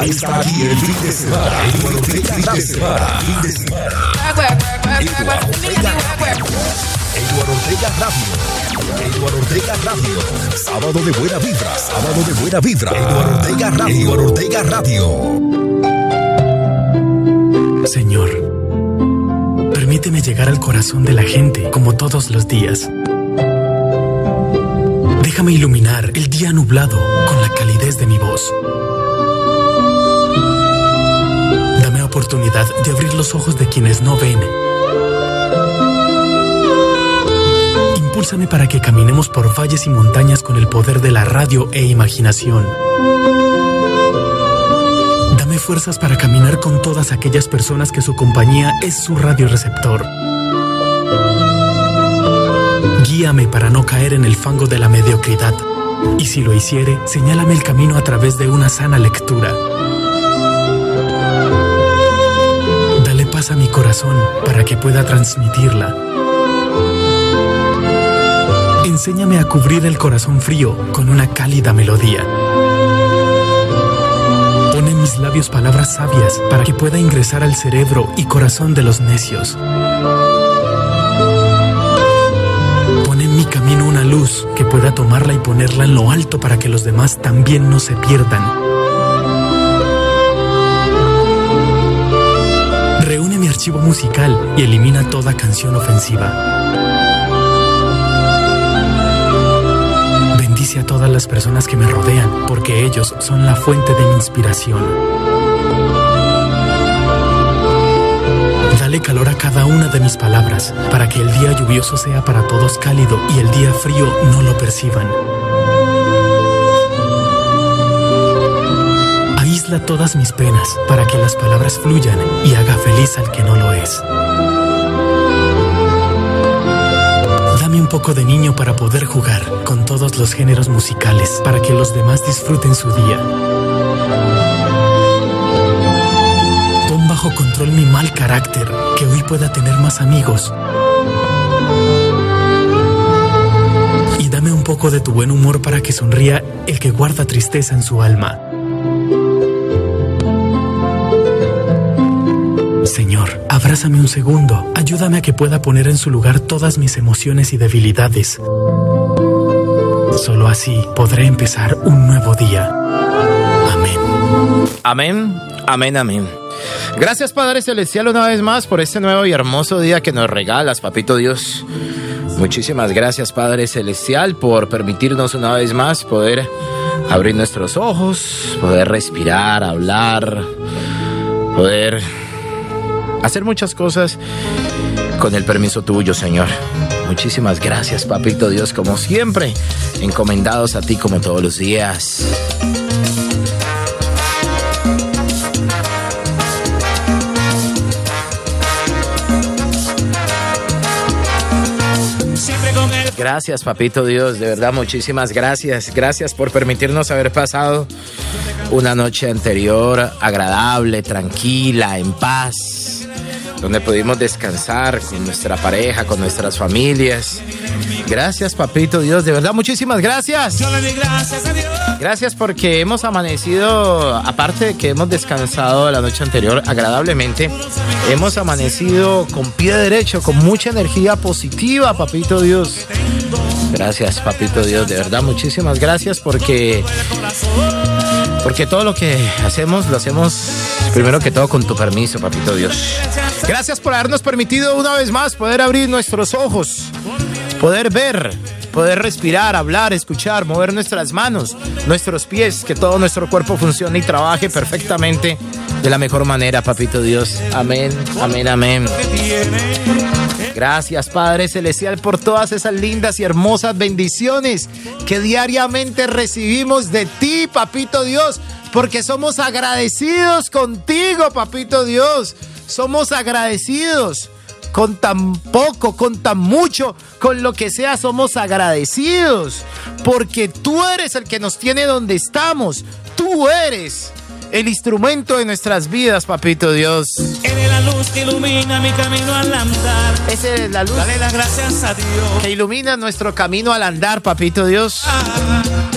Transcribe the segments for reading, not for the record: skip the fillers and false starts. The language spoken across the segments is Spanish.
está aquí el fin de semana. Eduardo Ortega Eduardo Ortega Radio. Sábado de buena vibra. Eduardo Ortega Radio. Señor, permíteme llegar al corazón de la gente como todos los días. Déjame iluminar el día nublado con la calidez de mi voz. Dame oportunidad de abrir los ojos de quienes no ven. Impúlsame para que caminemos por valles y montañas con el poder de la radio e imaginación. Dame fuerzas para caminar con todas aquellas personas que su compañía es su radioreceptor. Guíame para no caer en el fango de la mediocridad. Y si lo hiciere, señálame el camino a través de una sana lectura. Dale paz a mi corazón para que pueda transmitirla. Enséñame a cubrir el corazón frío con una cálida melodía. Pon en mis labios palabras sabias para que pueda ingresar al cerebro y corazón de los necios. Pon en mi camino una luz que pueda tomarla y ponerla en lo alto para que los demás también no se pierdan. Reúne mi archivo musical y elimina toda canción ofensiva. Bendice a todas las personas que me rodean, porque ellos son la fuente de mi inspiración. Dale calor a cada una de mis palabras, para que el día lluvioso sea para todos cálido y el día frío no lo perciban. Aísla todas mis penas, para que las palabras fluyan y haga feliz al que no lo es. Dame un poco de niño para poder jugar con todos los géneros musicales, para que los demás disfruten su día. Pon bajo control mi mal carácter, que hoy pueda tener más amigos. Y dame un poco de tu buen humor para que sonría el que guarda tristeza en su alma. Señor, abrázame un segundo. Ayúdame a que pueda poner en su lugar todas mis emociones y debilidades. Solo así podré empezar un nuevo día. Amén. Amén, amén, amén. Gracias, Padre Celestial, una vez más por este nuevo y hermoso día que nos regalas, Papito Dios. Muchísimas gracias, Padre Celestial, por permitirnos una vez más poder abrir nuestros ojos, poder respirar, hablar, poder hacer muchas cosas con el permiso tuyo, Señor. Muchísimas gracias, Papito Dios, como siempre, encomendados a ti como todos los días. Gracias, Papito Dios, de verdad, muchísimas gracias. Gracias por permitirnos haber pasado una noche anterior agradable, tranquila, en paz, donde pudimos descansar con nuestra pareja, con nuestras familias. Gracias, Papito Dios, de verdad, muchísimas gracias. Yo le di gracias a Dios. Gracias porque hemos amanecido, aparte de que hemos descansado la noche anterior agradablemente, hemos amanecido con pie derecho, con mucha energía positiva, Papito Dios. Gracias, Papito Dios, de verdad, muchísimas gracias porque todo lo que hacemos, lo hacemos primero que todo con tu permiso, Papito Dios. Gracias por habernos permitido una vez más poder abrir nuestros ojos, poder ver, poder respirar, hablar, escuchar, mover nuestras manos, nuestros pies, que todo nuestro cuerpo funcione y trabaje perfectamente de la mejor manera, Papito Dios. Amén, amén, amén. Gracias, Padre Celestial, por todas esas lindas y hermosas bendiciones que diariamente recibimos de ti, Papito Dios, porque somos agradecidos contigo, Papito Dios. Somos agradecidos con tan poco, con tan mucho, con lo que sea, somos agradecidos, porque tú eres el que nos tiene donde estamos. Tú eres el instrumento de nuestras vidas, Papito Dios. Eres la luz que ilumina mi camino al andar. Esa es la luz. Dale las gracias a Dios. Que ilumina nuestro camino al andar, Papito Dios.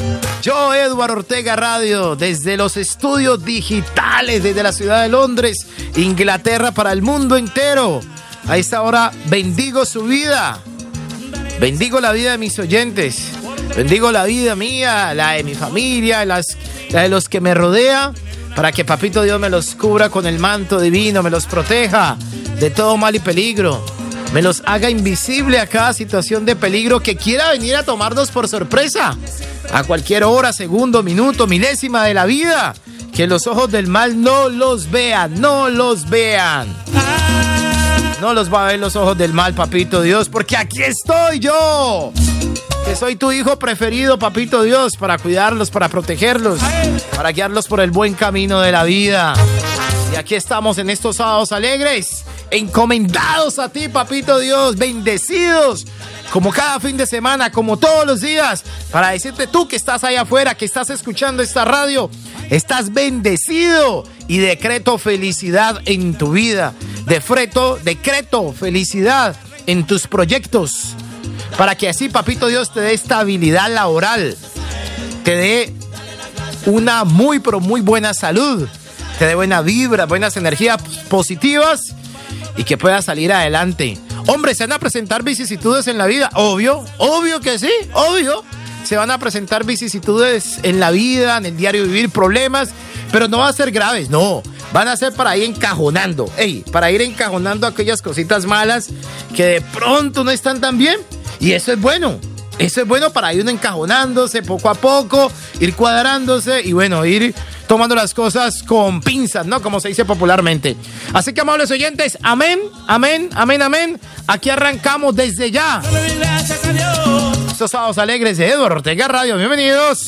Yo, Eduardo Ortega Radio, desde los estudios digitales, desde la ciudad de Londres, Inglaterra, para el mundo entero. A esta hora bendigo su vida, bendigo la vida de mis oyentes, bendigo la vida mía, la de mi familia, la de los que me rodean, para que Papito Dios me los cubra con el manto divino, me los proteja de todo mal y peligro, me los haga invisible a cada situación de peligro que quiera venir a tomarnos por sorpresa, a cualquier hora, segundo, minuto, milésima de la vida, que los ojos del mal no los vean, no los vean. No los va a ver los ojos del mal, Papito Dios, porque aquí estoy yo, que soy tu hijo preferido, Papito Dios, para cuidarlos, para protegerlos, para guiarlos por el buen camino de la vida. Y aquí estamos en estos sábados alegres, encomendados a ti, Papito Dios, bendecidos, como cada fin de semana, como todos los días, para decirte tú que estás allá afuera, que estás escuchando esta radio, estás bendecido y decreto felicidad en tu vida. Decreto felicidad en tus proyectos, para que así, Papito Dios, te dé estabilidad laboral, te dé una muy buena salud, te dé buena vibra, buenas energías positivas y que puedas salir adelante. Hombre, se van a presentar vicisitudes en la vida, obvio que sí, obvio. Se van a presentar vicisitudes en la vida, en el diario vivir, problemas, pero no van a ser graves, no. Van a ser para ir encajonando, para ir encajonando aquellas cositas malas que de pronto no están tan bien. Y eso es bueno. Eso es bueno para ir uno encajonándose poco a poco, ir cuadrándose y bueno, ir tomando las cosas con pinzas, ¿no? Como se dice popularmente. Así que, amables oyentes, amén, amén, amén, amén. Aquí arrancamos desde ya estos sábados alegres de Eduardo Ortega Radio. Bienvenidos.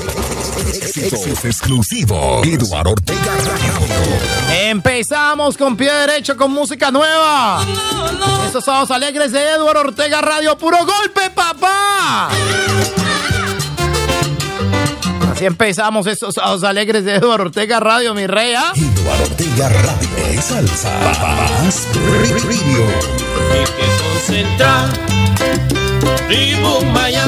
Éxitos exclusivo. Eduardo Ortega Radio. Empezamos con pie derecho con música nueva. Estos sábados alegres de Eduardo Ortega Radio. Puro golpe, papá. Así empezamos estos sábados alegres de Eduardo Ortega Radio, mi rey. Eduardo Ortega Radio. Salsa. Más Radio. Hay que concentrar. Ritmo Maya.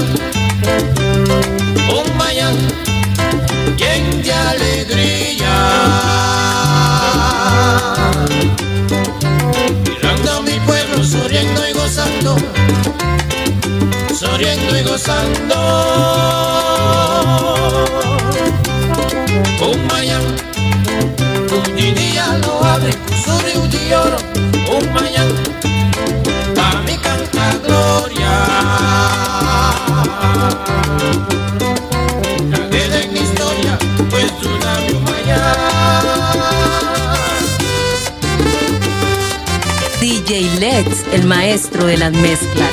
Un Maya. Lleno de alegría, mirando a mi pueblo, sonriendo y gozando, sonriendo y gozando. Un Maya, un día lo abre, un un día oro, un Maya, para mi canta gloria. Pues una Maya. DJ Let's, el maestro de las mezclas.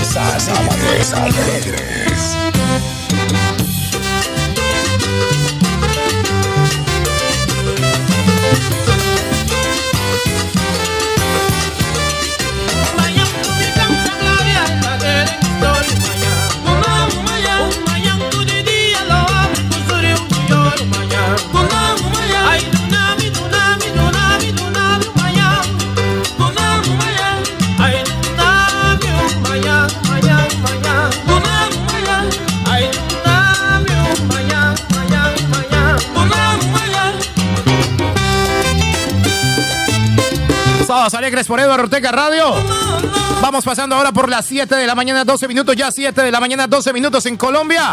Sábados Alegres. Sábados Alegres por Eduardo Ortega Radio. Vamos pasando ahora por las 7 de la mañana, 12 minutos. Ya 7 de la mañana, 12 minutos en Colombia.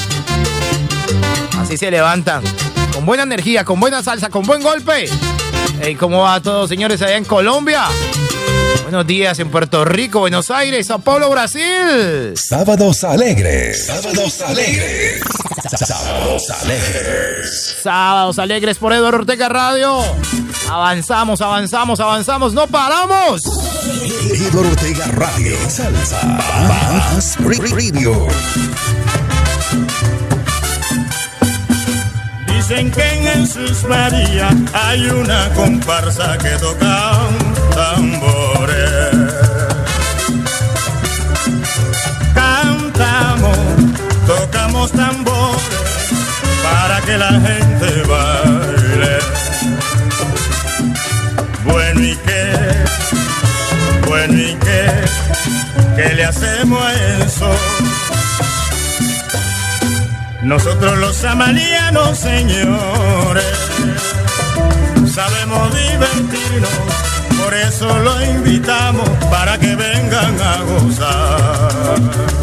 Así se levantan. Con buena energía, con buena salsa, con buen golpe. Hey, ¿cómo va todo, señores, allá en Colombia? Buenos días en Puerto Rico, Buenos Aires, Sao Paulo, Brasil. Sábados Alegres. Sábados Alegres. Sábados Alegres. Sábados Alegres por Eduardo Ortega Radio. Avanzamos, avanzamos, avanzamos, no paramos. Eduardo Ortega Radio. Salsa. Más Radio. Dicen que en Jesús María hay una comparsa que toca tambores. Cantamos, tocamos tambores para que la gente baile. Bueno y ¿qué le hacemos a eso? Nosotros los amalianos, señores, sabemos divertirnos, por eso lo invitamos para que vengan a gozar.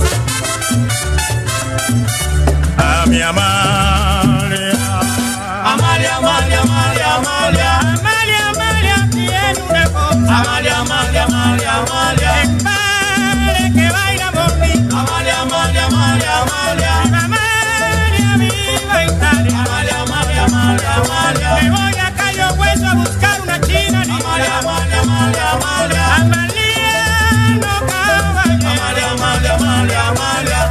A mi Amalia, Amalia, Amalia, Amalia, Amalia, Amalia, Amalia, tiene una cosa. Amalia, Amalia, Amalia, Amalia, padre que baila bonito. Amalia, Amalia, Amalia, Amalia, Amalia, viva Italia. Amalia, Amalia, Amalia, Amalia, me voy a Cayo Hueso a buscar una china. Amalia, Amalia, Amalia, Amalia, Amalia, no caballero. Amalia, Amalia, Amalia, Amalia.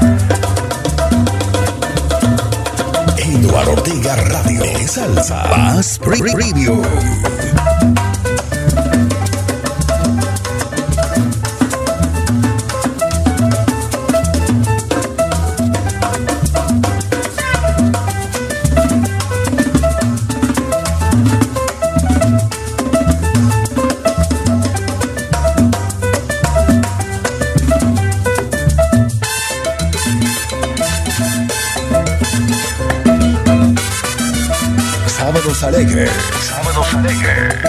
Eduardo Ortega Radio. Salsa. Más Radio. Sábados Alegres. Sábados Alegres.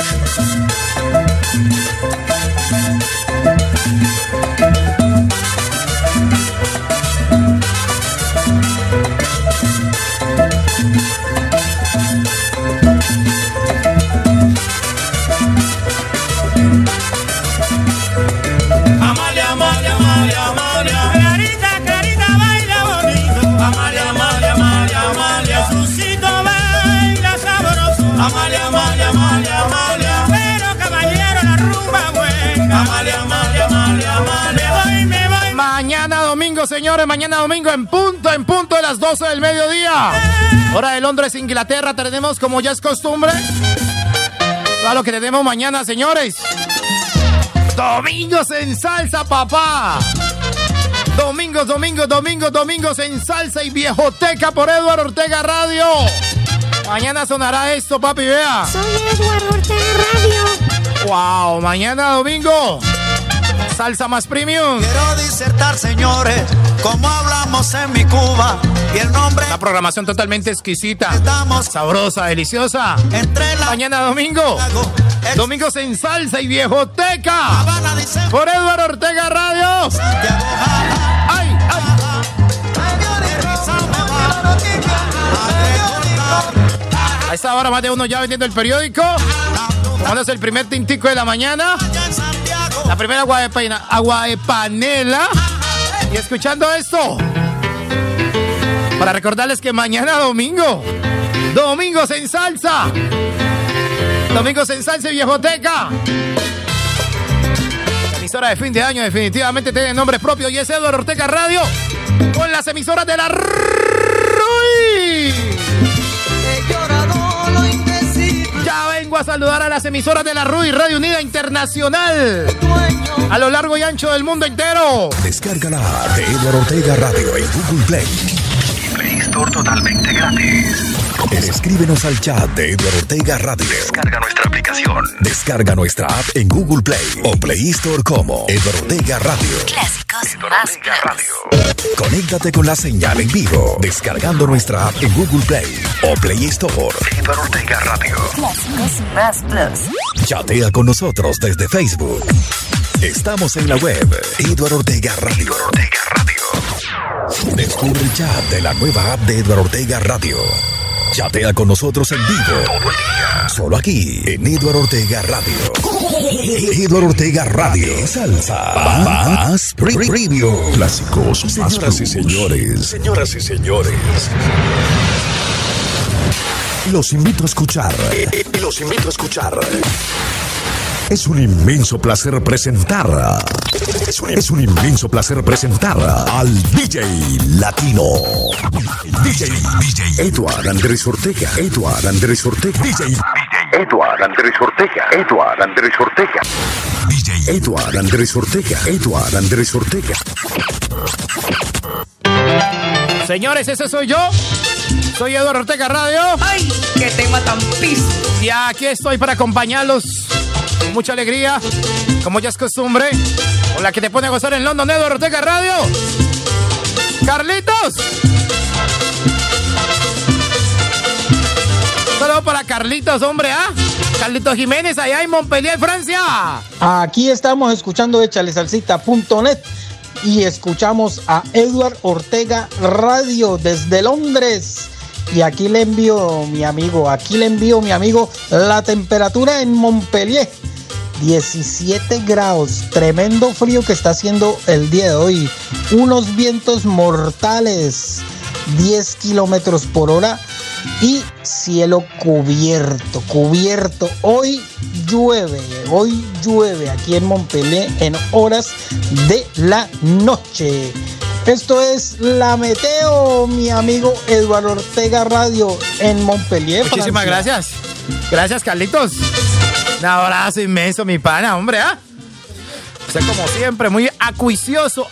Amalia, Amalia, Amalia, Amalia, Clarita, Clarita baila bonito. Amalia, Amalia, Amalia, Amalia, Jesucito baila sabroso. Amalia, Amalia, Amalia, Amalia, pero caballero la rumba buena. Amalia, Amalia, Amalia, Amalia, me voy. Mañana domingo, señores, mañana domingo en punto de las 12 del mediodía. Hora de Londres, Inglaterra, tenemos como ya es costumbre. Todo lo que tenemos mañana, señores. Domingos en salsa, papá. Domingos, domingos, domingos, domingos en salsa y viejoteca por Eduardo Ortega Radio. Mañana sonará esto, papi, vea. Soy Eduardo Ortega Radio. Wow, mañana domingo. Salsa más premium. Quiero disertar, señores, como hablamos en mi Cuba y el nombre. La programación totalmente exquisita, Estamos sabrosa, deliciosa. entre la Mañana domingo. Domingos en salsa y viejoteca. Habana, dice Por Eduardo Ortega Radio. Santiago, ¡Ay, ay! A esta hora más de uno ya vendiendo el periódico. Tomándose el primer tintico de la mañana. La primera agua de panela. Y escuchando esto. Para recordarles que mañana domingo. Domingos en salsa. Domingos en salsa y viejoteca. emisora de fin de año definitivamente tiene nombre propio y es Eduardo Ortega Radio con las emisoras de la RUI. Ya vengo a saludar a las emisoras de la RUI, Radio Unida Internacional, a lo largo y ancho del mundo entero. Descárgala de Eduardo Ortega Radio en Google Play y Play Store totalmente gratis. Escríbenos al chat de Eduardo Ortega Radio. Descarga nuestra aplicación. Descarga nuestra app en Google Play o Play Store como Eduardo Ortega Radio. Clásicos Eduardo más Ortega plus. Radio. Conéctate con la señal en vivo descargando nuestra app en Google Play o Play Store. Eduardo Ortega Radio. Clásicos más plus. Chatea con nosotros desde Facebook. Estamos en la web Eduardo Ortega Radio. Eduardo Ortega Radio. Descubre el chat de la nueva app de Eduardo Ortega Radio. Chatea con nosotros en vivo todo el día. Solo aquí en Eduardo Ortega Radio. Eduardo Ortega Radio. Salsa más premium. Clásicos. Señoras y señores. Señoras y señores. Los invito a escuchar. Los invito a escuchar. Es un inmenso placer presentar. Es un inmenso placer presentar al DJ Latino. DJ Eduardo Andrés Ortega. Eduardo Andrés Ortega. DJ Eduardo Andrés Ortega. Eduardo Andrés Ortega. DJ Eduardo Andrés Ortega. Eduardo Andrés Ortega. Señores, ese soy yo. Soy Eduardo Ortega Radio. ¡Ay, qué tema tan pis! Y aquí estoy para acompañarlos con mucha alegría, como ya es costumbre, con la que te pone a gozar en London, Eduardo Ortega Radio. ¡Carlitos! Saludos para Carlitos, hombre, ¿ah? Carlitos Jiménez, allá en Montpellier, Francia. Aquí estamos escuchando echalesalsita.net y escuchamos a Eduardo Ortega Radio desde Londres. Y aquí le envío mi amigo, la temperatura en Montpellier, 17 grados, tremendo frío que está haciendo el día de hoy, unos vientos mortales, 10 kilómetros por hora y cielo cubierto. Hoy llueve aquí en Montpellier en horas de la noche. Esto es La Meteo, mi amigo Eduardo Ortega Radio en Montpellier, Muchísimas Francia. gracias. Gracias, Carlitos. Un abrazo inmenso, mi pana, hombre, ¿ah? Usted, como siempre, muy acuicioso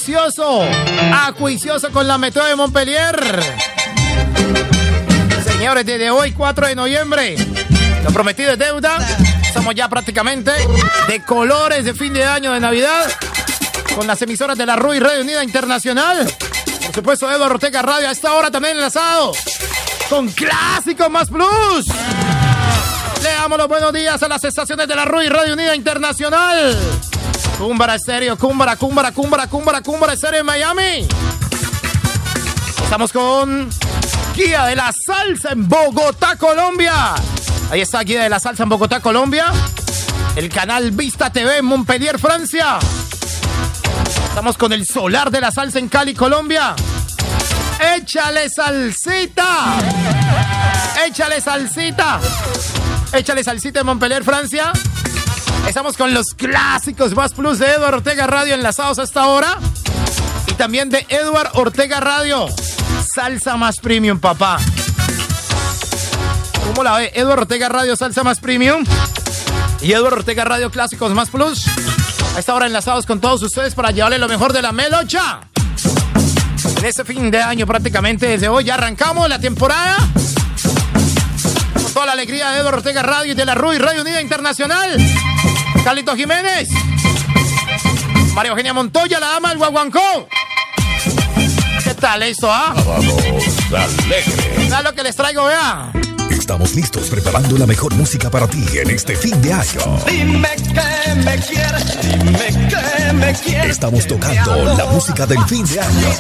con La Meteo de Montpellier. Señores, desde hoy, 4 de noviembre, lo prometido es deuda. Estamos ya prácticamente de colores de fin de año, de Navidad, con las emisoras de la RUI, Radio Unida Internacional. Por supuesto, Eduardo Ortega Radio a esta hora también enlazado con Clásicos Más Plus. Le damos los buenos días a las estaciones de la RUI, Radio Unida Internacional. Cúmbara Estéreo, Cúmbara Estéreo en Miami. Estamos con Guía de la Salsa en Bogotá, Colombia. Ahí está Guía de la Salsa en Bogotá, Colombia. El canal Vista TV en Montpellier, Francia. Estamos con el Solar de la Salsa en Cali, Colombia. ¡Échale salsita! ¡Échale salsita! ¡Échale salsita en Montpellier, Francia! Estamos con los Clásicos Más Plus de Eduardo Ortega Radio enlazados a esta hora. Y también de Eduardo Ortega Radio. Salsa Más Premium, papá. ¿Cómo la ve? Eduardo Ortega Radio, Salsa Más Premium. Y Eduardo Ortega Radio, Clásicos Más Plus. A esta hora enlazados con todos ustedes para llevarle lo mejor de la melocha. En este fin de año prácticamente desde hoy ya arrancamos la temporada. Con toda la alegría de Eduardo Ortega Radio y de la RUI, Radio Unida Internacional. Carlitos Jiménez. María Eugenia Montoya, la dama del guaguancó. ¿Qué tal eso, ah? Vea lo que les traigo, vea. Estamos listos preparando la mejor música para ti en este fin de año. Dime que me quieres, dime que me quieres. Estamos tocando la música del fin de año.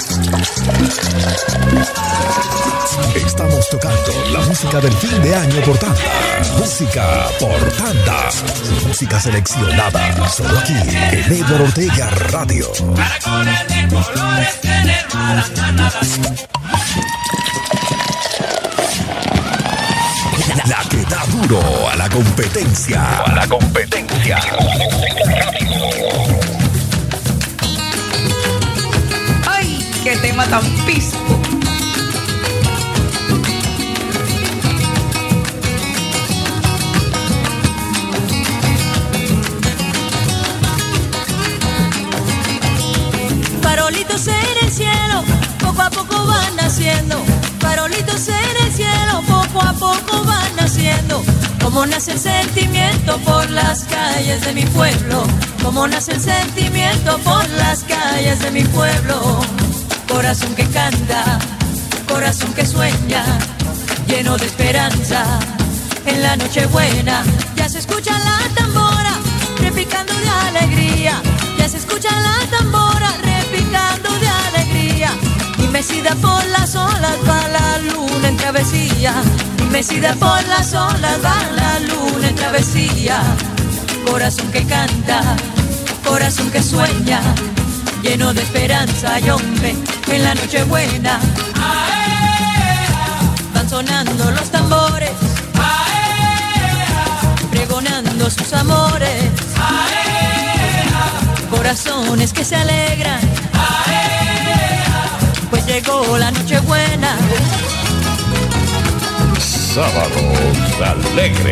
Estamos tocando la música del fin de año por tanda. Música por tanda. Música seleccionada solo aquí en Eduardo Ortega Radio. Para colores de colores tener malas ganadas. La que da duro a la competencia. tan pisco. Farolitos en el cielo, poco a poco van naciendo. Farolitos en el cielo, poco a poco van naciendo. Como nace el sentimiento por las calles de mi pueblo. Como nace el sentimiento por las calles de mi pueblo. Corazón que canta, corazón que sueña, lleno de esperanza. En la noche buena ya se escucha la tambora, repicando de alegría. Ya se escucha la tambora, repicando de alegría. Y mecida por las olas va la luna en travesía. Y mecida por las olas va la luna en travesía. Corazón que canta, corazón que sueña, lleno de esperanza y hombre en la noche buena. Van sonando los tambores, pregonando sus amores. Corazones que se alegran, pues llegó la noche buena. Sábados alegres.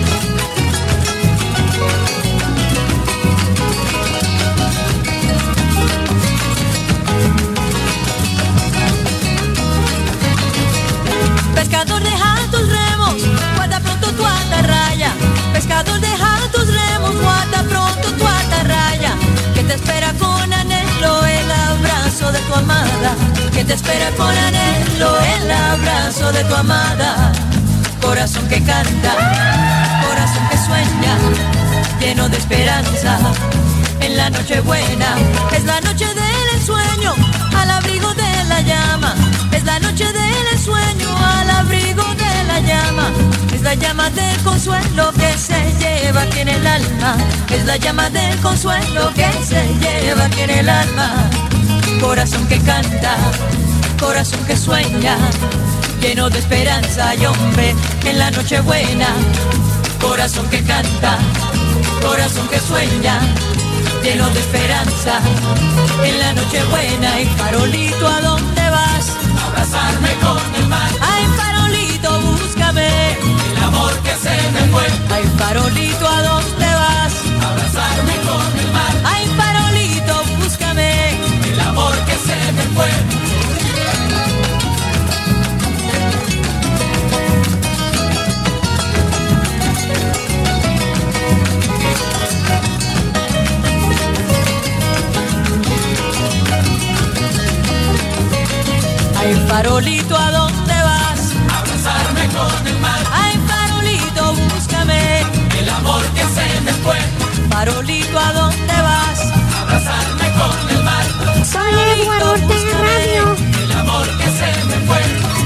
Pescador, deja tus remos, guarda pronto tu atarraya. Pescador, deja tus remos, guarda pronto tu atarraya. Que te espera con anhelo el abrazo de tu amada. Que te espera con anhelo el abrazo de tu amada. Corazón que canta, corazón que sueña, lleno de esperanza. En la noche buena es la noche del ensueño, al abrigo de la llama. Es la noche del ensueño, al abrigo de la llama. Es la llama del consuelo que se lleva aquí en el alma. Es la llama del consuelo que se lleva aquí en el alma. Corazón que canta, corazón que sueña, lleno de esperanza y hombre en la noche buena. Corazón que canta, corazón que sueña, lleno de esperanza en la noche buena. Y farolito, ¿a dónde vas? Abrazarme con el mar. Ay, farolito, búscame el amor que se me fue. Ay, farolito, ¿a dónde vas? Abrazarme con el mar. Ay, farolito, búscame el amor que se me fue. Ay, farolito, ¿a dónde vas? Abrazarme con el mar. Ay, farolito, búscame el amor que se me fue. Farolito, ¿a dónde vas? Abrazarme con el mar. Soy Edward Ortega Radio. El amor que se me fue.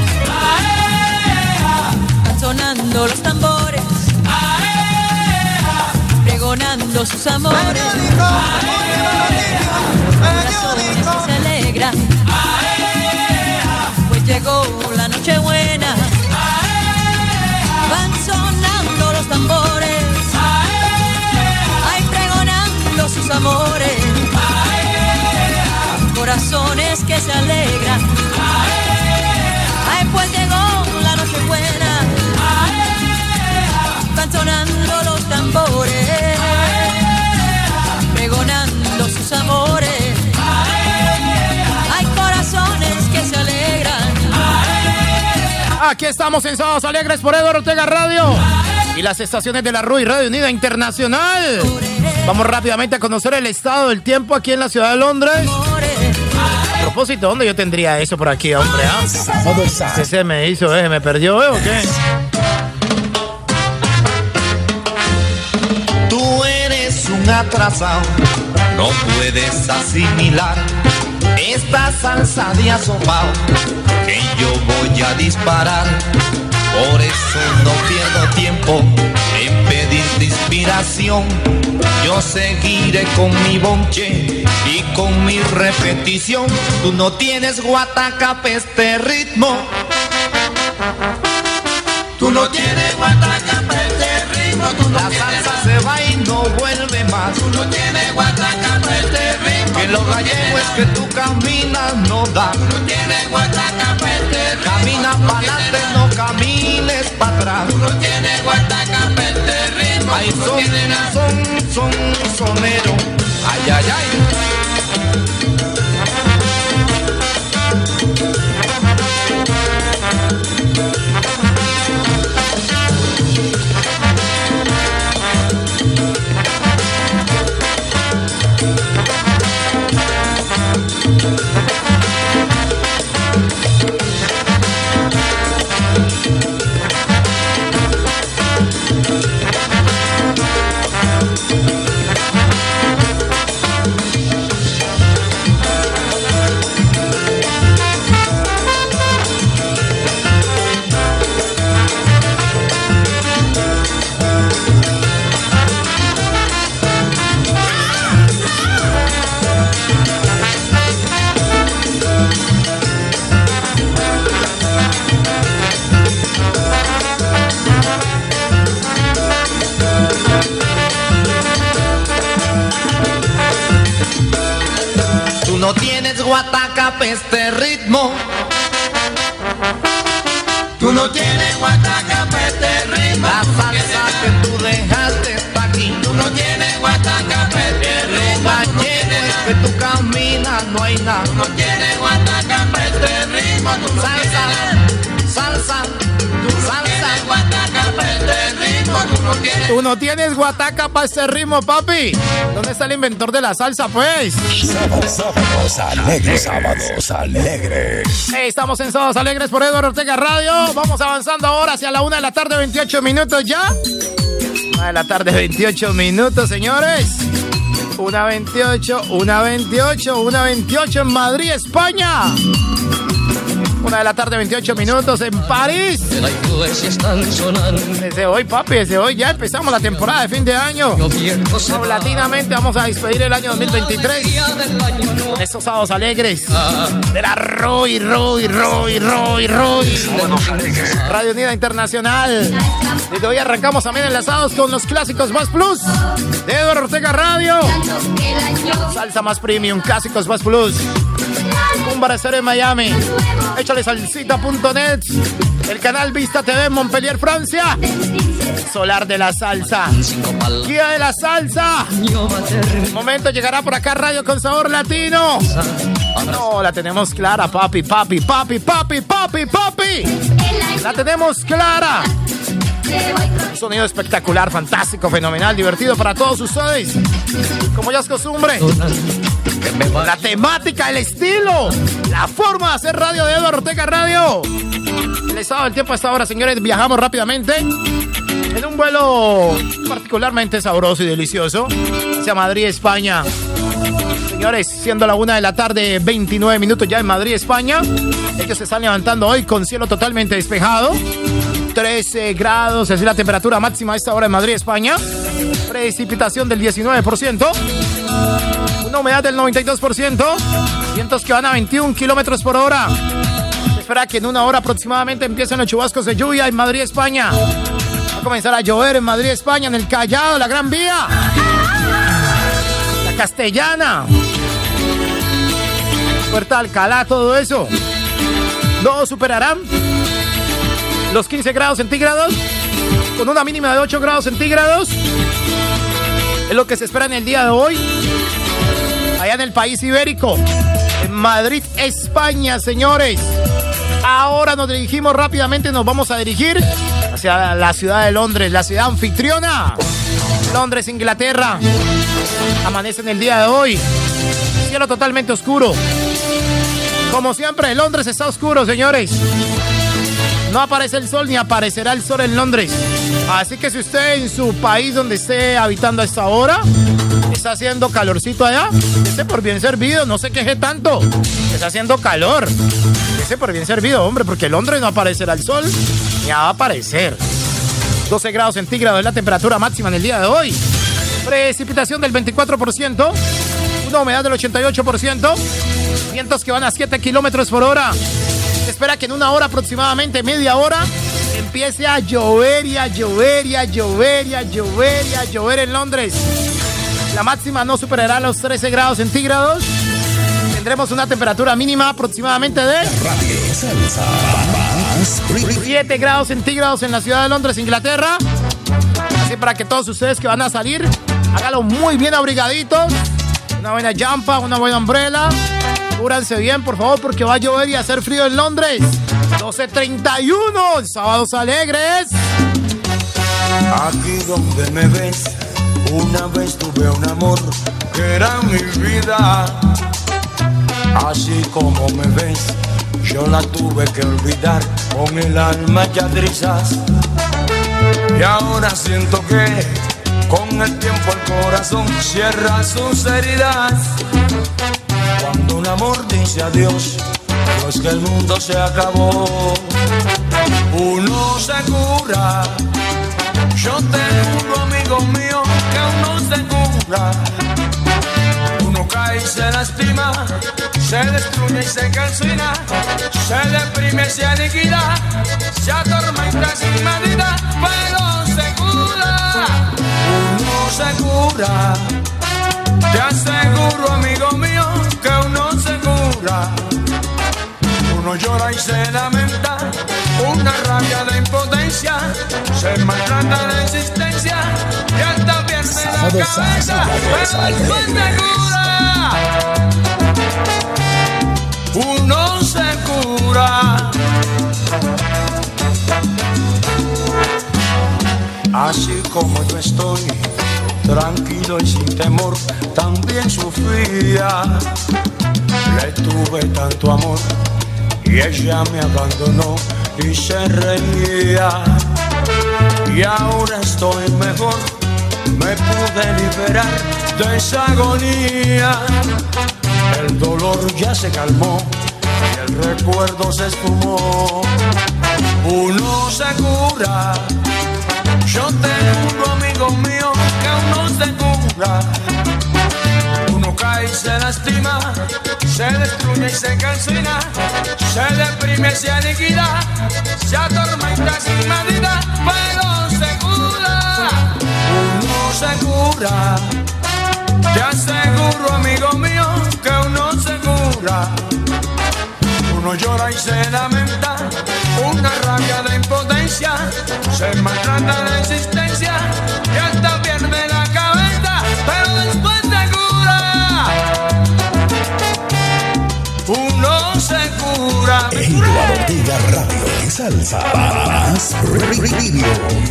Van sonando los tambores, pregonando sus amores. Corazones que se alegran, pues llegó la noche buena. Van sonando los tambores, ay, pregonando sus amores. Corazones que se alegran, ay, pues llegó la noche buena. Van sonando los tambores, pregonando sus amores. Hay corazones que se alegran. Aquí estamos en Sábados Alegres por Edward Ortega Radio y las estaciones de la RUI Radio Unida Internacional. Vamos rápidamente a conocer el estado del tiempo aquí en la ciudad de Londres. A propósito, ¿dónde yo tendría eso por aquí, hombre? ¿Qué se me hizo? ¿Me perdió, o qué? Tú eres un atrasado, no puedes asimilar esta salsa de asomado que yo voy a disparar. Por eso no pierdo tiempo en pedirte inspiración. Yo seguiré con mi bonche y con mi repetición. Tú no tienes guataca pa' este ritmo. Tú no tienes guataca pa' este ritmo. La salsa se va y no vuelve más. Tú no tienes guataca pa' este ritmo. Que los gallego es que tú caminas, no da. Tú no tienes guatacapete ritmo. Camina pa'lante, no camines para atrás. Tú no tienes guatacapete ritmo. Ay, Tú no tienes nada. sonero. Ay, ay, ay. No tienes guatacape este ritmo. Tú no tienes guatacape este ritmo. La salsa que tú dejaste está aquí. Tú no tienes guatacape este ritmo. Gallego es que tú caminas, no hay nada. Tú no tienes guatacape este ritmo. Tú no salsa, tienes... salsa, salsa, guatacape este ritmo. Tú no tienes... Tú no tienes guataca para ese ritmo, papi. ¿Dónde está el inventor de la salsa, pues? Sábados alegres, sábados alegres. Hey, estamos en Sábados Alegres por Eduardo Ortega Radio. Vamos avanzando ahora hacia la 1 de la tarde, 28 minutos ya. 1 de la tarde, 28 minutos, señores. 1:28, 1:28, 1:28 en Madrid, España. 1 de la tarde, 28 minutos en París. Desde hoy, papi, desde hoy ya empezamos la temporada de fin de año. Paulatinamente vamos a despedir el año 2023 con estos Sábados Alegres de la Roy. Radio Unida Internacional. Desde hoy arrancamos también enlazados con los clásicos más plus de Eduardo Ortega Radio. Salsa más premium, clásicos más plus. Un bar en Miami. Échale salsita.net. El canal Vista TV en Montpellier, Francia. Solar de la Salsa. Guía de la Salsa. El momento llegará por acá Radio con Sabor Latino. No, la tenemos clara, papi. La tenemos clara. Un sonido espectacular, fantástico, fenomenal, divertido para todos ustedes. Como ya es costumbre. La temática, el estilo, la forma de hacer radio de Eduardo Ortega Radio. El estado del tiempo a esta hora, señores, viajamos rápidamente en un vuelo particularmente sabroso y delicioso hacia Madrid, España. Señores, siendo la 1 de la tarde, 29 minutos ya en Madrid, España. Ellos se están levantando hoy con cielo totalmente despejado. 13 grados, es la temperatura máxima a esta hora en Madrid, España. Precipitación del 19%. Una humedad del 92%. Vientos que van a 21 kilómetros por hora. Se espera que en una hora aproximadamente empiecen los chubascos de lluvia en Madrid, España. Va a comenzar a llover en Madrid, España, en el Callao, la Gran Vía, la Castellana, Puerta Alcalá, todo eso. No superarán los 15 grados centígrados, con una mínima de 8 grados centígrados. Es lo que se espera en el día de hoy, allá en el país ibérico, en Madrid, España, señores. Ahora nos dirigimos rápidamente, nos vamos a dirigir hacia la ciudad de Londres, la ciudad anfitriona. Londres, Inglaterra. Amanece en el día de hoy. Cielo totalmente oscuro. Como siempre, Londres está oscuro, señores. No aparece el sol ni aparecerá el sol en Londres. Así que si usted en su país donde esté habitando a esta hora está haciendo calorcito allá, esté por bien servido, no se queje tanto. Está haciendo calor. Esté por bien servido, hombre, porque en Londres no aparecerá el sol ni va a aparecer. 12 grados centígrados es la temperatura máxima en el día de hoy. Precipitación del 24%. Una humedad del 88%. Vientos que van a 7 kilómetros por hora. Se espera que en una hora aproximadamente, media hora, empiece a llover y a llover y a llover y a llover y a llover en Londres. La máxima no superará los 13 grados centígrados. tendremos una temperatura mínima aproximadamente de 7 grados centígrados en la ciudad de Londres, Inglaterra. Así para que todos ustedes que van a salir, háganlo muy bien abrigaditos. Una buena jampa, una buena umbrella. Cúbranse bien, por favor, porque va a llover y a hacer frío en Londres. 12:31, sábados alegres. Aquí donde me ves, una vez tuve un amor que era mi vida. Así como me ves, yo la tuve que olvidar con el alma ya trizas. Y ahora siento que con el tiempo el corazón cierra sus heridas. Cuando un amor dice adiós, no es que el mundo se acabó. Uno se cura. Yo te juro, amigo mío, que uno se cura. Uno cae y se lastima, se destruye y se calcina, se deprime y se aniquila, se atormenta sin medida, pero se cura. Uno se cura. Te aseguro, amigo mío, que uno se cura. Uno llora y se lamenta, una rabia de impotencia, se maltrata de existencia y hasta pierde la cabeza, pero después se cura. Uno se cura. Así como yo estoy, tranquilo y sin temor, también sufría. Le tuve tanto amor y ella me abandonó y se reía. Y ahora estoy mejor, me pude liberar de esa agonía. El dolor ya se calmó y el recuerdo se esfumó. Uno se cura. Yo te juro, amigo mío, que uno se cura. Uno cae y se lastima, se destruye y se calcina, se deprime y se aniquila, se atormenta sin medida, pero se cura. Uno se cura. Te aseguro, amigo mío, que uno se cura. Uno llora y se lamenta, una rabia de impotencia, se maltrata de existencia y hasta pierde la cabeza, pero después se cura. Uno se cura. Eduardo Ortega Radio y Salsa Más Radio.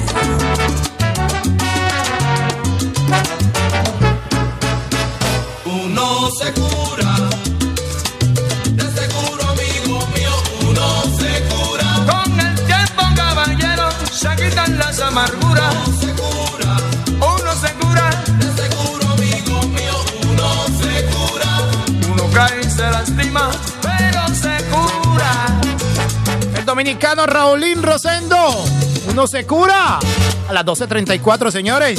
Uno se cura. Se quitan las amarguras. Uno se cura. Uno se cura. De seguro, amigo mío, uno se cura. Uno cae y se lastima, pero se cura. El dominicano Raulín Rosendo. Uno se cura. A las 12:34, señores.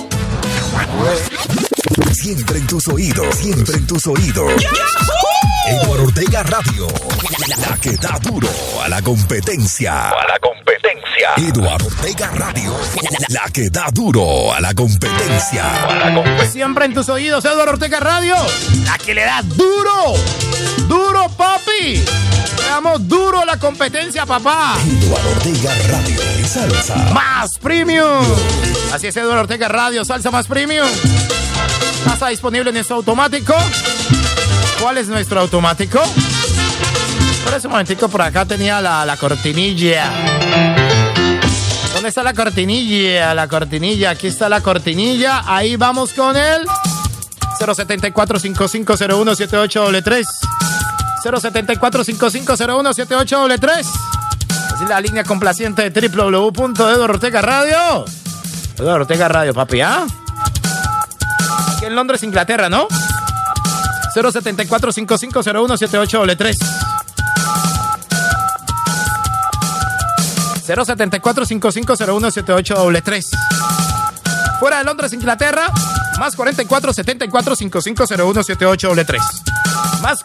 Siempre en tus oídos, siempre en tus oídos. Eduardo Ortega Radio, la que da duro a la competencia. Eduardo Ortega Radio, la que da duro a la competencia. Siempre en tus oídos, Eduardo Ortega Radio, la que le da duro. Duro, papi. Le damos duro a la competencia, papá. Eduardo Ortega Radio y Salsa Más Premium. Así es, Eduardo Ortega Radio, Salsa Más Premium. Ya está disponible en nuestro automático. ¿Cuál es nuestro automático? Por ese momentico por acá tenía la cortinilla. ¿Dónde está la cortinilla? La cortinilla, aquí está la cortinilla. Ahí vamos con el 074-5501-7833. 074-5501-7833. Así la línea complaciente de www.Eduardo Ortega Radio. Eduardo Ortega Radio, papi, ¿ah? Aquí en Londres, Inglaterra, ¿no? 074-5501-7833. 074-5501-7833. Fuera de Londres, Inglaterra, más 44-74-5501-7833. Más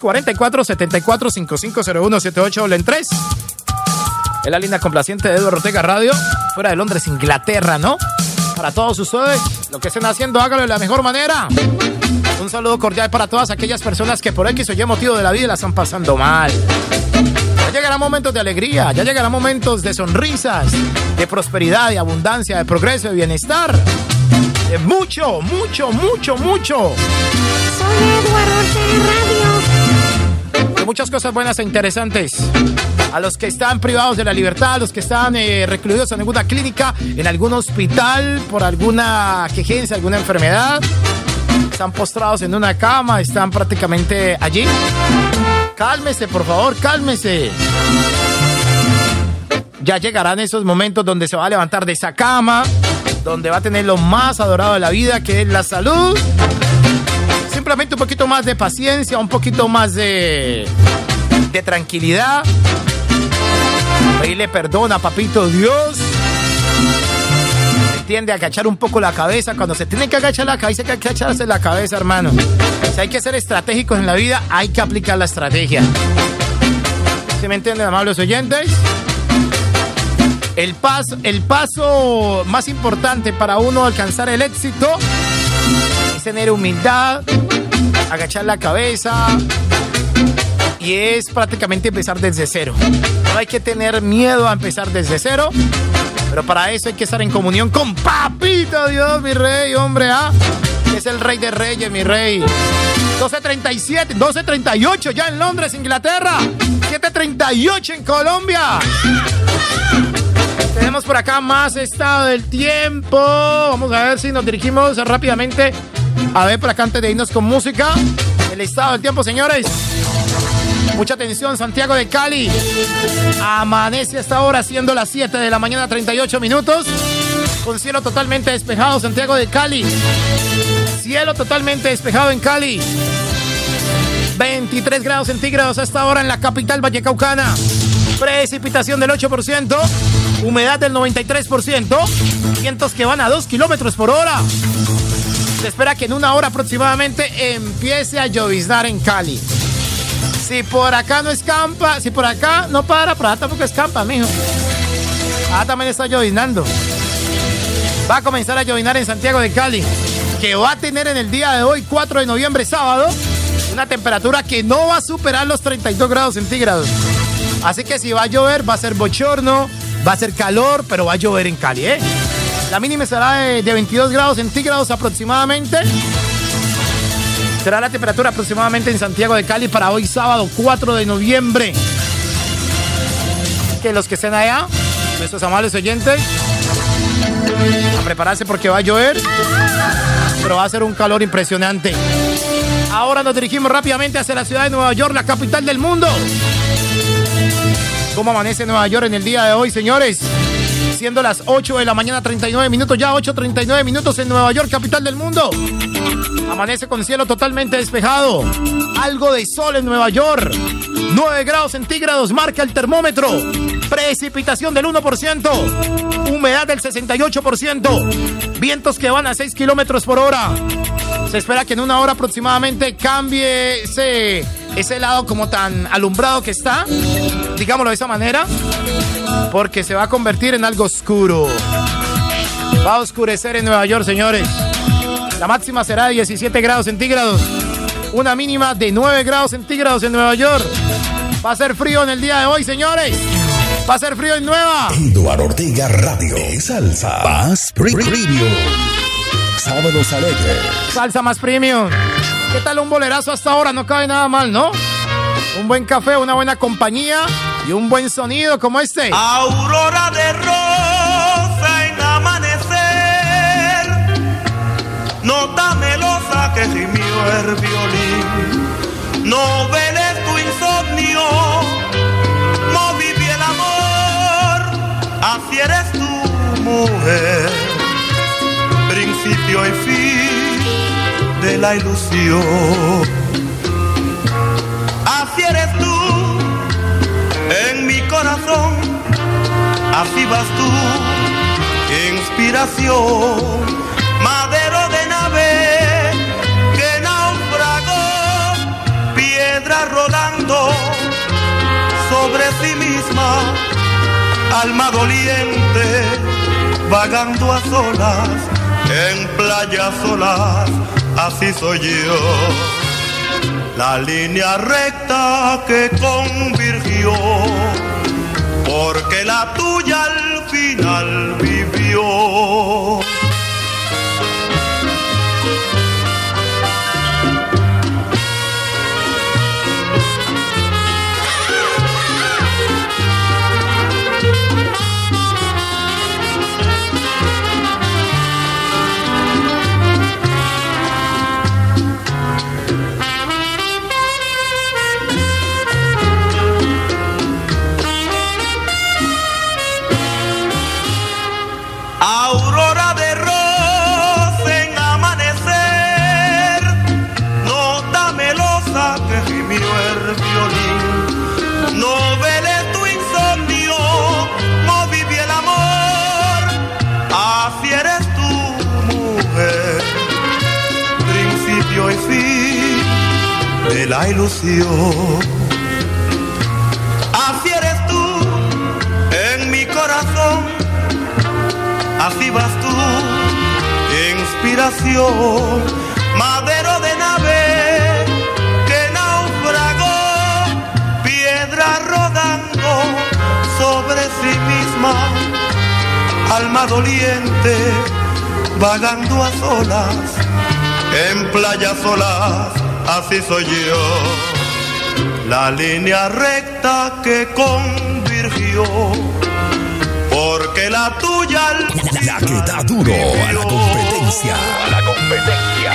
44-74-5501-7833. Es la línea complaciente de Eduardo Ortega Radio. Fuera de Londres, Inglaterra, ¿no? Para todos ustedes, lo que estén haciendo, háganlo de la mejor manera. Un saludo cordial para todas aquellas personas que por X o Y motivo de la vida la están pasando mal. Ya llegarán momentos de alegría, ya llegarán momentos de sonrisas, de prosperidad, de abundancia, de progreso, de bienestar. De mucho, mucho, mucho, mucho. Soy Eduardo Ortega Radio. De muchas cosas buenas e interesantes. A los que están privados de la libertad, a los que están recluidos en alguna clínica, en algún hospital, por alguna quejencia, alguna enfermedad. Están postrados en una cama, están prácticamente allí. Cálmese, por favor, cálmese. Ya llegarán esos momentos donde se va a levantar de esa cama, donde va a tener lo más adorado de la vida, que es la salud. Simplemente un poquito más de paciencia, un poquito más de tranquilidad. Pedirle perdón a Papito Dios. Tiende a agachar un poco la cabeza. Cuando se tiene que agachar la cabeza, hay que agacharse la cabeza, hermano. Si hay que ser estratégicos en la vida, hay que aplicar la estrategia. ¿Sí me entienden, amables oyentes? El paso más importante para uno alcanzar el éxito es tener humildad, agachar la cabeza, y es prácticamente empezar desde cero. No hay que tener miedo a empezar desde cero, pero para eso hay que estar en comunión con Papito Dios, mi rey, hombre, que es el rey de reyes, mi rey. 12:38 ya en Londres, Inglaterra. 7:38 en Colombia. Tenemos por acá más estado del tiempo. Vamos a ver si nos dirigimos rápidamente. A ver, por acá antes de irnos con música. El estado del tiempo, señores. Mucha atención, Santiago de Cali. Amanece hasta ahora, siendo las 7 de la mañana, 38 minutos. Con cielo totalmente despejado, Santiago de Cali. Cielo totalmente despejado en Cali. 23 grados centígrados hasta ahora en la capital vallecaucana. Precipitación del 8%. Humedad del 93%. Vientos que van a 2 kilómetros por hora. Se espera que en una hora aproximadamente empiece a lloviznar en Cali. Si por acá no escampa, si por acá no para, por acá tampoco escampa, mijo. También está lloviznando. Va a comenzar a lloviznar en Santiago de Cali, que va a tener en el día de hoy, 4 de noviembre, sábado, una temperatura que no va a superar los 32 grados centígrados. Así que si va a llover, va a ser bochorno, va a ser calor, pero va a llover en Cali, ¿eh? La mínima será de 22 grados centígrados aproximadamente. Será la temperatura aproximadamente en Santiago de Cali para hoy sábado 4 de noviembre. Que los que estén allá, nuestros amables oyentes, a prepararse porque va a llover, pero va a ser un calor impresionante. Ahora nos dirigimos rápidamente hacia la ciudad de Nueva York, la capital del mundo. ¿Cómo amanece Nueva York en el día de hoy, señores? Siendo las 8 de la mañana, 39 minutos, ya 8:39 minutos en Nueva York, capital del mundo. Amanece con cielo totalmente despejado. Algo de sol en Nueva York. 9 grados centígrados marca el termómetro. Precipitación del 1%. Humedad del 68%. Vientos que van a 6 kilómetros por hora. Se espera que en una hora aproximadamente cambie ese lado como tan alumbrado que está, digámoslo de esa manera, porque se va a convertir en algo oscuro. Va a oscurecer en Nueva York, señores. La máxima será de 17 grados centígrados. Una mínima de 9 grados centígrados en Nueva York. Va a ser frío en el día de hoy, señores. Va a ser frío en Nueva. Eduardo Ortega Radio. Salsa más premium. Sábados alegres. Salsa más premium. ¿Qué tal un bolerazo hasta ahora? No cabe nada mal, ¿no? Un buen café, una buena compañía y un buen sonido como este. Aurora de rosa en amanecer, nota melosa que gimió el violín. No veles tu insomnio, no viví el amor, así eres tu mujer, principio y fin de la ilusión. Así eres tú en mi corazón, así vas tú, inspiración, madero de nave que naufragó, piedra rodando sobre sí misma, alma doliente, vagando a solas, en playas solas así soy yo. La línea recta que convirtió, porque la tuya al final vivió. Aurora de rosa en amanecer, nota melosa que gimió el violín. No veles tu insomnio, no viví el amor, así eres tú, mujer, principio y fin de la ilusión. Así eres tú en mi corazón, así vas tú, inspiración, madero de nave que naufragó, piedra rodando sobre sí misma, alma doliente, vagando a solas, en playas solas, así soy yo. La línea recta que convirtió, porque la tuya la que da duro a la competencia. A la competencia.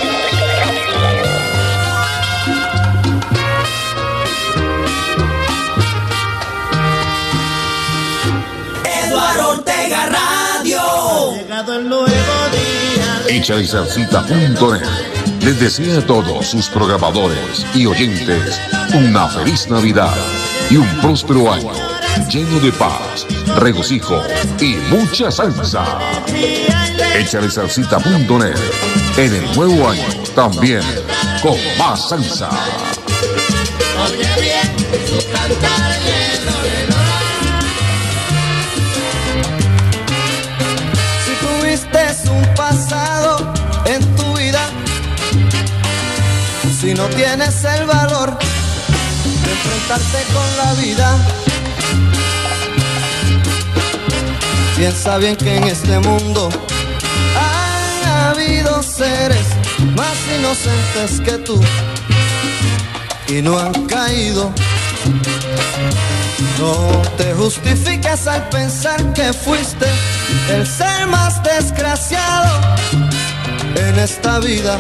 Eduardo Ortega Radio. Llegado el nuevo día. Echalesalsita.net les desea a todos sus programadores y oyentes una feliz Navidad y un próspero año lleno de paz, regocijo y mucha salsa. Echalesalsita.net en el nuevo año también con más salsa. Oye bien, su cantar si tuviste un pasado en tu vida, si no tienes el valor de enfrentarte con la vida, piensa bien que en este mundo han habido seres más inocentes que tú y no han caído. No te justifiques al pensar que fuiste el ser más desgraciado en esta vida.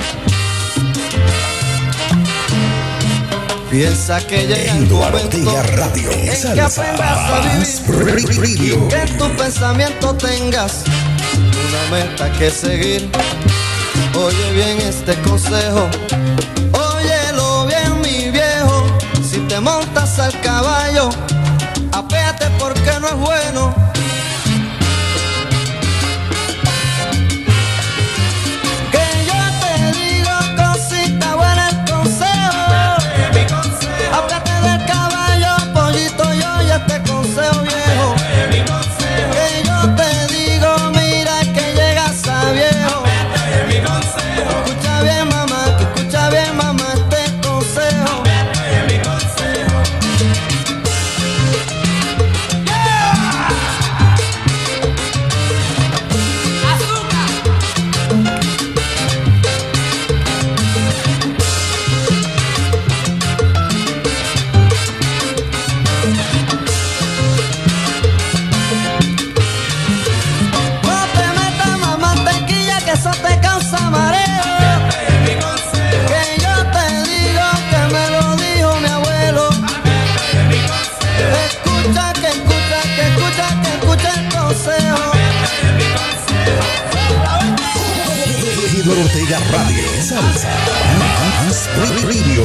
Piensa que llega el momento en que aprendas a vivir y que en tu pensamiento tengas una meta que seguir. Oye bien este consejo, óyelo bien mi viejo. Si te montas al caballo, apéate porque no es bueno. Ortega Radio, salsa, más radio.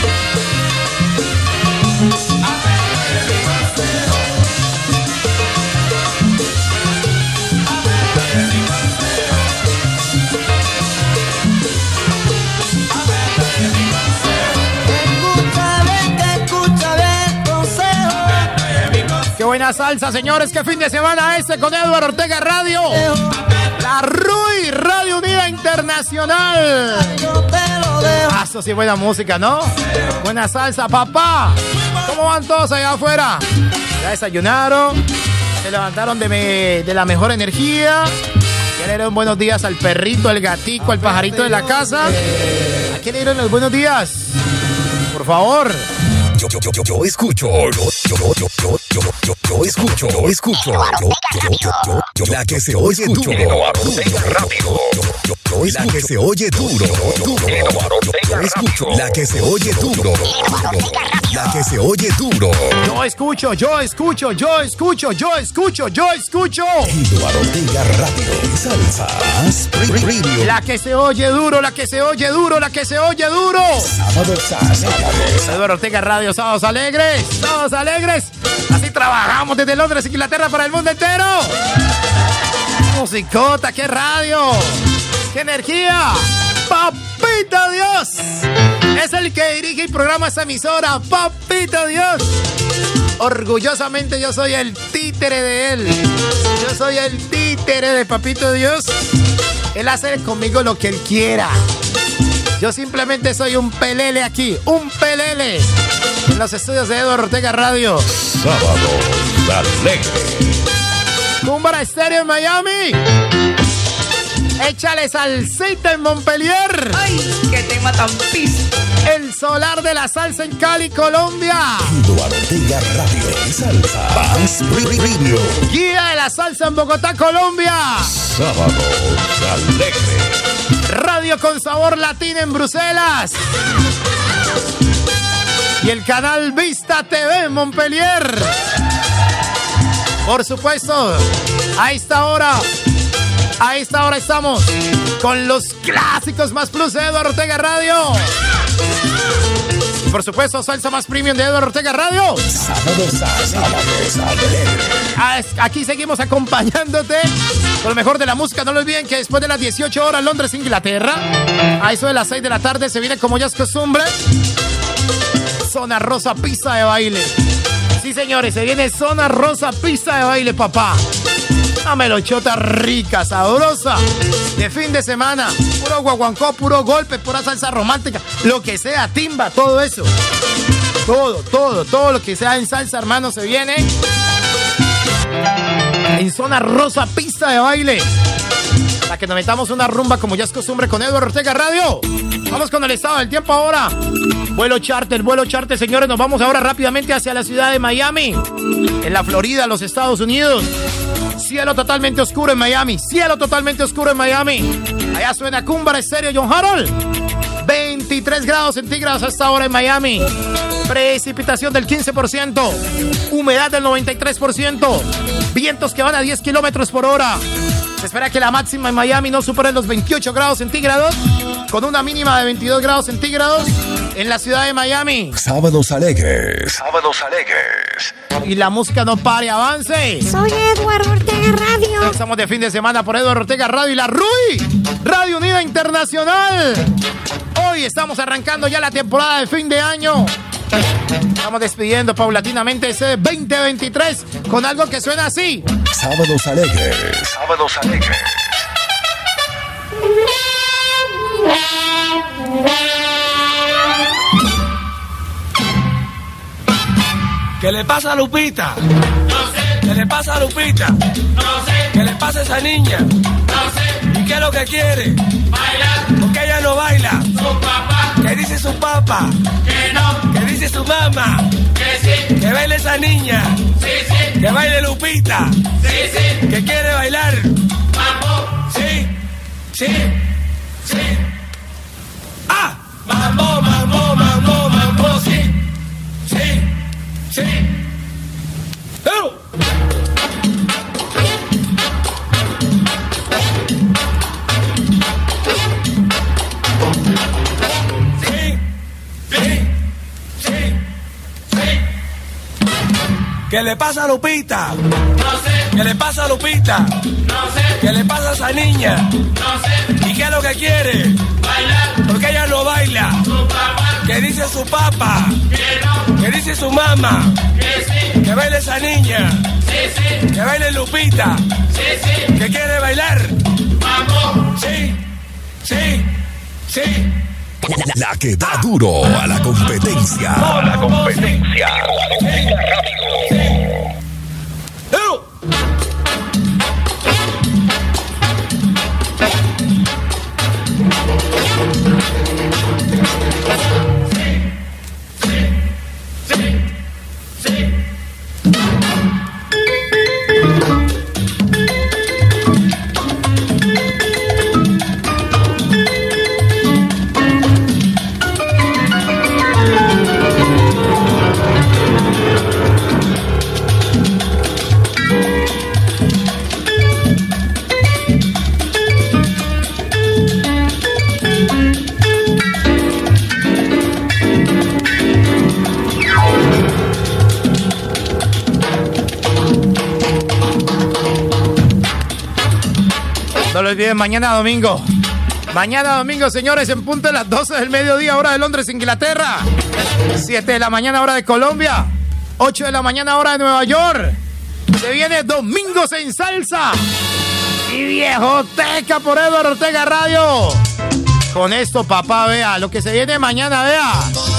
Qué buena salsa, señores. Qué fin de semana este con Eduardo Ortega Radio. La RUI, Radio Unida Internacional. Internacional. Eso sí, buena música, ¿no? Buena salsa, papá. ¿Cómo van todos allá afuera? Ya desayunaron, se levantaron de la mejor energía. Ya le dieron buenos días al perrito, al gatico, al pajarito de la casa. ¿A quién le dieron los buenos días? Por favor. Yo escucho, yo escucho, la que se oye duro, la que se oye duro, yo escucho, la que se oye duro, la que se oye duro. Yo escucho. Eduardo Ortega Radio, salsa, radio. La que se oye duro, la que se oye duro. Sábado. Eduardo Ortega Radio, sábados alegres. Así trabajamos desde Londres, Inglaterra, para el mundo entero. Musicota, qué radio, qué energía. Papito Dios es el que dirige y programa esa emisora. Papito Dios. Orgullosamente yo soy el títere de él. Yo soy el títere de Papito Dios. Él hace conmigo lo que él quiera. Yo simplemente soy un pelele aquí, un pelele en los estudios de Eduardo Ortega Radio. Sábado alegre. Cúmbara Estéreo en Miami. Échale salsita en Montpellier. ¡Ay, qué tema tan pisto! El solar de la salsa en Cali, Colombia. Eduardo Ortega Radio, salsa, radio. Guía de la salsa en Bogotá, Colombia. Sábado alegre. Radio con sabor latino en Bruselas. Y el canal Vista TV en Montpellier. Por supuesto, a esta hora estamos con los clásicos más plus de Eduardo Ortega Radio. Y por supuesto, salsa más premium de Eduardo Ortega Radio. Aquí seguimos acompañándote con lo mejor de la música. No lo olviden que después de las 18 horas, Londres, Inglaterra, a eso de las 6 de la tarde, se viene, como ya es costumbre, Zona Rosa, pista de baile. Sí, señores, se viene Zona Rosa, pista de baile, papá. Una melochota rica, sabrosa, de fin de semana. Puro guaguancó, puro golpe, pura salsa romántica, lo que sea, timba, todo eso. Todo lo que sea en salsa, hermano, se viene en Zona Rosa, pista de baile. Para que nos metamos una rumba, como ya es costumbre, con Eduardo Ortega Radio. Vamos con el estado del tiempo ahora. Vuelo charter, señores. Nos vamos ahora rápidamente hacia la ciudad de Miami, en la Florida, los Estados Unidos. Cielo totalmente oscuro en Miami. Allá suena Cúmbara Estéreo, John Harold. 23 grados centígrados a esta hora en Miami. Precipitación del 15%. Humedad del 93%. Vientos que van a 10 kilómetros por hora. Se espera que la máxima en Miami no supere los 28 grados centígrados, con una mínima de 22 grados centígrados en la ciudad de Miami. Sábados alegres. Y la música no pare, avance. Soy Eduardo Ortega Radio. Estamos de fin de semana por Eduardo Ortega Radio y la RUI, Radio Unida Internacional. Hoy estamos arrancando ya la temporada de fin de año. Estamos despidiendo paulatinamente ese 2023 con algo que suena así. Sábados alegres. ¿Qué le pasa a Lupita? No sé. ¿Qué le pasa a Lupita? No sé. ¿Qué le pasa a esa niña? No sé. ¿Y qué es lo que quiere? Bailar. ¿Por qué ella no baila? Su papá. ¿Qué dice su papá? Que no. ¿Qué dice su mamá? Que sí. Que baile esa niña. Sí. Que baile Lupita. Sí. Que quiere bailar. Mambo. Sí. ¡Ah! Mambo, sí. ¡Oh! ¿Qué le pasa a Lupita? No sé. ¿Qué le pasa a Lupita? No sé. ¿Qué le pasa a esa niña? No sé. ¿Y qué es lo que quiere? Bailar. ¿Por qué ella no baila? Su papá. ¿Qué dice su papá? Que no. ¿Qué dice su mamá? Que sí. Que baile esa niña. Sí. Que baile Lupita. Sí. Que quiere bailar. Mambo. Sí. Sí, sí. La que da duro a la competencia. A la competencia. No lo olviden, mañana domingo. Mañana domingo, señores, en punto de las 12 del mediodía, hora de Londres, Inglaterra. 7 de la mañana, hora de Colombia. 8 de la mañana, hora de Nueva York. Se viene Domingos en Salsa y Viejoteca por Eduardo Ortega Radio. Con esto, papá, vea lo que se viene mañana, vea.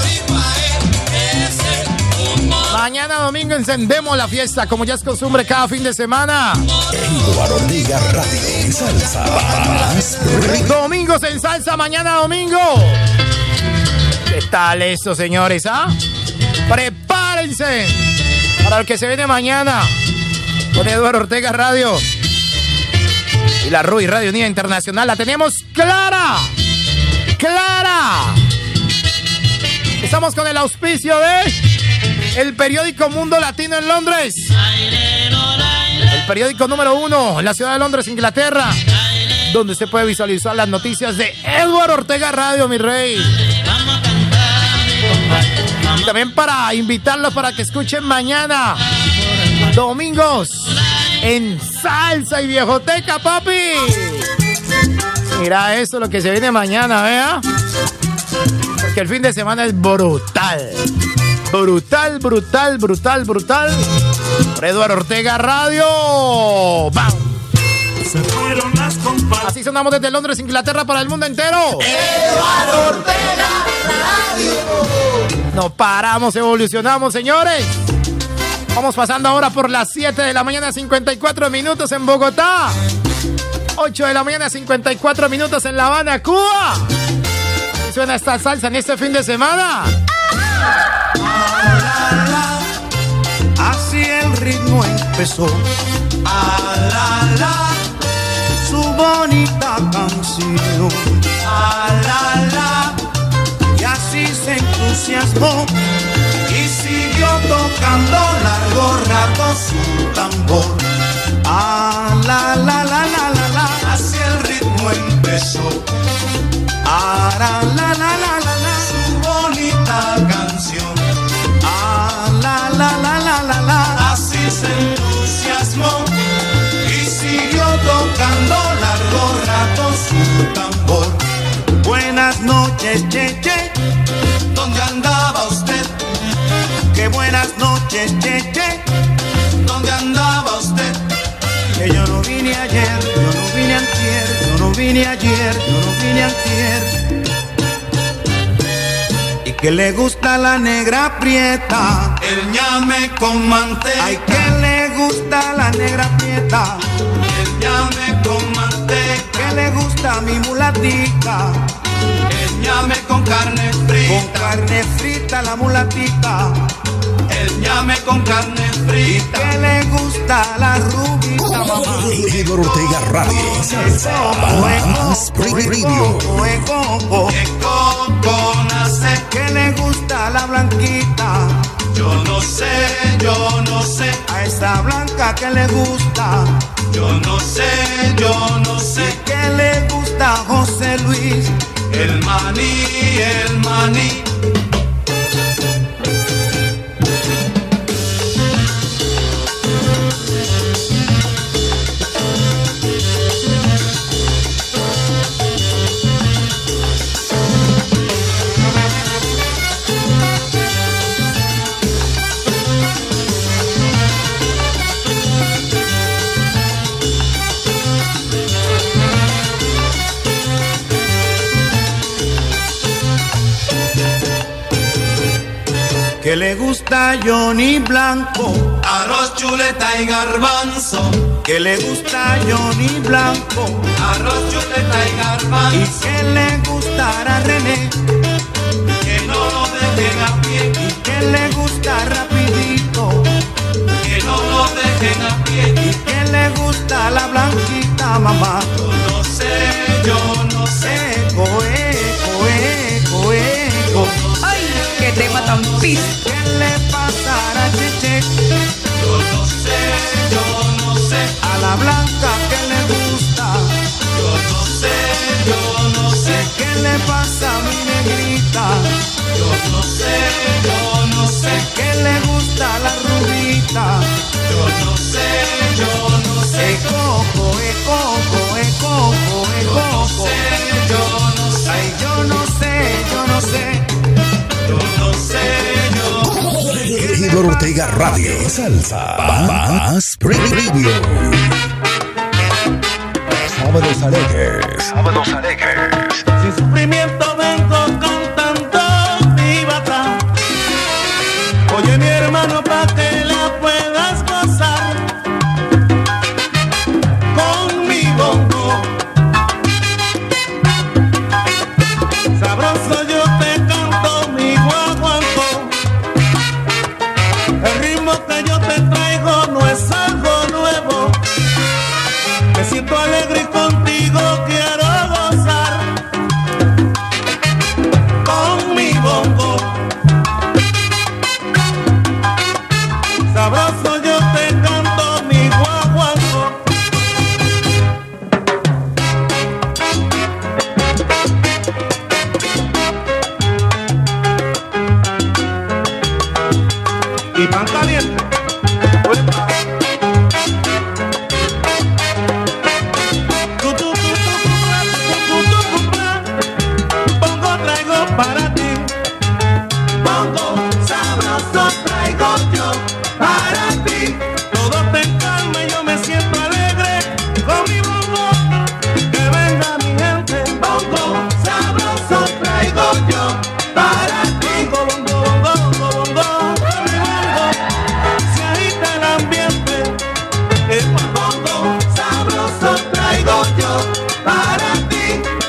Mañana domingo encendemos la fiesta, como ya es costumbre cada fin de semana. Eduardo Ortega Radio y Salsa. Domingos en Salsa, mañana domingo. ¿Qué tal esto, señores? Prepárense para lo que se viene mañana con Eduardo Ortega Radio y la RUI Radio Unida Internacional. La tenemos clara. Estamos con el auspicio de el periódico Mundo Latino en Londres, el periódico número 1 en la ciudad de Londres, Inglaterra, donde se puede visualizar las noticias de Eduardo Ortega Radio, mi rey. Y también para invitarlos para que escuchen mañana, Domingos en Salsa y Viejoteca, papi. Mira eso, lo que se viene mañana, vea. Porque el fin de semana es brutal. Brutal. Por Eduardo Ortega Radio. ¡Bam! Así sonamos desde Londres, Inglaterra, para el mundo entero. Eduardo Ortega Radio. No paramos, evolucionamos, señores. Vamos pasando ahora por las 7 de la mañana, 54 minutos en Bogotá. 8 de la mañana, 54 minutos en La Habana, Cuba. ¿Y suena esta salsa en este fin de semana? Así el ritmo empezó. Su bonita canción. Y así se entusiasmó y siguió tocando largo rato su tambor. Así el ritmo empezó. Su bonita canción. Así se entusiasmó y siguió tocando largo rato su tambor. Buenas noches, che. ¿Dónde andaba usted? Qué buenas noches, che. ¿Dónde andaba usted? Que yo no vine ayer, yo no vine antier, yo no vine ayer, yo no vine antier. Y que le gusta la negra prieta, el ñame con manteca. Ay, que le gusta la negra prieta, el ñame con manteca. Que le gusta mi mulatica, el ñame con carne frita. Con carne frita la mulatica, el ñame con carne frita. Que le gusta la rubita, mamá. Eduardo Ortega Radio. Salsa. Radio. Que le gusta la blanquita. Yo no sé. A esa blanca que le gusta. Yo no sé. Que le gusta a José Luis. El maní. que le gusta a Johnny Blanco, arroz, chuleta y garbanzo, que le gusta a Johnny Blanco, arroz, chuleta y garbanzo, y que le gustará a René, que no lo dejen a pie, y que le gusta rapidito, que no lo dejen a pie, y que le gusta la blanquita mamá. Yo no sé, coe. Ay, qué tema tan pis. ¿Qué le pasará a Cheche? Yo no sé. A la blanca que le gusta. Yo no sé. ¿Qué le pasa a mi negrita? Yo no sé. ¿Qué le gusta a la rubita? Yo no sé. Coco. Ay, yo no sé. Edward Ortega Radio, Salsa, Más Preview. Sábados alegres. Sin sufrimiento vengo cantando mi bata. Oye mi hermano, pa' que la puedas gozar con mi bongo. Sabroso yo te canto mi guaguancó. El ritmo que yo te traigo no es algo nuevo. Me siento alegre y contigo quiero gozar con mi bongo. Sabroso yo te canto mi guaguancó. Y pan caliente. Bongo traigo para ti. Bongo sabroso traigo yo para ti. Todo te calma y yo me siento alegre con mi bongo. Que venga mi gente. Bongo sabroso traigo yo para ti. Bongo. Se agita el ambiente. El bongo sabroso traigo yo para ti.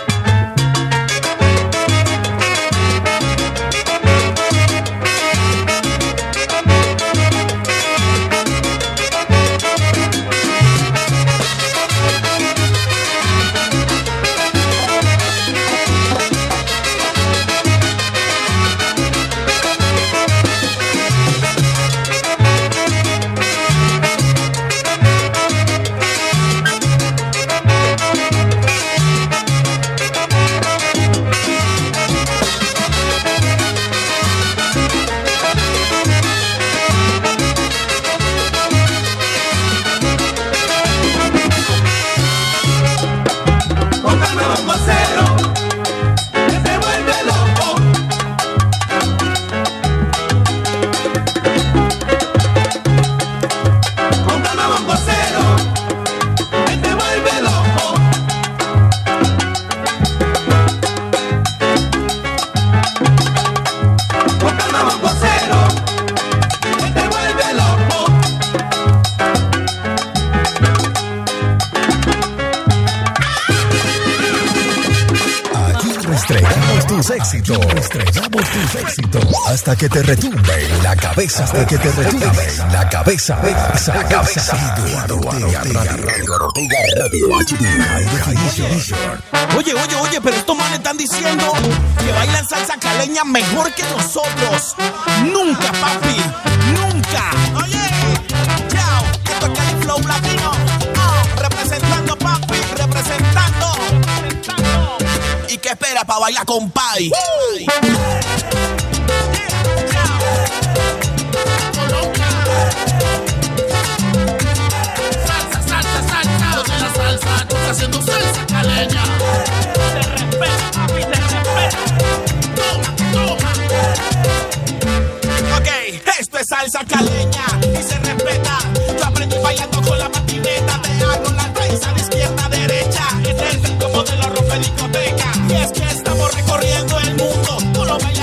Estrellamos tus éxitos hasta que te retumbe en la cabeza. Eduardo Ortega Radio HD. Oye, pero estos manes están diciendo que bailan salsa caleña mejor que nosotros. Nunca, papi, nunca. Oye, chao, esto es Cali Flow Latino. Representando, papi, representando. ¿Y qué espera para bailar con Pai? Salsa, donde la salsa no está haciendo salsa caleña. Te respeta, papi, te respeta. Toma. Ok, esto es salsa caleña y se respeta. Yo aprendí bailando con la patineta. Te hago la raíz a la izquierda, derecha. Es el ritmo de la ropa discoteca. Y es que estamos recorriendo el mundo. Tú lo bailas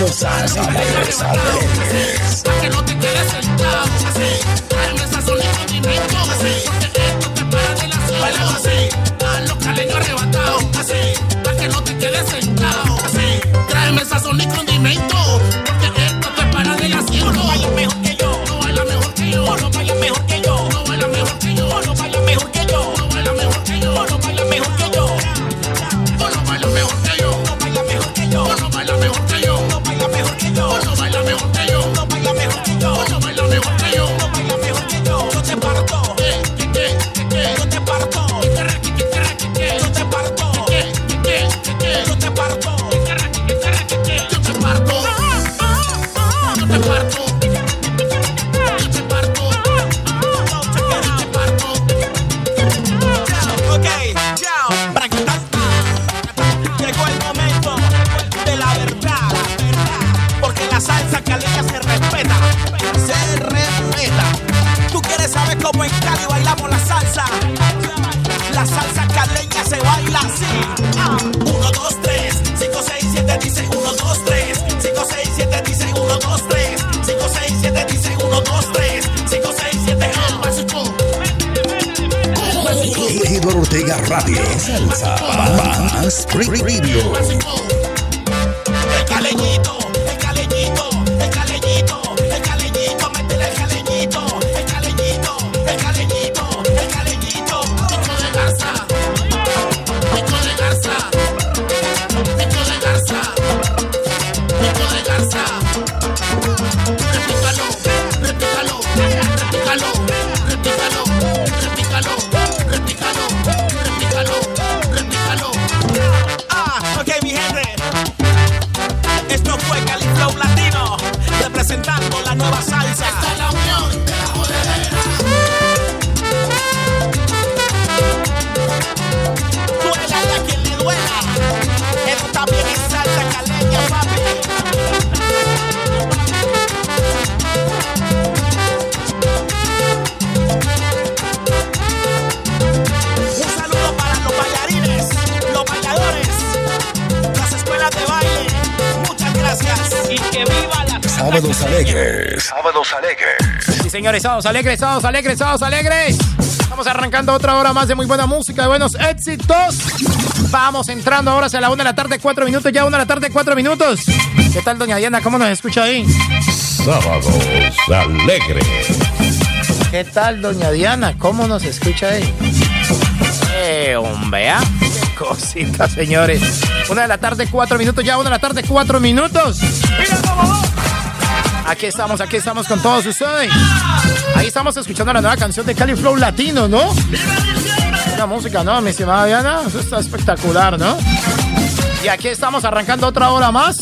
Sábados alegres. Pa' que no te quedes sentado, así. Tráeme sazón y condimento, así. Porque esto te para de la cielo, así. A los caleños arrebatados, así. Pa' que no te quedes sentado, así. Tráeme sazón y condimento, porque esto te para de la cielo. No bailas mejor que yo, no bailas mejor que yo, no bailas mejor que yo, no bailas mejor que yo, no bailas mejor que yo, no bailas mejor que yo, no bailas mejor que yo, no bailas mejor que yo, no bailas mejor que yo, no bailas mejor que yo, no bailas mejor que yo, no bailas mejor que yo, no bailas mejor que yo, no bailas mejor que yo, no bailas mejor que yo. Yo te parto, yo te parto, yo te parto, yo te parto, yo te parto, yo te parto. Ok, chao, practicar. Llegó el momento de la verdad, porque la salsa caleña se respeta, se respeta. ¿Tú quieres saber cómo en Cali bailamos la salsa? La salsa caleña se baila así. 1, 2, 3, 5, 6, 7, dice 1, 2, 3, 5, 6, 7, dice 1, 2, 3, 5, 6, 7, dice 1, 2, 3, 5, 6, 7, Eduardo Ortega Radio. Salsa más Radio. El caleñito, el caleñito, el caleñito, el caleñito, métele el caleñito, el caleñito, el caleñito, el caleñito. Pico de garza, pico de garza, pico de garza, pico de garza. Repícalo, repícalo, repícalo, repícalo, repícalo, repícalo, repícalo, repícalo. Ok, mi gente. Esto fue Cali Flow Latino, representando la nueva salsa. Esta es la unión de la jodedera. Duélale a quien le duela. Esto también es salsa caleña, papi. Un saludo para los bailarines, los bailadores, las escuelas de baile. Muchas gracias y que viva la Sábados alegres. Sábados alegres. Sí, señores, sábados alegres, sábados alegres, sábados alegres. Estamos arrancando otra hora más de muy buena música, de buenos éxitos. Vamos entrando ahora hacia la 1 de la tarde, 4 minutos. Ya 1 de la tarde, 4 minutos. ¿Qué tal, doña Diana? ¿Cómo nos escucha ahí? Sábados alegres. ¿Qué tal, doña Diana? ¿Cómo nos escucha ahí? Hombre, ¿ah? Qué cosita, señores. 1 de la tarde, 4 minutos. Ya 1 de la tarde, 4 minutos. ¡Mira cómo va! Aquí estamos con todos ustedes. Ahí estamos escuchando la nueva canción de Cali Flow Latino, ¿no? Una música, ¿no, mi estimada Diana? Eso está espectacular, ¿no? Y aquí estamos arrancando otra hora más.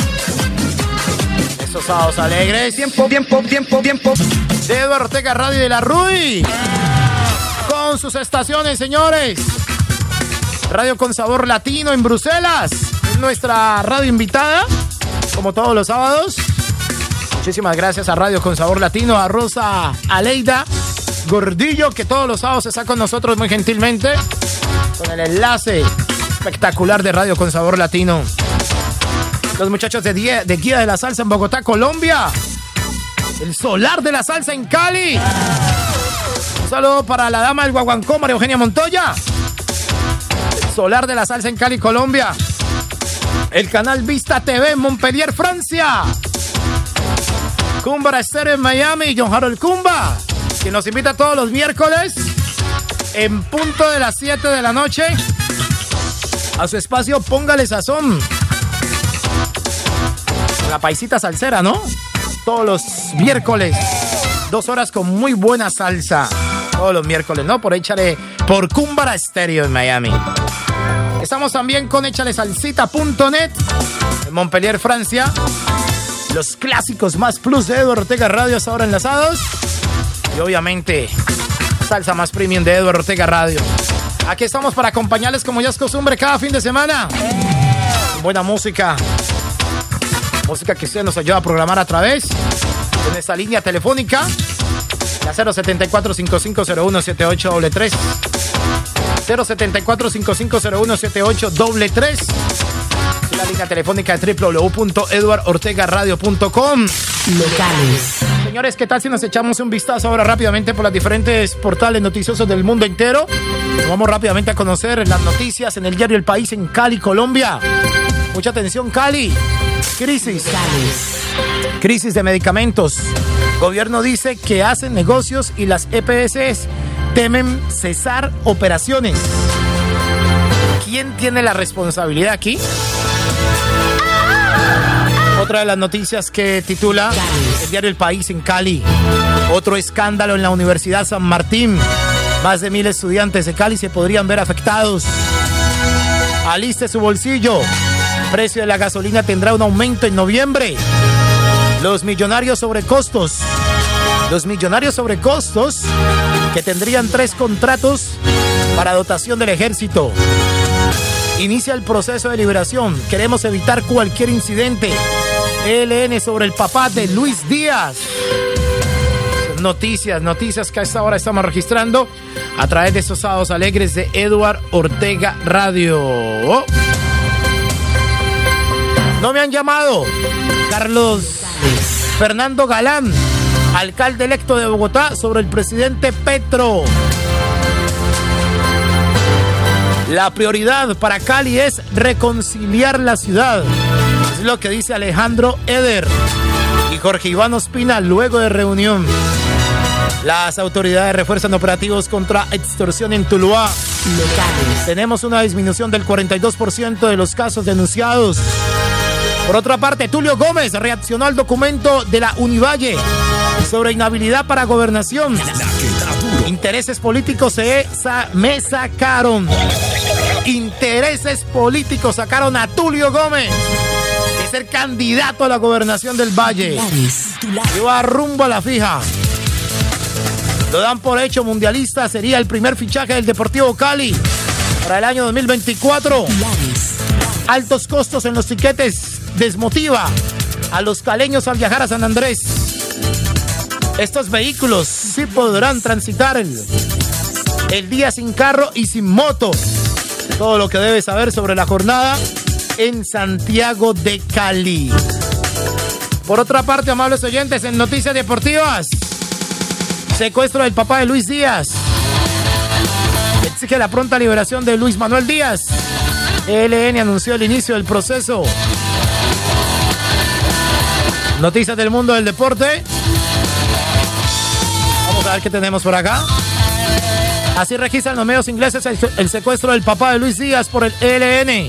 Estos sábados alegres. Tiempo. De Eduardo Ortega Radio de la RUI. Con sus estaciones, señores. Radio con sabor latino en Bruselas. Es nuestra radio invitada, como todos los sábados. Muchísimas gracias a Radio con Sabor Latino, a Rosa Aleida Gordillo, que todos los sábados está con nosotros muy gentilmente, con el enlace espectacular de Radio con Sabor Latino. Los muchachos de Guía de la Salsa en Bogotá, Colombia. El Solar de la Salsa en Cali. Un saludo para la dama del Guaguancó, María Eugenia Montoya. El Solar de la Salsa en Cali, Colombia. El canal Vista TV en Montpellier, Francia. Cumba Estéreo en Miami, John Harold Cumba, que nos invita todos los miércoles en punto de las 7 de la noche a su espacio Póngale Sazón. La paisita salsera, ¿no? Todos los miércoles, 2 horas con muy buena salsa. Todos los miércoles, ¿no? Por échale por Cumba Estéreo en Miami. Estamos también con échalesalsita.net en Montpellier, Francia. Los clásicos más plus de Eduardo Ortega Radio hasta ahora enlazados. Y obviamente, salsa más premium de Eduardo Ortega Radio. Aquí estamos para acompañarles como ya es costumbre cada fin de semana. Buena música. Música que usted nos ayuda a programar a través de nuestra línea telefónica. La 074-5501-7833. 074-5501-7833. La línea telefónica de www.eduardortegaradio.com. Locales. Señores, ¿qué tal si nos echamos un vistazo ahora rápidamente por los diferentes portales noticiosos del mundo entero? Vamos rápidamente a conocer las noticias en el diario El País en Cali, Colombia. Mucha atención, Cali. Crisis. Crisis de medicamentos. Gobierno dice que hacen negocios y las EPS temen cesar operaciones. ¿Quién tiene la responsabilidad aquí? Otra de las noticias que titula el diario El País en Cali. Otro escándalo en la Universidad San Martín. Más de 1,000 estudiantes de Cali se podrían ver afectados. Aliste su bolsillo. Precio de la gasolina tendrá un aumento en noviembre. Los millonarios sobre costos. Los millonarios sobre costos que tendrían 3 contratos para dotación del ejército. Inicia el proceso de liberación. Queremos evitar cualquier incidente. ELN sobre el papá de Luis Díaz. Noticias que a esta hora estamos registrando a través de estos sábados alegres de Eduard Ortega Radio. No me han llamado. Carlos Fernando Galán, alcalde electo de Bogotá, sobre el presidente Petro. La prioridad para Cali es reconciliar la ciudad. Es lo que dice Alejandro Eder y Jorge Iván Ospina luego de reunión. Las autoridades refuerzan operativos contra extorsión en Tuluá. Locales. Tenemos una disminución del 42% de los casos denunciados. Por otra parte, Tulio Gómez reaccionó al documento de la Univalle sobre inhabilidad para gobernación. Intereses políticos me sacaron. Intereses políticos sacaron a Tulio Gómez de ser candidato a la gobernación del Valle. Iba rumbo a la fija. Lo dan por hecho mundialista. Sería el primer fichaje del Deportivo Cali para el año 2024. Altos costos en los tiquetes desmotiva a los caleños al viajar a San Andrés. Estos vehículos sí podrán transitar el día sin carro y sin moto. Todo lo que debes saber sobre la jornada en Santiago de Cali. Por otra parte, amables oyentes, en noticias deportivas, secuestro del papá de Luis Díaz. Exige la pronta liberación de Luis Manuel Díaz. ELN anunció el inicio del proceso. Noticias del mundo del deporte. Vamos a ver qué tenemos por acá. Así registran los medios ingleses el secuestro del papá de Luis Díaz por el ELN.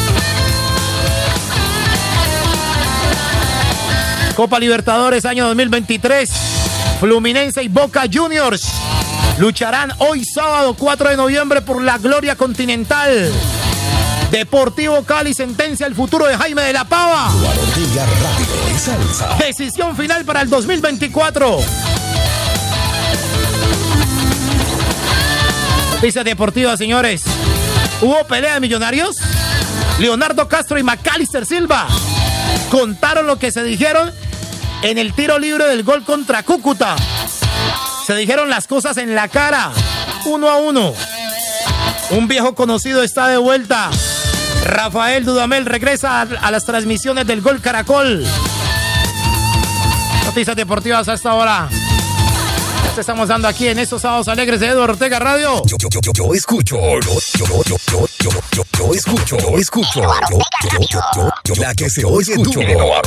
Copa Libertadores año 2023. Fluminense y Boca Juniors lucharán hoy sábado 4 de noviembre por la gloria continental. Deportivo Cali sentencia el futuro de Jaime de la Pava. Decisión final para el 2024. Noticias deportivas, señores. ¿Hubo pelea de millonarios? Leonardo Castro y Macalister Silva contaron lo que se dijeron en el tiro libre del gol contra Cúcuta. Se dijeron las cosas en la cara, 1-1. Un viejo conocido está de vuelta. Rafael Dudamel regresa a las transmisiones del Gol Caracol. Noticias deportivas a esta hora. Te estamos dando aquí en estos sábados alegres de Eduard Ortega Radio. Yo escucho. La que se oye duro.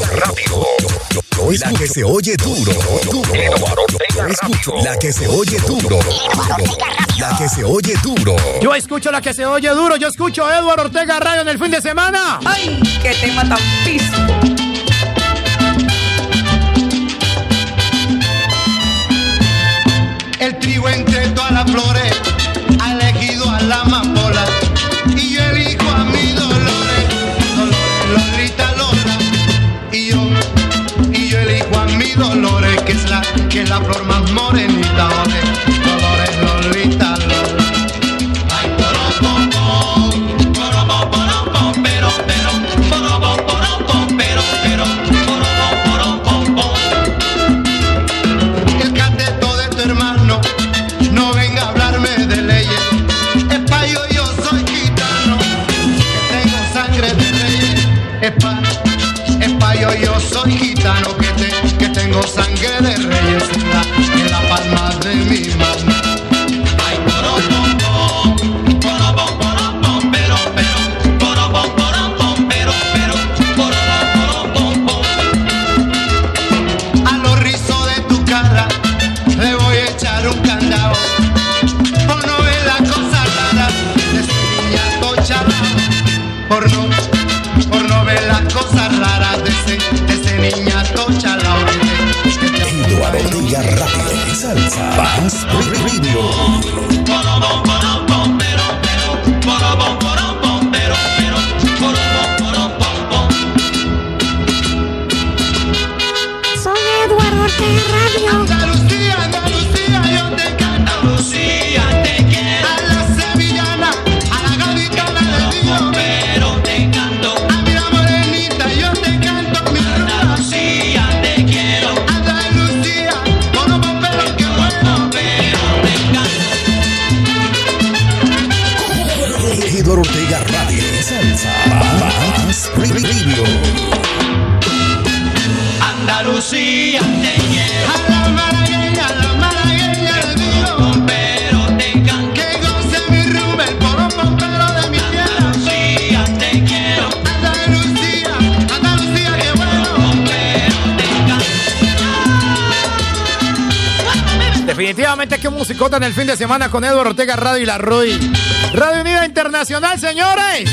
La que se oye duro. Yo escucho. La que se oye duro. La que se oye duro. Yo escucho la que se oye duro. Yo escucho a Eduard Ortega Radio en el fin de semana. ¡Ay! ¡Qué tema tan pisco! El trigo entre todas las flores ha elegido a la amapola y yo elijo a mi Dolores, Lolita Lola, y yo elijo a mi Dolores, que es la flor más morenita, Dolores, Lolita Lola. Ay, el cateto de tu hermano no venga a hablarme de leyes. Es payo, yo soy gitano, que tengo sangre de reyes. caballo, yo soy gitano que tengo sangre de reyes en la palma de mi mano. Ay, porobom, porobom, porobom, pero, porobom, porobom, pero, porobom, porobom. A los rizos de tu cara le voy a echar un candado. Por no ver la cosa rara de ese niñato chalao. Por no ver las cosas raras de ese niñato chalao. Eduardo Ortega Radio, Salsa Más Radio. Porobom, porobom, pero, porobom, porobom, pero, porobom, porobom. Soy Eduardo Ortega Radio. Andalucía, Andalucía, yo te canto. Andalucía, te quiero. A la sevillana, a la gaditana de Dios. Pero te canto. A mi morenita, yo te canto. Mi Andalucía, te quiero. Andalucía, porobom, pero qué bueno. Pero te canto. Eduardo Ortega Radio, Salsa Más Radio. Andalucía, te quiero. A la malagueña de Dios. Pero te canto. Que goce mi rumba, el porobom, pero de mi tierra. Andalucía, te quiero. Andalucía, Andalucía, qué bueno. Pero te canto. Definitivamente que un musicota en el fin de semana con Eduardo Ortega Radio y la RUI. Radio Unida Internacional, señores.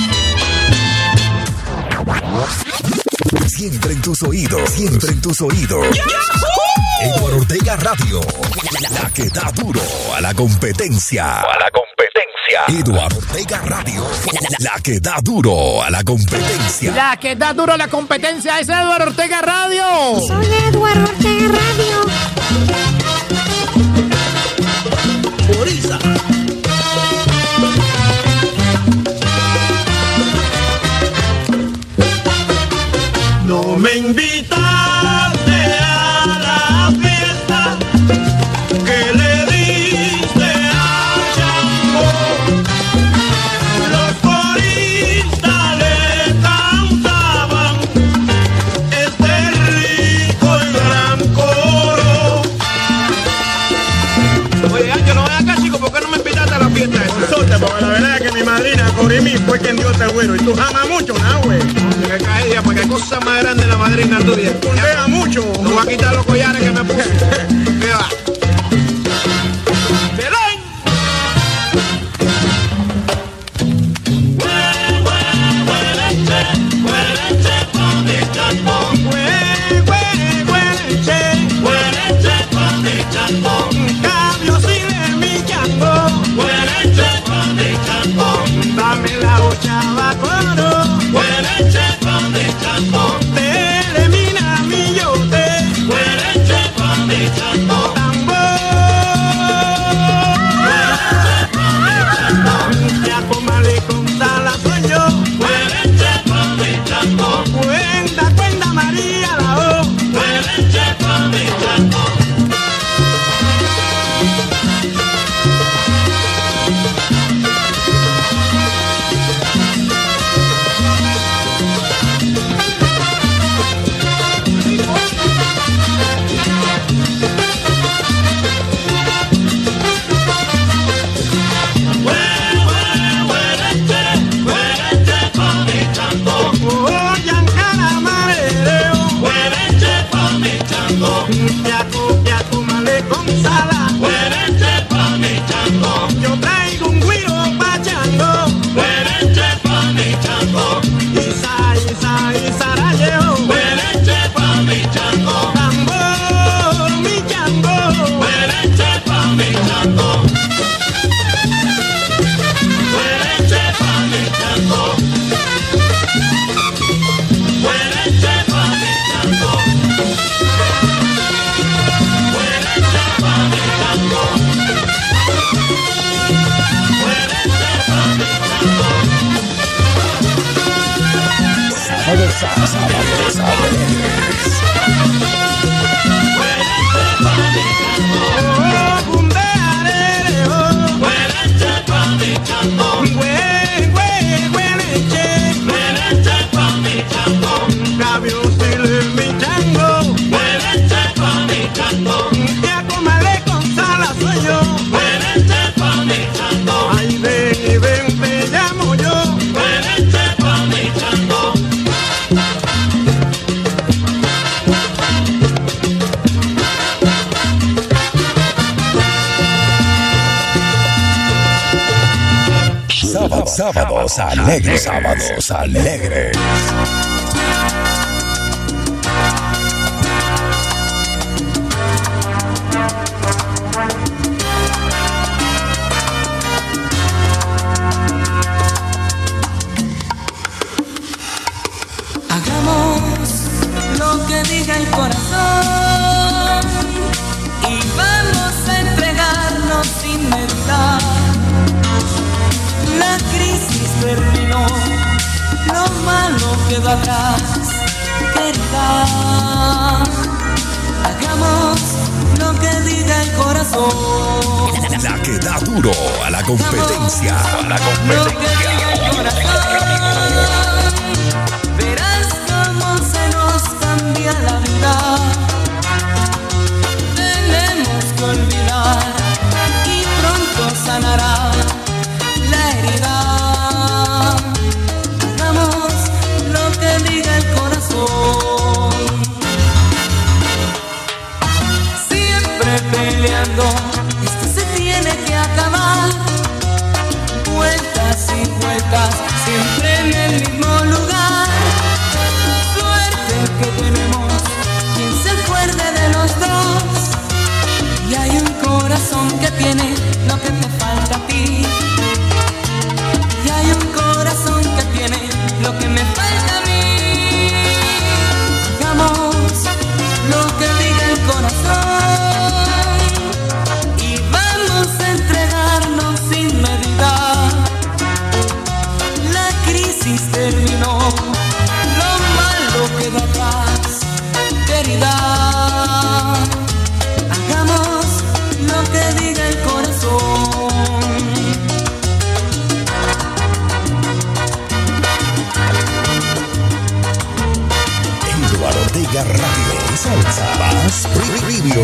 Siempre en tus oídos, siempre en tus oídos. Eduardo Ortega Radio, la que da duro a la competencia. Eduardo Ortega Radio, la que da duro a la competencia. La que da duro a la competencia es Eduardo Ortega Radio. Soy Eduardo Ortega Radio. Puriza. No me invitaste a la fiesta que le diste a Chango. Los coristas le cantaban este rico y gran coro. Oye, Ángel, no veas acá, chico, ¿por qué no me invitaste a la fiesta esa? Porque la verdad es que mi madrina, Corimí, fue quien dio este güero. Y tú jamas mucho, ¿no, güey? Que caía, porque hay cosas más grandes en la madrina tuya. Pondea mucho. No voy a quitar los collares que me puse. ¿Qué va? ¡Belén! Dame la ochava coro. Te elimina mi yote. Sábados alegres. Sábados alegres. Hagamos lo que diga el corazón y vamos a entregarnos sin meditar. La crisis terminó, lo malo quedó atrás, querida. Hagamos lo que diga el corazón. La que da duro a la competencia. Lo que diga el corazón. Verás cómo se nos cambia la vida. Tenemos que olvidar y pronto sanará la herida. Hagamos lo que diga el corazón. Siempre peleando, esto se tiene que acabar. Vueltas y vueltas, siempre en el mismo lugar. Suerte que tenemos, quien se acuerde de los dos. Y hay un corazón que tiene lo que te falta a ti. Y hay un corazón que tiene lo que me falta a mí. Hagamos lo que diga el corazón y vamos a entregarnos sin medida. La crisis terminó, lo malo quedó atrás, querida. Hagamos lo que diga el corazón. Eduardo Ortega Radio y Salsa Más Preview.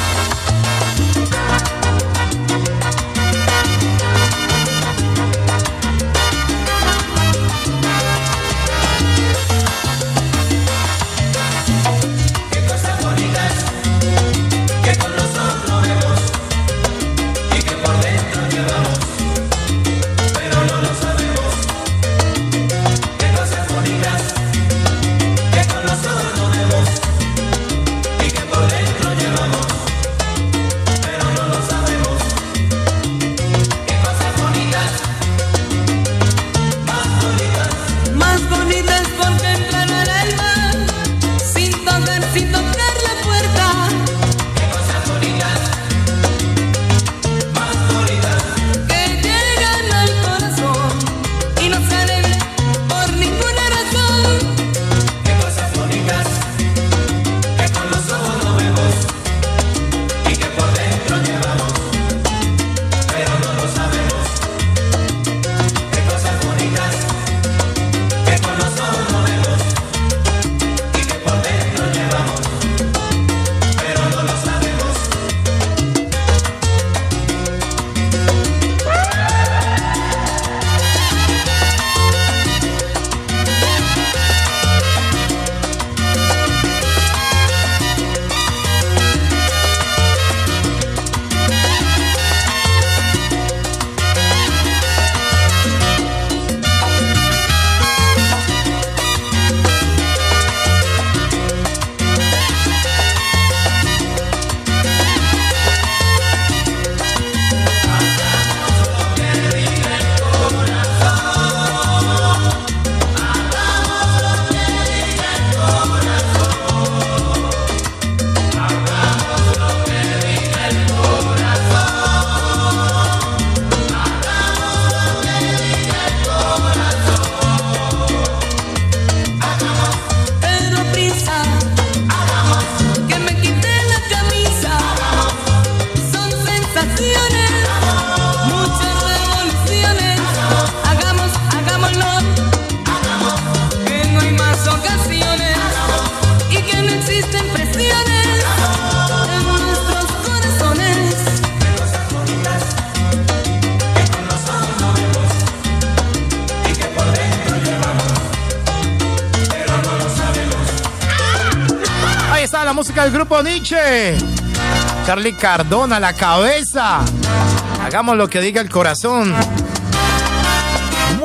La música del grupo Nietzsche. Charlie Cardona, la cabeza. Hagamos lo que diga el corazón.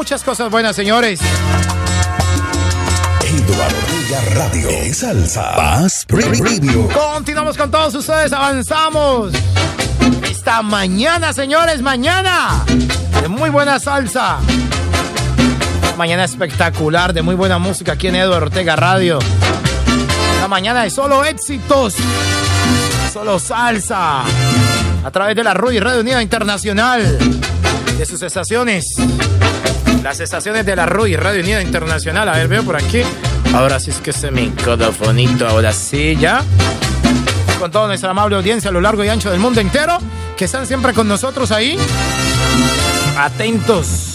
muchas cosas buenas, señores. Eduardo Ortega Radio. Salsa. Paz Preview. Continuamos con todos ustedes, avanzamos. Esta mañana, señores, mañana de muy buena salsa. Mañana espectacular, de muy buena música aquí en Eduardo Ortega Radio. La mañana de solo éxitos, solo salsa. A través de la RUI, Radio Unida Internacional. De sus estaciones. Las estaciones de la RUI, Radio Unida Internacional. A ver, veo por aquí. Ahora sí es que se me microfonito, ahora sí, ya. Con toda nuestra amable audiencia a lo largo y ancho del mundo entero, que están siempre con nosotros ahí. Atentos.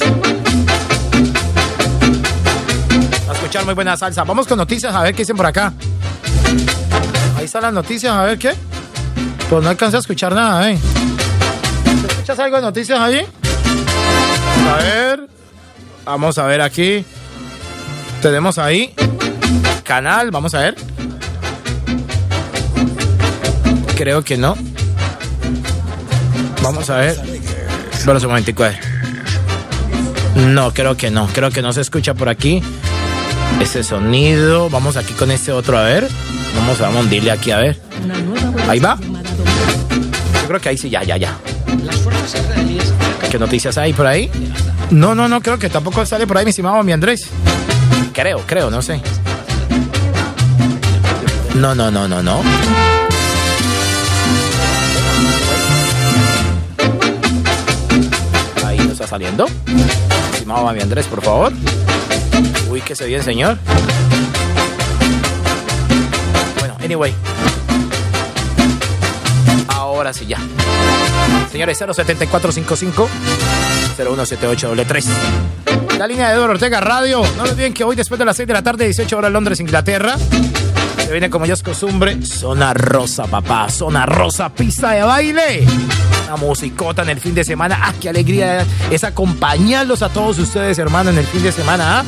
A escuchar muy buena salsa. Vamos con noticias, a ver qué dicen por acá. Ahí están las noticias, a ver qué. Pues no alcancé a escuchar nada, ¿Escuchas algo de noticias ahí? A ver. Vamos a ver aquí. Tenemos ahí canal, vamos a ver. Creo que no. Vamos a ver. Espera un momentico. No, creo que no. Creo que no se escucha por aquí ese sonido. Vamos aquí con este otro, a ver. Vamos a hundirle aquí, a ver. Ahí va. Yo creo que ahí sí, ya. ¿Qué noticias hay por ahí? No, creo que tampoco sale por ahí mi estimado mi Andrés. Creo, no sé. No. Ahí no está saliendo. Estimado mi Andrés, por favor. Uy, que se bien, señor. Bueno, anyway. Ahora sí ya. Señores, 07455-0178-3. La línea de Eduardo Ortega Radio. No olviden que hoy después de las 6 de la tarde, 18 horas Londres, Inglaterra, se viene como ya es costumbre, Zona Rosa, papá. Zona Rosa, pista de baile. Una musicota en el fin de semana. ¡Ah, qué alegría es acompañarlos a todos ustedes, hermano, en el fin de semana!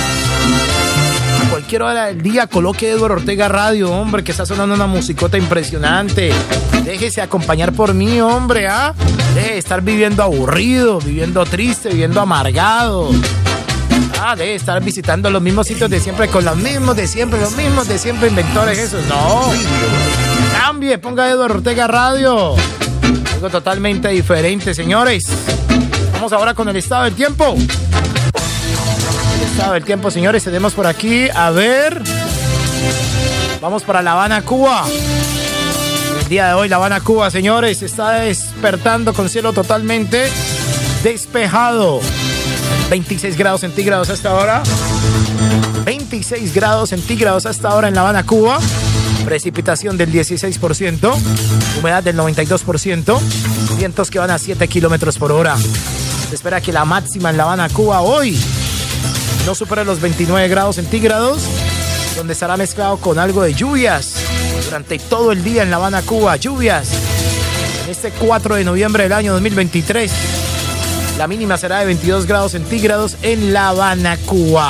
A cualquier hora del día coloque Eduardo Ortega Radio, hombre, que está sonando una musicota impresionante. Déjese acompañar por mí, hombre, Deje de estar viviendo aburrido, viviendo triste, viviendo amargado. Deje de estar visitando los mismos sitios de siempre con los mismos de siempre, inventores esos. No. Cambie, ponga Eduardo Ortega Radio. Algo totalmente diferente, señores. Vamos ahora con el estado del tiempo. El estado del tiempo, señores, tenemos por aquí, a ver. Vamos para La Habana, Cuba. El día de hoy, La Habana, Cuba, señores, está despertando con cielo totalmente despejado. 26 grados centígrados hasta ahora. 26 grados centígrados hasta ahora en La Habana, Cuba. Precipitación del 16%. Humedad del 92%. Vientos que van a 7 kilómetros por hora. Se espera que la máxima en La Habana, Cuba, hoy no supere los 29 grados centígrados, donde estará mezclado con algo de lluvias durante todo el día en La Habana, Cuba. Lluvias en este 4 de noviembre del año 2023. La mínima será de 22 grados centígrados en La Habana, Cuba.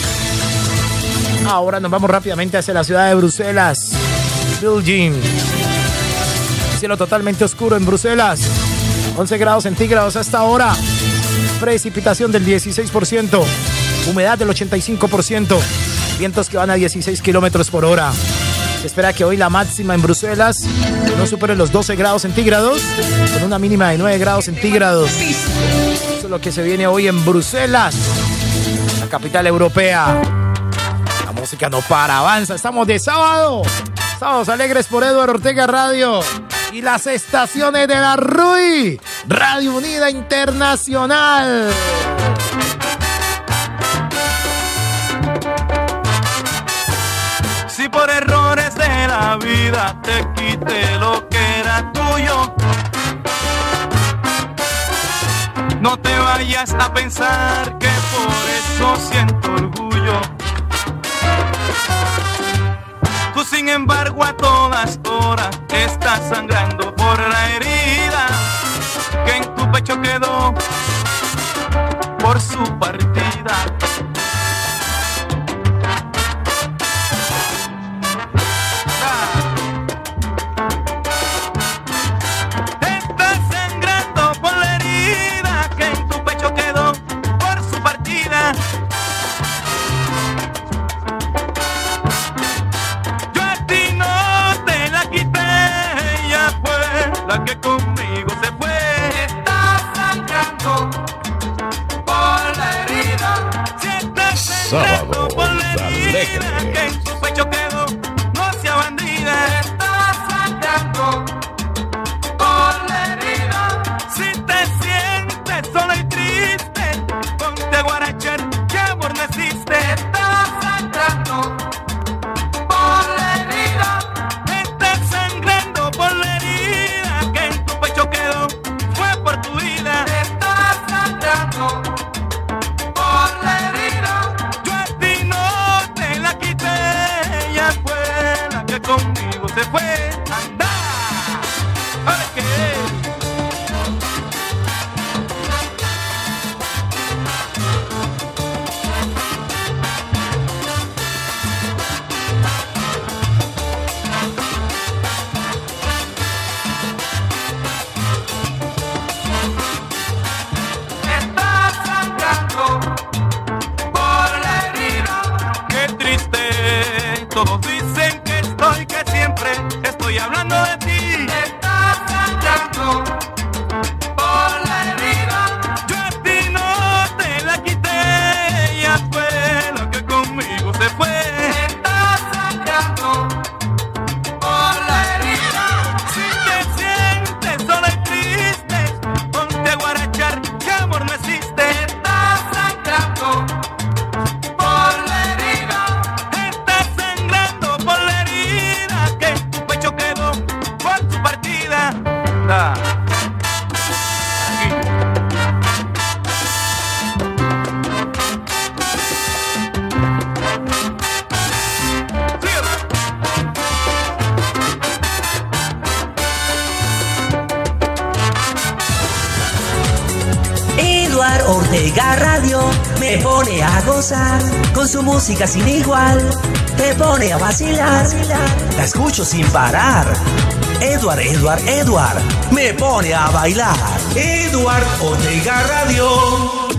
Ahora nos vamos rápidamente hacia la ciudad de Bruselas. Belgium. Cielo totalmente oscuro en Bruselas. 11 grados centígrados hasta ahora. Precipitación del 16%. Humedad del 85%. Vientos que van a 16 kilómetros por hora. Se espera que hoy la máxima en Bruselas no supere los 12 grados centígrados, con una mínima de 9 grados centígrados. Eso es lo que se viene hoy en Bruselas, la capital europea. La música no para, avanza. Estamos de sábado. Sábados alegres por Eduardo Ortega Radio y las estaciones de la RUI, Radio Unida Internacional. Si por errores de la vida te quité lo que era tuyo, no te vayas a pensar que por eso siento orgullo. Tú sin embargo a todas horas estás sangrando por la herida que en tu pecho quedó por su partida. Estás sangrando por la herida que en tu pecho quedó por su partida. se fue. ¡Anda! ¿Ahora qué? Estás sangrando por la herida. Qué triste, todos dicen que siempre estoy hablando de ti. Estás sangrando por la herida. Yo a ti no te la quité, ya fue lo que conmigo se fue. Estás sangrando por la herida. Si te sientes sola y triste, ponte a guarachar, que amor no existe. Estás sangrando por la herida. Estás sangrando por la herida que tu pecho quedó por su partida. Da. Aquí. Síguelo. Eduard Ortega Radio me pone a gozar con su música sin igual. Te pone a vacilar, la escucho sin parar. Eduard me pone a bailar. Eduard Ortega Radio.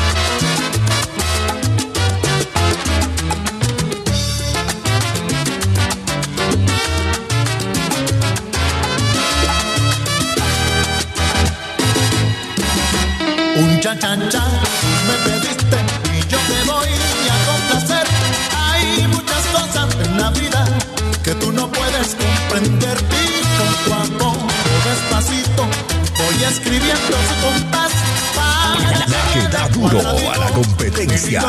Un cha-cha-cha me pediste y yo te voy a complacer. Hay muchas cosas en la vida que tú no puedes comprender. Y poco a poco, despacito, voy escribiendo su compás. La que da duro a la competencia.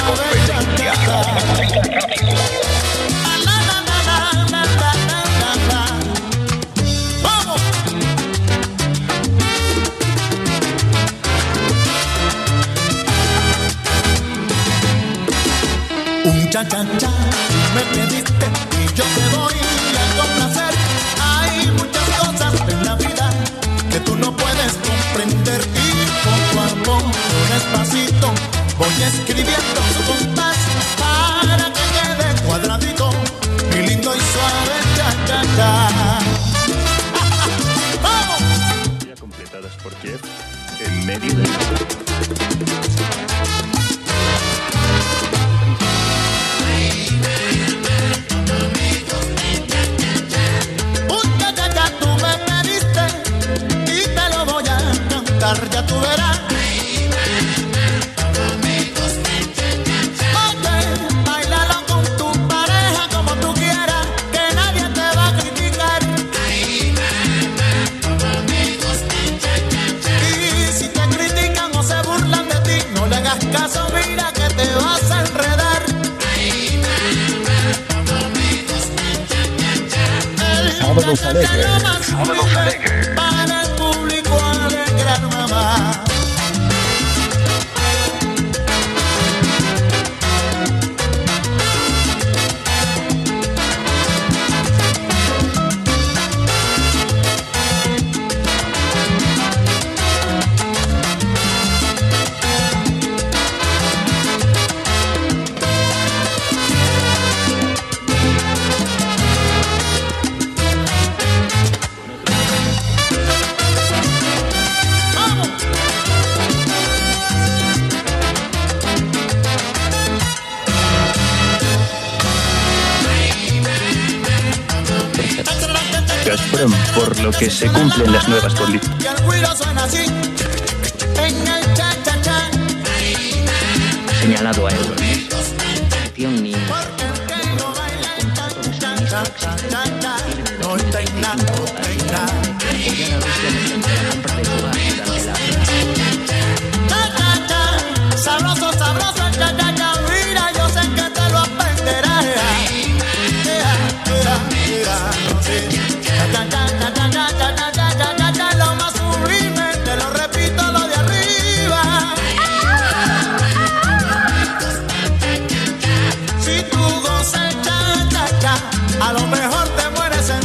¡Vamos! Un cha-cha-cha me pediste y yo te voy a complacer. Hay muchas cosas en la vida que tú no puedes comprender. Y poco a poco, despacito, voy escribiendo su compás para que quede cuadradito y lindo y suave. Cha-cha-cha. ¡Vamos! Ya completadas por Jeff en medio de... Ya tú verás. Oye, bailalo con tu pareja como tú quieras, que nadie te va a criticar. Y si te critican o se burlan de ti, no le hagas caso, mira que te vas a enredar. Sábados alegres. Sábados alegres. Para el público alegrar, mamá. Gazprom, por lo que se cumplen las nuevas políticas. Y el güiro suena así, en el cha-cha-cha. Señalado a Eduard. Ni... No tenga, no tenga. Cha-cha-cha, sabroso, sabroso el cha-cha-cha. Mira, yo sé que te lo aprenderás. Cha-cha-cha, lo más sublime, te lo repito, lo de arriba. Si tú gozas cha-cha-cha, a lo mejor te mueres en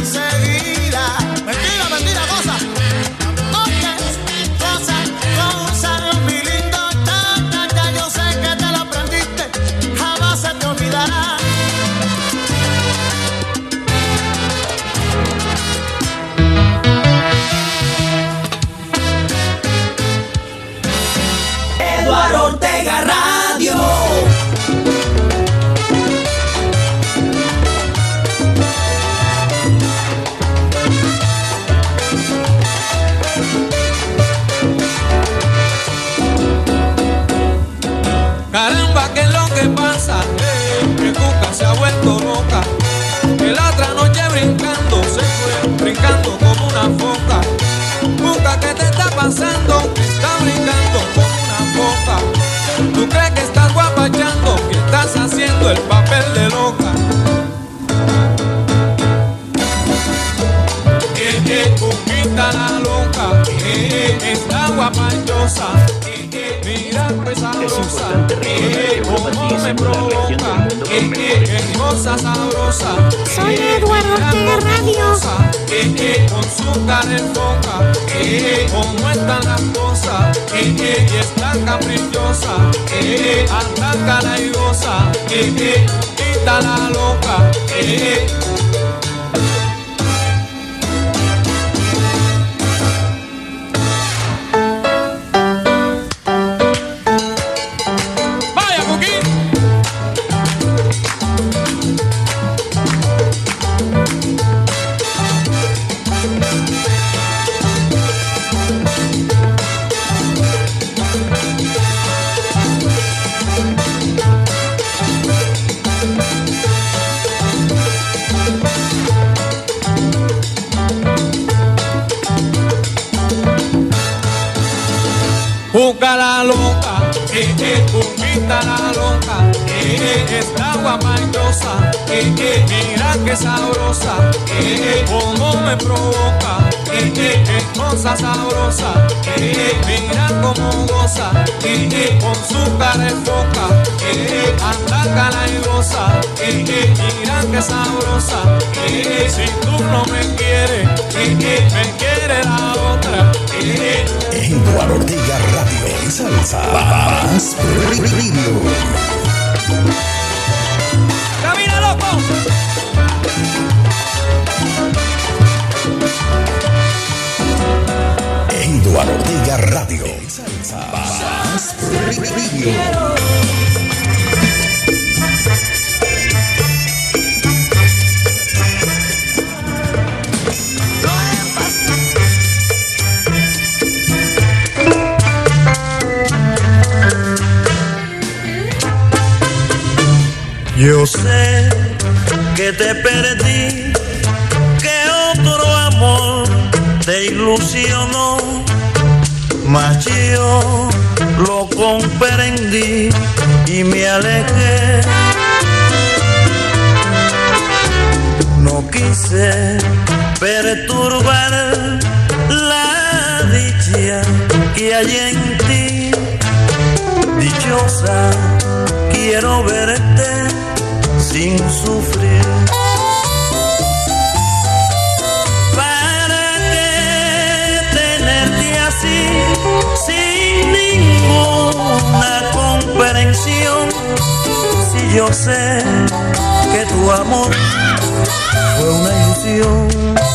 como una foca. Busca qué te está pasando, está brincando como una foca. Tú crees que estás guapachando, que estás haciendo el papel de loca. Cuquita la loca, está guapachosa. Mira pues sabrosa, cómo me provoca, cosa sabrosa. Soy Eduardo Ortega Radio. Con su cara en boca, cómo están las cosas, y está caprichosa, anda cara y goza, quita la loca. Busca la loca, busquita la loca, está guapachosa, mira que sabrosa, como me provoca, cosa sabrosa, mira como goza, con su cara de foca, anda cara y goza, mira que sabrosa, si tú no me quieres, me quiere la otra. Eduardo Ortega Radio, salsa más previo. ¡Camina, loco! Eduardo Ortega Radio, salsa más previo. Yo sé que te perdí, que otro amor te ilusionó, mas yo lo comprendí y me alejé. No quise perturbar la dicha que hay en ti, dichosa quiero verte sin sufrir. ¿Para qué tenerte así, sin ninguna comprensión? Si yo sé que tu amor fue una ilusión.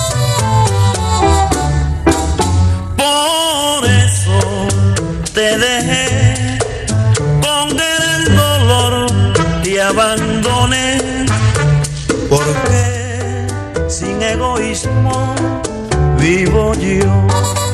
Por eso te dejé, con el dolor te abandoné, porque sin egoísmo vivo yo.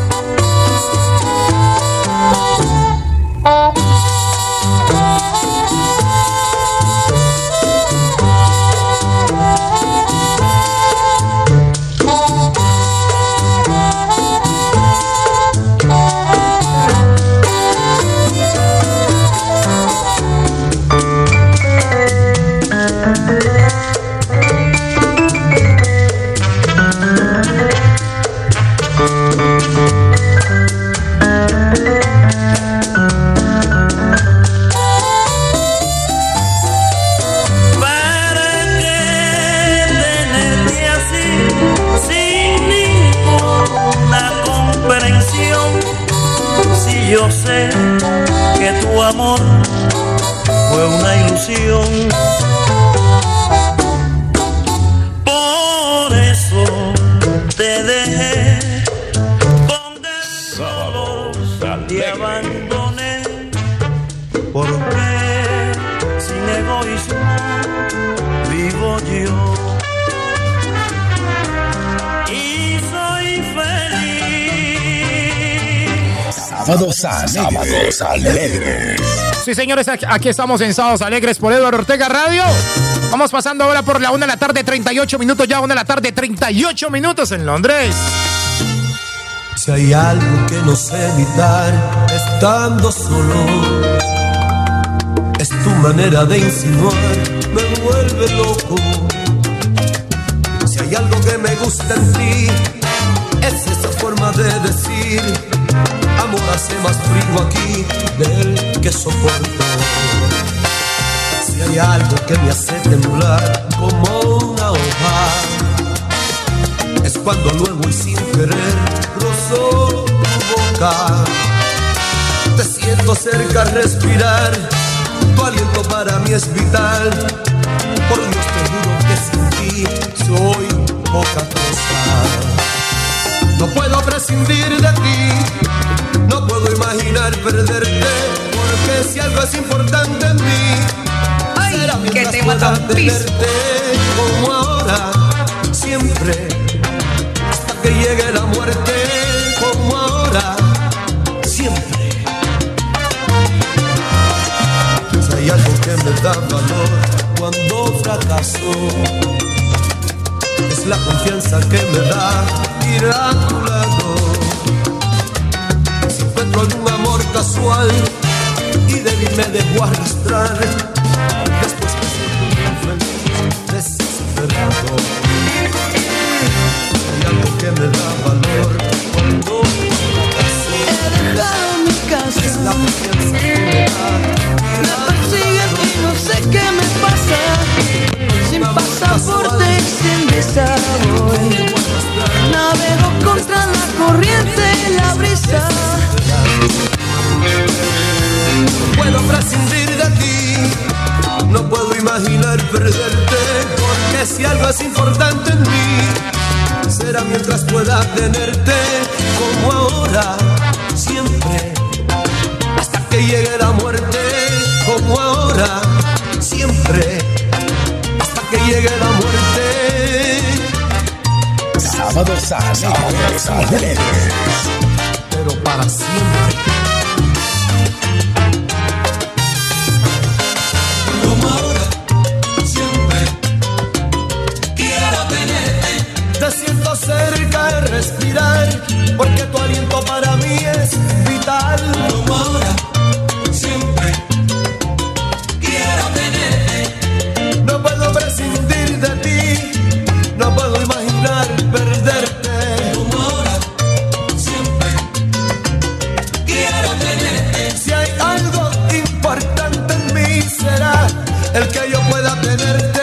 Yo sé que tu amor fue una ilusión. Por eso te dejé, con el dolor te abandoné, porque sin egoísmo vivo yo. Y soy feliz. Sábados Alegres. Sí, señores, aquí estamos en Sábados Alegres por Eduardo Ortega Radio. Vamos pasando ahora por la 1 de la tarde, 38 minutos, ya 1 de la tarde, 38 minutos en Londres. Si hay algo que no sé evitar estando solo, es tu manera de insinuar, me vuelve loco. Si hay algo que me gusta en ti, es esa forma de decir, amor hace más frío aquí del que soporto. Si hay algo que me hace temblar como una hoja, es cuando luego y sin querer rozo tu boca. Te siento cerca al respirar, tu aliento para mí es vital. Por Dios te juro que sin ti soy poca cosa. No puedo prescindir de ti, no puedo imaginar perderte, porque si algo es importante en mí, será mientras pueda tenerte como ahora, siempre, hasta que llegue la muerte, como ahora, siempre. Si hay algo que me da valor cuando fracaso, es la confianza que me da ir a tu lado. Si encuentro algún amor casual y débil me dejo arrastrar, después me siento muy feliz, desesperado. Hay algo que me da valor cuando fracaso. He dejado mi casa, es la confianza que me da. Me persiguen y no sé qué me pasa. Sin pasaporte y sin visa voy, navego contra la corriente y la brisa. No puedo prescindir de ti, no puedo imaginar perderte, porque si algo es importante en mí, será mientras pueda tenerte, como ahora, siempre, hasta que llegue la muerte, como ahora, siempre, hasta que llegue la muerte. Sábados alegres, pero para siempre. Como ahora, siempre, quiero tenerte. Te siento cerca de respirar, porque tu aliento para mí es vital. Como ahora, siempre, quiero tenerte. No puedo prescindir de ti, no puedo imaginar perderte. Como ahora, siempre, quiero tenerte. Si hay algo importante en mí, será el que yo pueda tenerte.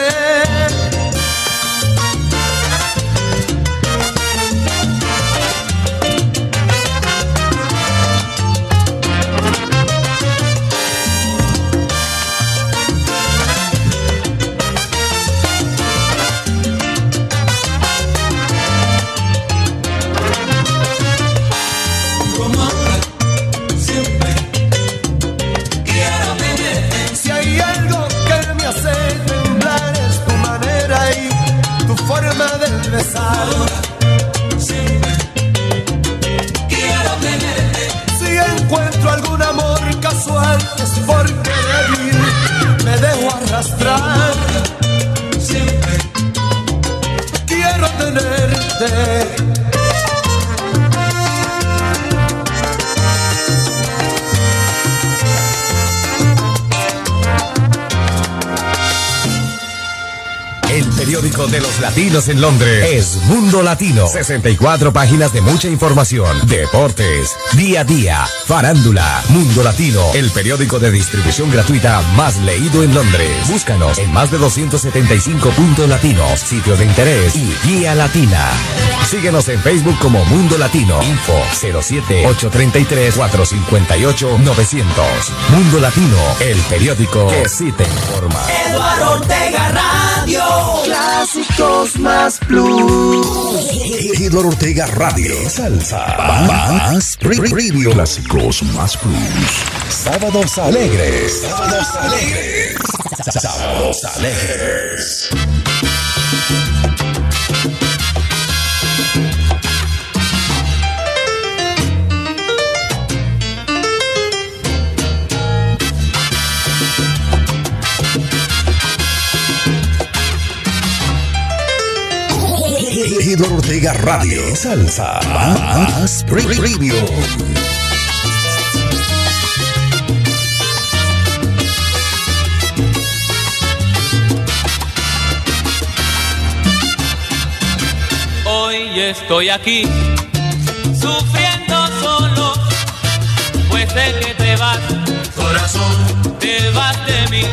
Como ahora, siempre, quiero tenerte. Si hay algo que me hace temblar, es tu manera y tu forma de besar. Ahora, siempre, quiero tenerte. Si encuentro algún amor casual, es porque débil me dejo arrastrar. Siempre, quiero tenerte. El periódico de los latinos en Londres es Mundo Latino. 64 páginas de mucha información, deportes, día a día, farándula. Mundo Latino, el periódico de distribución gratuita más leído en Londres. Búscanos en más de 275 puntos latinos, sitios de interés y guía latina. Síguenos en Facebook como Mundo Latino. Info 07-833-458-900. Mundo Latino, el periódico que sí te informa. Eduardo Ortega Radio. Clásicos más plus. Eduardo Ortega Radio. Salsa. Más Radio. Clásicos más plus. Sábados alegres. Sábados alegres. Sábados alegres. Eduardo Ortega Radio. Salsa más Premium. Hoy estoy aquí, sufriendo solo, pues sé que te vas, corazón, te vas de mí.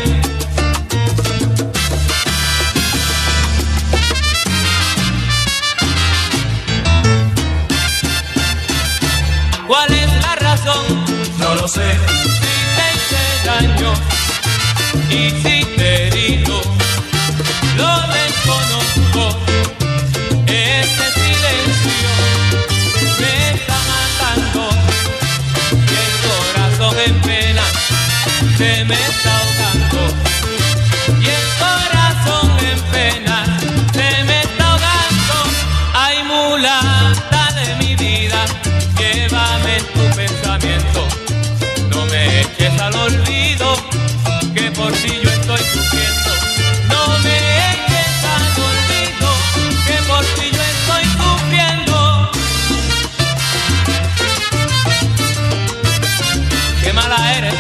¿Cuál es la razón? No lo sé. Si te hice daño y si te he herido, lo desconozco. Este silencio me está matando y el corazón en pena se me está ahogando. Y el corazón en pena se me está ahogando. Ay, mulata de mi vida, llévame en tu pensamiento. No me eches al olvido, que por ti yo estoy sufriendo. No me eches al olvido, que por ti yo estoy sufriendo. Qué mala eres.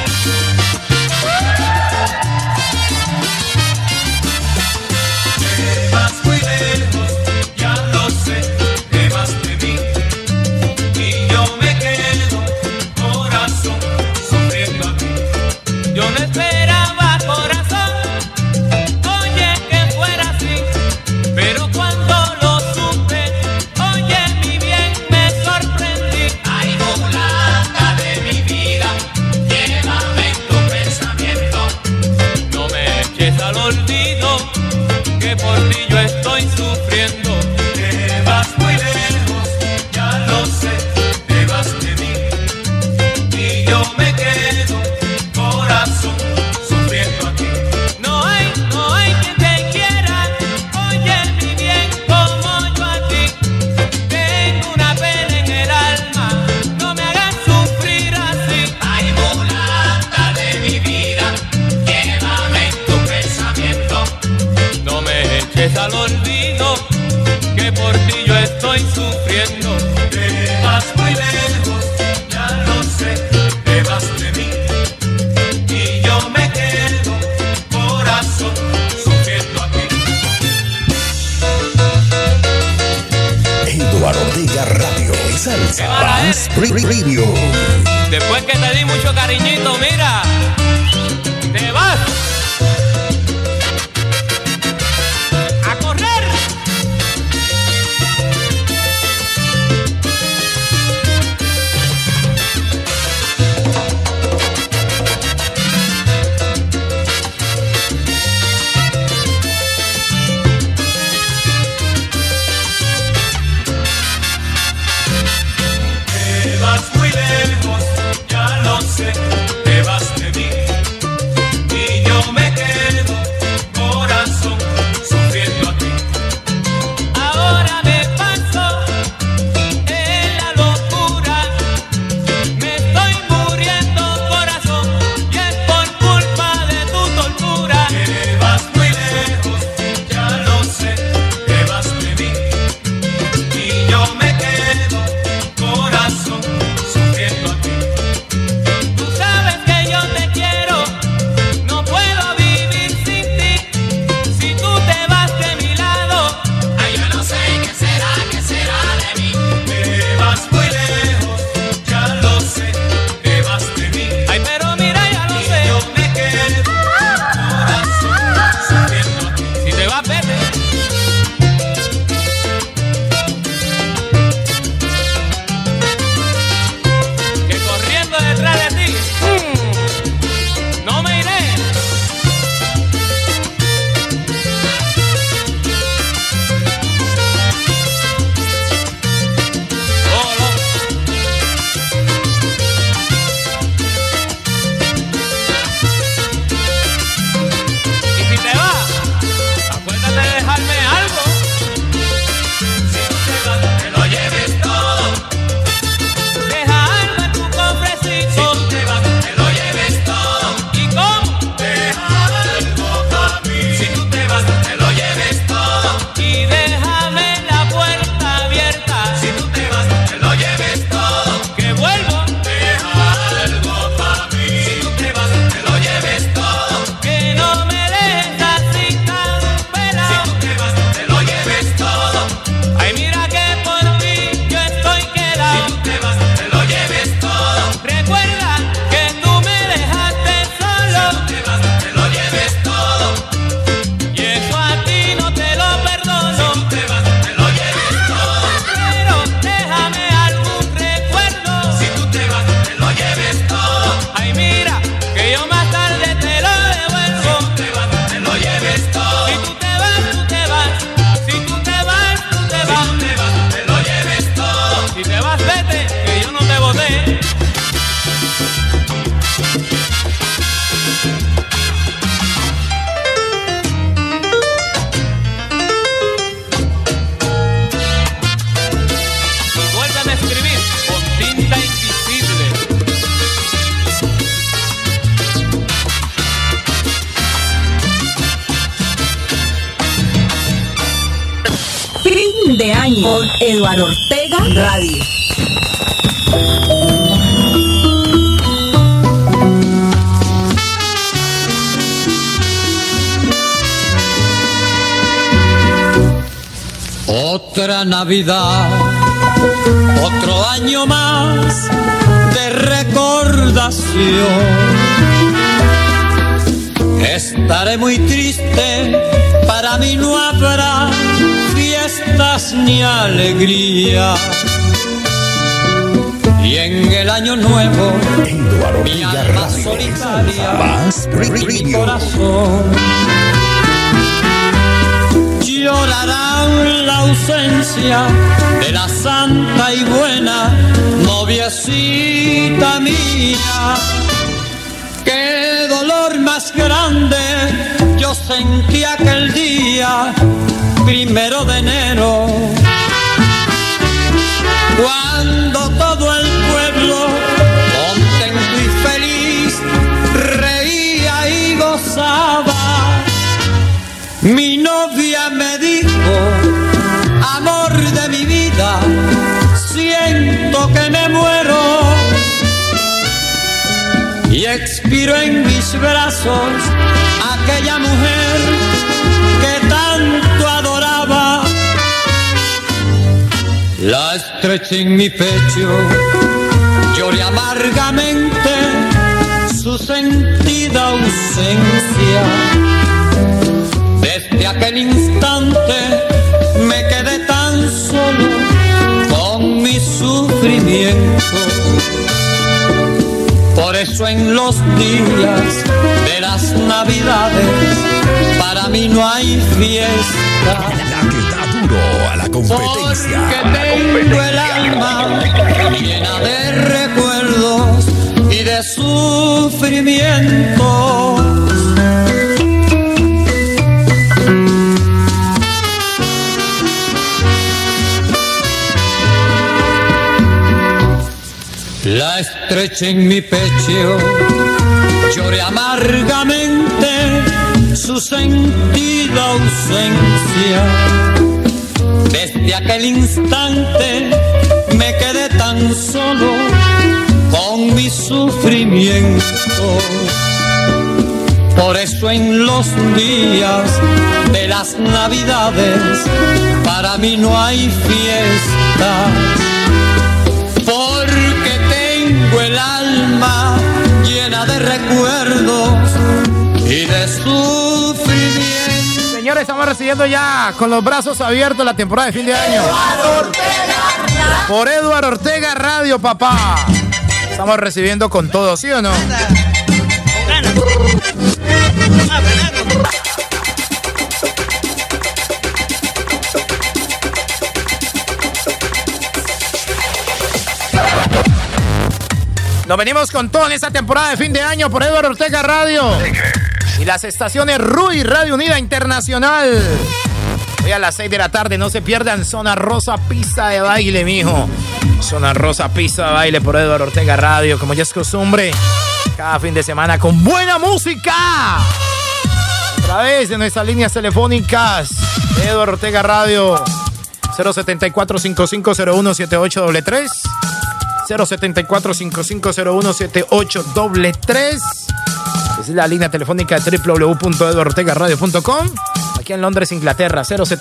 Te vas muy lejos, ya lo sé, te vas de mí. Y yo me quedo, corazón, sufriendo aquí. Yo no esperaba, corazón, oye, que fuera así. Pero cuando lo supe, oye, mi bien, me sorprendí. Ay, mulata de mi vida, llévame en tu pensamiento. No me eches al olvido, que por ti yo estoy sufriendo. Te vas muy lejos, ya lo sé, te vas de mí. Y yo me quedo, corazón, sufriendo aquí. No hay quien te quiera, oye, mi bien, como yo a ti. Tengo una pena en el alma, no me hagas sufrir así. Ay, mulata de mi vida, llévame en tu pensamiento. No me eches al olvido, que por ti yo estoy sufriendo. Te vas muy lejos, ya lo sé, te vas de mí. Y yo me quedo, corazón, sufriendo aquí. Eduardo Ortega Radio. Salsa más Premium. Después que te di mucho cariñito, mira, te vas a correr. Te vas muy lejos, ya lo sé, te vas de mí. Fin de año con Eduardo Ortega Radio. Otra Navidad, otro año más de recordación. Estaré muy triste, para mí no habrá fiestas ni alegría. Y en el año nuevo, mi alma solitaria, mi corazón llorarán la ausencia de la santa y buena noviecita mía. Qué dolor más grande yo sentí aquel día, 1 de enero, cuando todo el pueblo, contento y feliz, reía y gozaba. Mi novia me dijo: amor de mi vida, siento que me muero. Y expiró en mis brazos aquella mujer que tanto adoraba. La estreché en mi pecho, lloré amargamente su sentida ausencia. Desde aquel instante me quedé tan solo con mi sufrimiento. Por eso en los días de las Navidades para mí no hay fiesta. La que da duro a la competencia. Porque tengo el alma llena de recuerdos y de sufrimientos. La estreché en mi pecho, lloré amargamente su sentida ausencia. Desde aquel instante me quedé tan solo con mi sufrimiento. Por eso en los días de las Navidades para mí no hay fiesta. Porque tengo el alma llena de recuerdos y de sufrimiento. Señores, estamos recibiendo ya con los brazos abiertos la temporada de fin de año. Por Eduardo Ortega Radio, papá. Estamos recibiendo con todo, ¿sí o no? Nos venimos con todo en esta temporada de fin de año por Eduardo Ortega Radio y las estaciones RUI Radio Unida Internacional. Hoy a las 6 de la tarde no se pierdan Zona Rosa Pista de Baile, mijo. Zona Rosa Pista de Baile por Eduardo Ortega Radio, como ya es costumbre, cada fin de semana con buena música. A través de nuestras líneas telefónicas de Eduardo Ortega Radio 074-5501-7833 074-5501-7833. Es la línea telefónica de www.eduardortegaradio.com. Aquí en Londres, Inglaterra,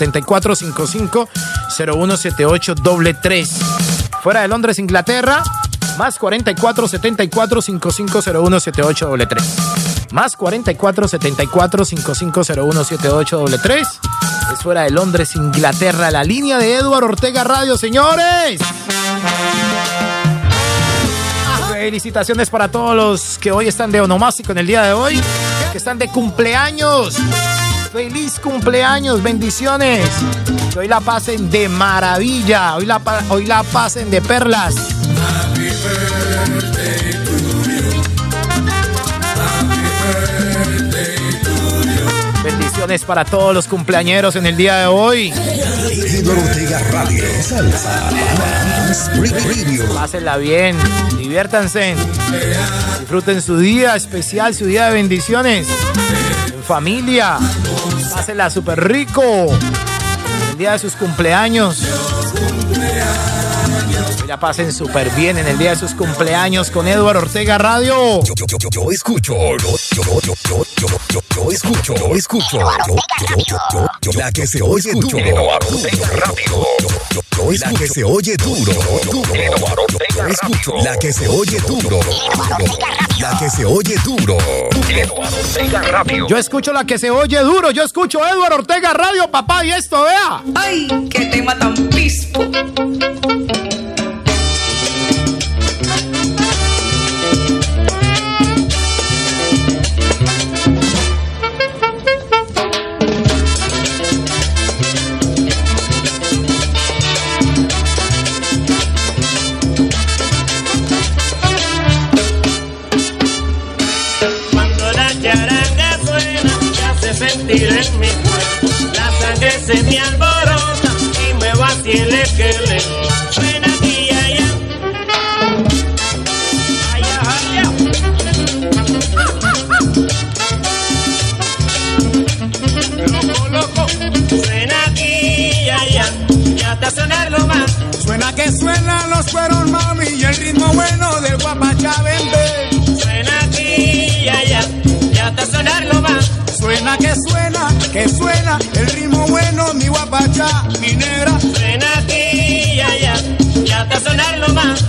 074-5501-7833. Fuera de Londres, Inglaterra, más 44-74-5501-7833. Más 44-74-5501-7833. Es fuera de Londres, Inglaterra, la línea de Eduardo Ortega Radio, señores. Felicitaciones para todos los que hoy están de onomástico en el día de hoy, que están de cumpleaños. Feliz cumpleaños, bendiciones. Que hoy la pasen de maravilla, hoy la pasen de perlas. Happy birthday to you. Happy birthday to you. Bendiciones para todos los cumpleañeros en el día de hoy. Eduardo Ortega Radio, salsa, pásenla bien, diviértanse, disfruten su día especial, su día de bendiciones, en familia, pásenla súper rico. el día de sus cumpleaños. Que la pasen súper bien en el día de sus cumpleaños con Eduardo Ortega Radio. Yo escucho. La que se oye duro. La que se oye duro. Yo escucho. La que se oye duro. La que se oye duro. Yo escucho la que se oye duro. Yo escucho Eduardo Ortega Radio, papá. Y esto, vea. ¡Ay, qué tema tan pispo! Sentir en mi cuerpo, la sangre se me alborota y me va así el esqueleto. Suena aquí y allá, allá, allá. Loco, loco. Suena aquí y allá, ya está sonando más. Suena que suenan los cueros, mami, y el ritmo bueno del guapachá, bebé. Suena aquí y allá, ya está sonando más. Suena que suena el ritmo bueno, mi guapachá, mi negra. Suena aquí y allá, ya está sonando más.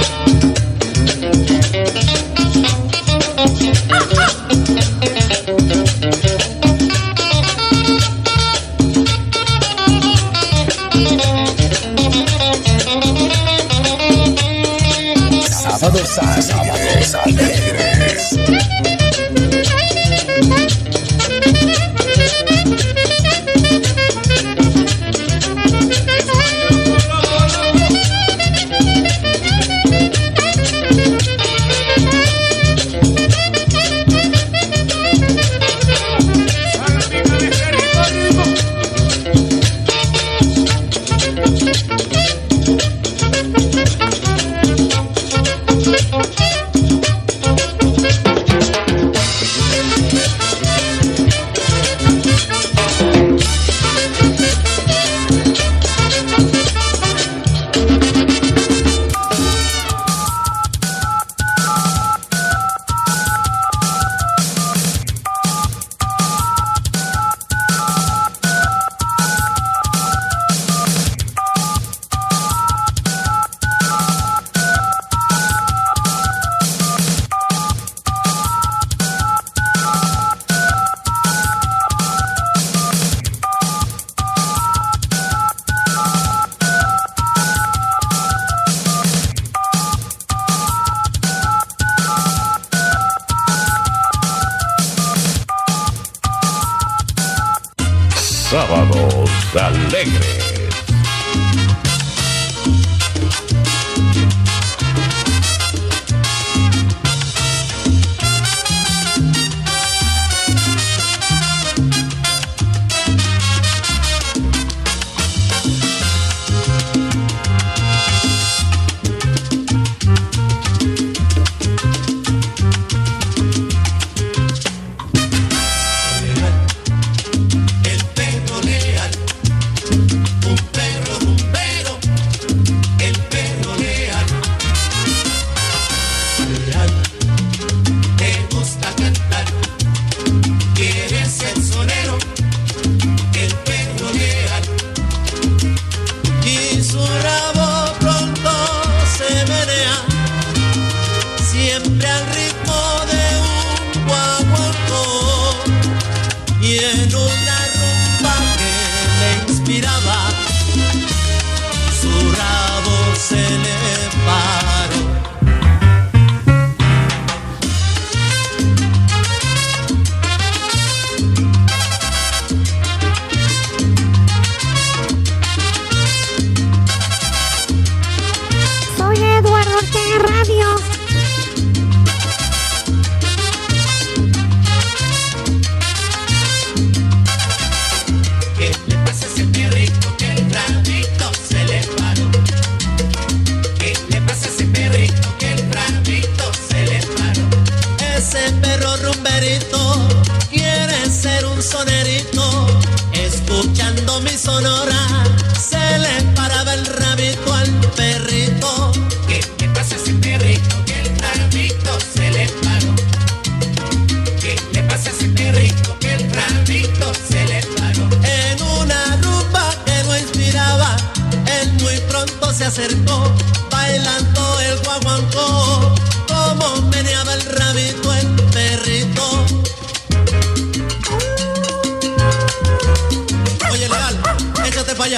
Sábados alegres. Sábados alegres. acercó, bailando el guaguancó, como meneaba el rabito el perrito. Oye, Leal, échate para allá.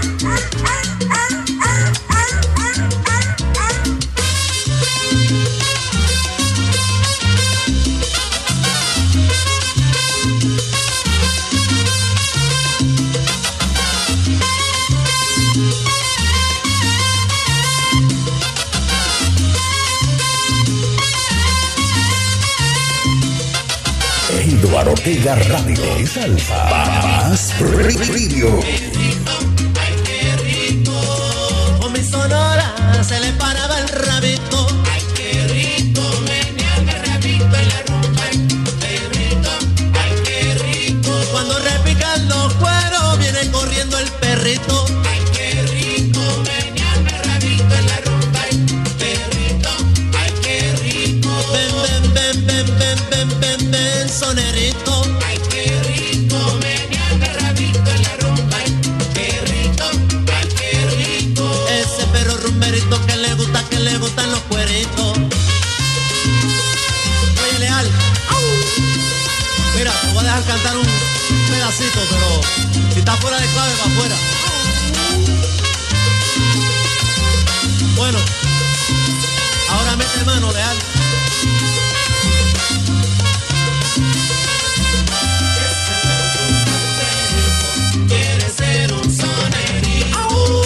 Eduardo Ortega Radio y Salsa Más Radio. Ay, qué rico. Con mi sonora se le paraba el rabito. Ay, qué rico. Meneaba el rabito en la rumba. Perrito, ay, qué rico. Cuando repican los cueros viene corriendo el perrito. Ay, qué rico. Meneaba el rabito en la rumba. Perrito, ay, qué rico. Ven, ven, ven, ven, ven, ven, ven, ven, sonerito. Ay, qué rico. Meneaba el rabito en la rumba. Perrito, ay, qué rico. Ese perro rumberito que le gustan los cueritos. Oye, Leal. Mira, te voy a dejar cantar un pedacito, pero si está fuera de clave, va afuera. Bueno, ahora mete mano, Leal. Quiere ser un sonerito.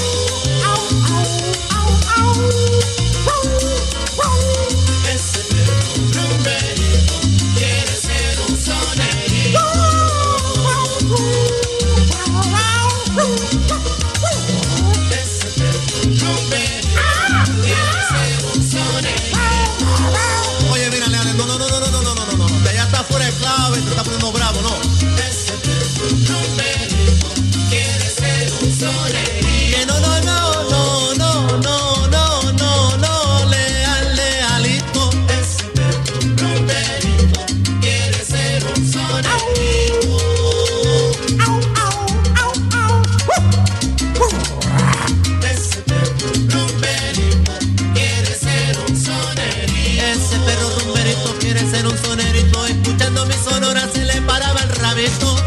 Ese perro rumberito quiere ser un sonerito. Ese perro rumberito quiere ser un sonerito. Oye, mira, Leal, no, que ya está fuera de clave, te está poniendo bravo, no. Ese perro rumberito quiere ser un sonerito. Que no, Leal, Lealito. Ese perro rumberito quiere ser un sonerito. Ese perro rumberito quiere ser un sonerito. Ese perro rumberito quiere ser un sonerito. Escuchando mi sonora se le paraba el rabito.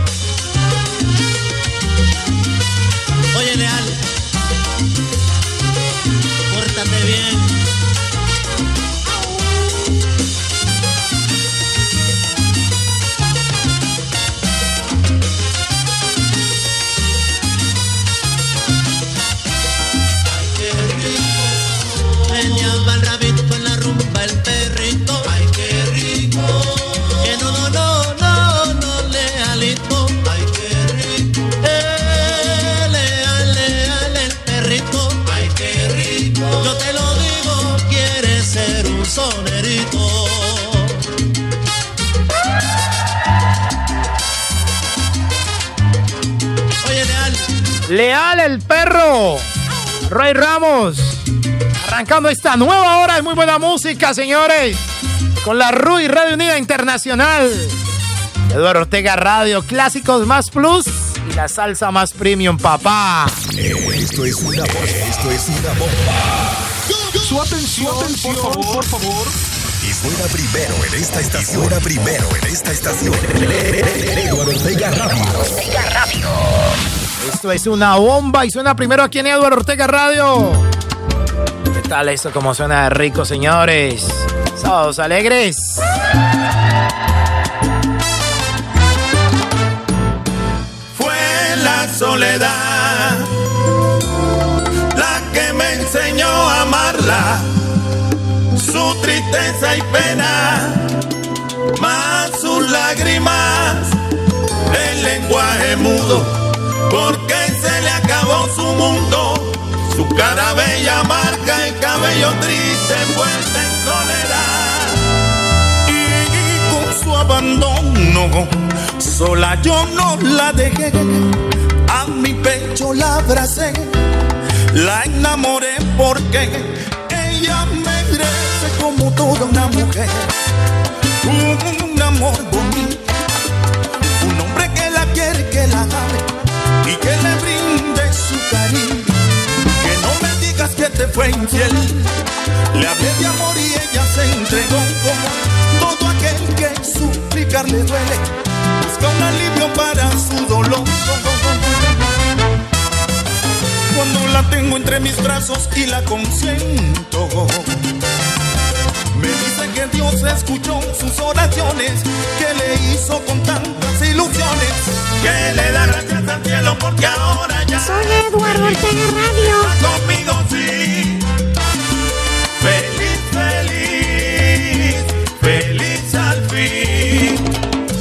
Oye, Leal, pórtate bien. Ay, qué rico. Meneaba el rabito en la rumba el perrito. Ay, qué rico. Que no, Lealito. Ay, qué rico. Leal, el perrito. Ay, qué rico. Yo te lo digo, quiere ser un sonerito. Oye, Leal. Leal el perro. Roy Ramos. Arrancando esta nueva hora de muy buena música, señores. Con la RUI Radio Unida Internacional. Eduardo Ortega Radio, clásicos más plus y la salsa más premium, papá. Esto es una bomba. Su atención, por favor. Y suena primero en esta estación. Eduardo Ortega Radio. Esto es una bomba y suena primero aquí en Eduardo Ortega Radio. ¿Qué tal eso? Como suena de rico, señores. Sábados alegres. Fue la soledad la que me enseñó a amarla, su tristeza y pena, más sus lágrimas, el lenguaje mudo, porque se le acabó su mundo, su cara bella marca el cabello triste envuelta en soledad. Y con su abandono, sola yo no la dejé, a mi pecho la abracé, la enamoré porque ella merece como toda una mujer un amor bonito, un hombre que la quiere, que la ame y que le brinde su cariño. Que no me digas que fue infiel. Le hablé de amor y ella se entregó como todo aquel que suplicarle duele. Busca un alivio para su dolor. Cuando la tengo entre mis brazos y la consiento, me dice que Dios escuchó sus oraciones, que le hizo con tantas ilusiones, que le da gracias al cielo porque ahora ya soy Eduardo Ortega Radio. Conmigo sí. Feliz, feliz, feliz al fin.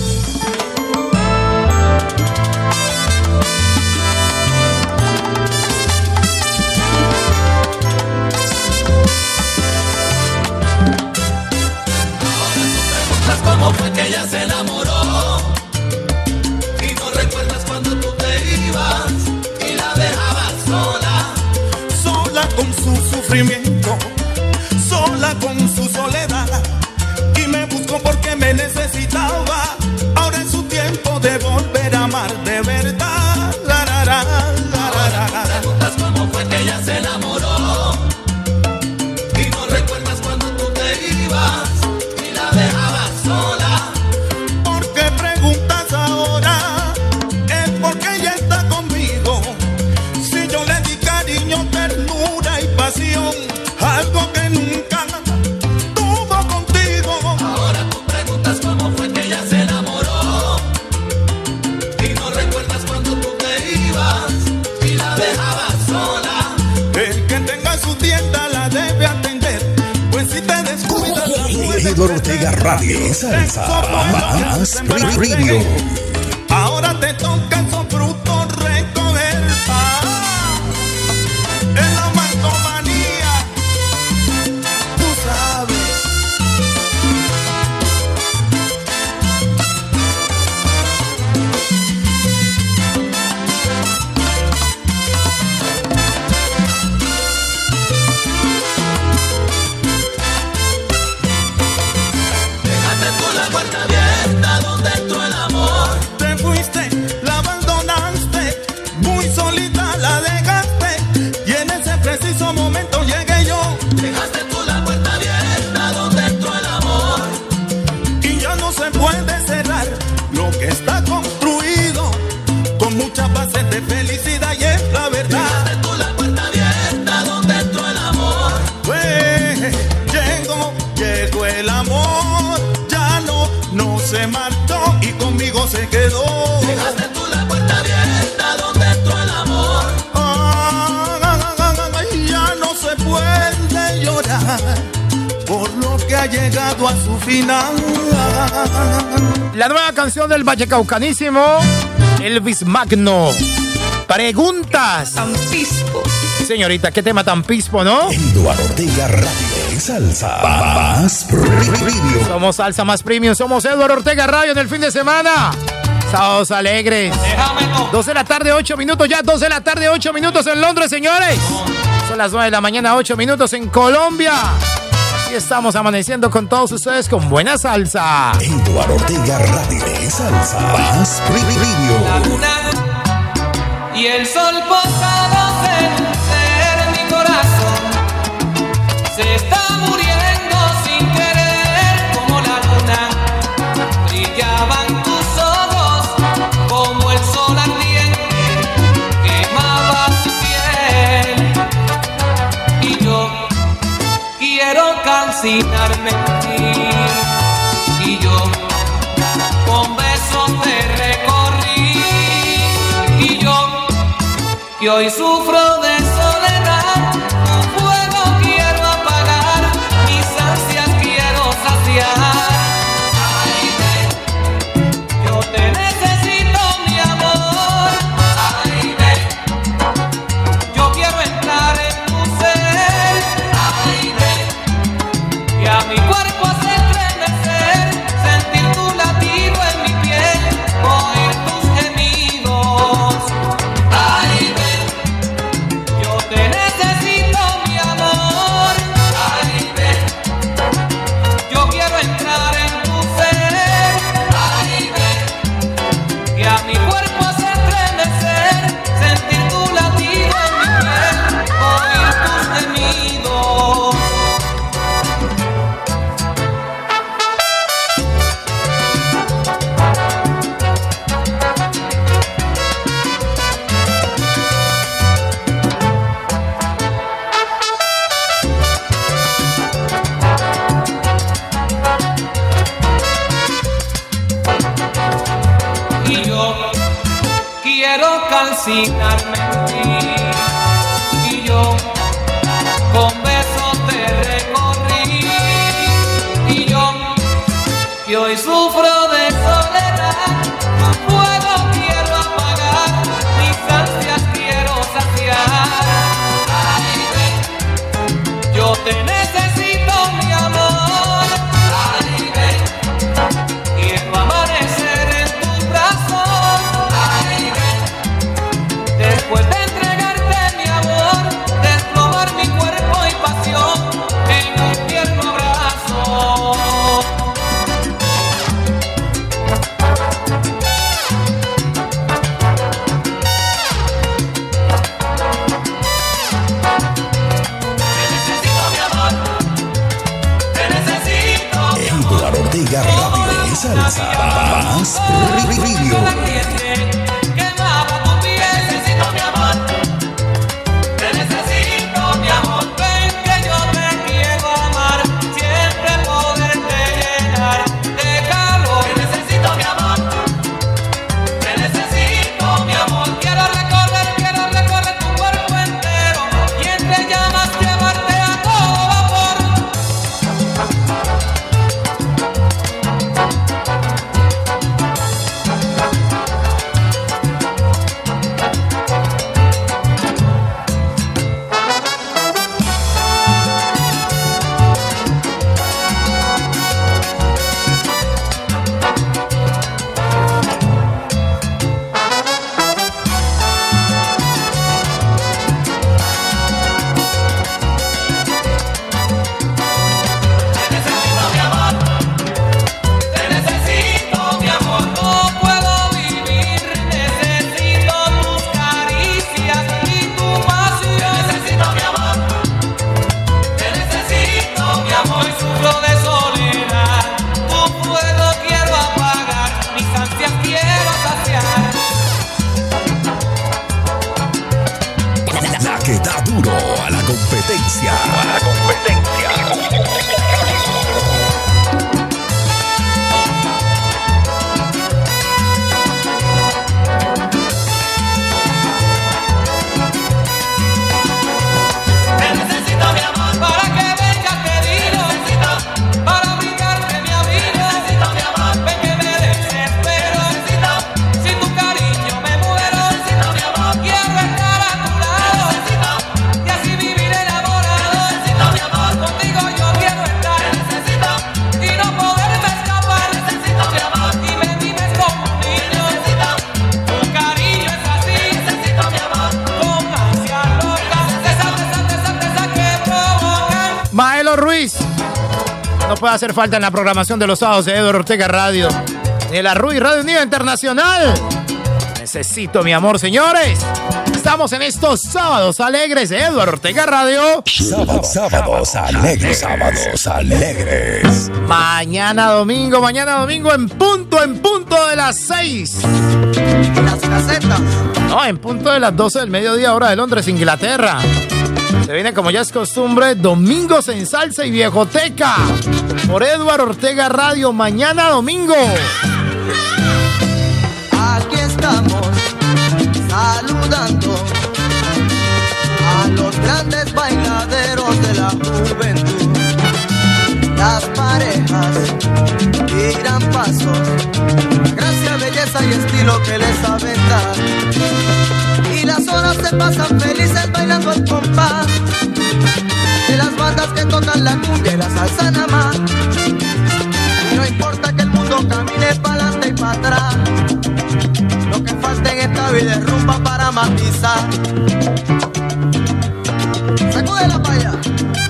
¿Cómo fue que ella se enamoró? Y no recuerdas cuando tú te ibas y la dejabas sola. Sola con su sufrimiento, sola con su soledad. Y me buscó porque me necesitaba. Ahora es su tiempo de volver a amar de verdad. Ahora te preguntas cómo fue que ella se enamoró. Y no recuerdas cuando tú te ibas y la dejabas sola. ¿Por qué preguntas ahora? Es porque ella está conmigo. Si yo le di cariño, ternura y pasión, algo que nunca tuvo contigo. Ahora tú preguntas cómo fue que ella se enamoró. Y no recuerdas cuando tú te ibas y la dejabas sola. El que tenga su tienda la debe atender, pues si te descuidas la puedes Eduardo Ortega Radio, salsa más premium. Ahora te toca esos frutos recoger. En la mantomanía, tú sabes. Dejaste tú la puerta abierta donde entró el amor. Te fuiste, la abandonaste, muy solita la dejaste. Y en ese preciso momento llegué yo. Dejaste tú la puerta abierta donde entró el amor. Y ya no se puede cerrar lo que está construido con muchas bases de felicidad y es la verdad. Dejaste tú la puerta abierta donde entró el amor. Llegó el amor, ya no se marchó y conmigo se quedó. Dejaste tú la puerta abierta donde entró el amor. Ya no se puede llorar por lo que ha llegado a su final. La nueva canción del Vallecaucanísimo, Elvis Magno. Preguntas. Tan pispo. Señorita, qué tema tan pispo, ¿no? Eduardo Ortega Radio, salsa más premium. Somos salsa más premium, somos Eduardo Ortega Radio en el fin de semana. Sábados alegres. 2 de la tarde, 8 minutos ya, 2 de la tarde, 8 minutos en Londres, señores. Son las 9 de la mañana, 8 minutos en Colombia. Y estamos amaneciendo con todos ustedes con buena salsa. Eduardo Ortega Radio, salsa más premium. La luna y el sol posados en un ser, mi corazón se está muriendo sin querer. Como la luna brillaban tus ojos, como el sol ardiente quemaba tu piel. Y yo quiero calcinarme en ti, y yo con besos te recorrí, y yo que hoy sufro de soledad, tu fuego quiero apagar, mis ansias quiero saciar. Ay, ven, yo te necesito, mi amor. Ay, ven, yo quiero entrar en tu ser. Ay, ven, y a mi cuerpo hacer estremecer, sentir tu latido en mi piel, oír tus gemidos. Ay, ven, fascinarme en ti. Y yo con besos te recorrí. Y yo que hoy sufro de soledad, a fuego quiero apagar, mis ansias quiero saciar. Ay, ven, yo te necesito, mi amor. Ay, ven, quiero amanecer en tus brazos. Ay, ven, después de entregarte mi amor, desplomar mi cuerpo y pasión en un tierno abrazo. Eduardo Ortega Radio y Salsa más Río. Quemaba tu piel, necesito mi amor. Te necesito, mi amor. Ven que yo te quiero amar, siempre poderte llenar de calor. Te necesito, mi amor. Te necesito, mi amor. Quiero recorrer tu cuerpo entero y entre llamas llevarte a todo vapor. La que da duro a la competencia. Te necesito, mi amor, para que vengas querido. Necesito, para brindarte mi abrigo. Necesito, mi amor, ven que me desespero. Necesito, sin tu cariño me muero. Necesito, mi amor, quiero estar a tu lado. Necesito, y así vivir enamorado. Necesito, mi amor, contigo yo quiero estar. Necesito, y no poderme escapar. Necesito, mi amor, y me vives como un niño. Necesito, tu cariño es así. Necesito, mi amor, con ansia loca. Esa que provoca. Maelo Ruiz. No puede hacer falta en la programación de los sábados de Eduardo Ortega Radio. Ni la Ruiz Radio Unida Internacional. Necesito mi amor, señores. Estamos en estos sábados alegres de Eduardo Ortega Radio. Sábados alegres. Mañana domingo en punto de las 6. Las casetas. No, en punto de las 12 del mediodía, hora de Londres, Inglaterra. Se viene, como ya es costumbre, Domingos en Salsa y Viejoteca. Por Eduardo Ortega Radio, mañana domingo. Aquí estamos saludando a los grandes bailaderos de la juventud. Las parejas tiran pasos, gracia, belleza y estilo que les saben dar. Y las horas se pasan felices bailando el compás de las bandas que tocan la cumbia y la salsa nada más. Y no importa que el mundo camine para adelante y para atrás, lo que falta en esta vida es rumba para matizar. Sacúdela pa' allá.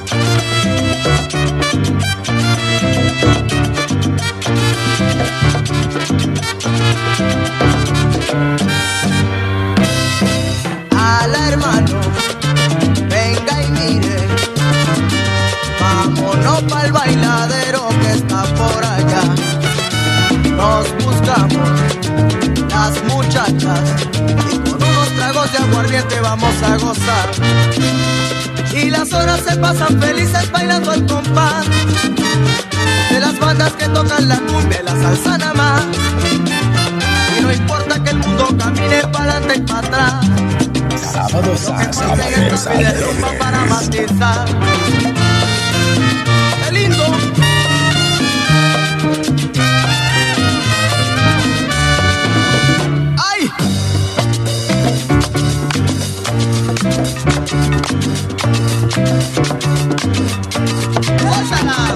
Ala, hermano, venga y mire, vámonos pa'l bailadero que está por allá. Nos buscamos las muchachas y con unos tragos de aguardiente vamos a gozar. Y las horas se pasan felices bailando al compás de las bandas que tocan la cumbia y la salsa nada más. Y no importa que el mundo camine para adelante y para atrás. Sábados a sábados. Para matizar. ¡Qué lindo! ¡Ay! ¡Ósala!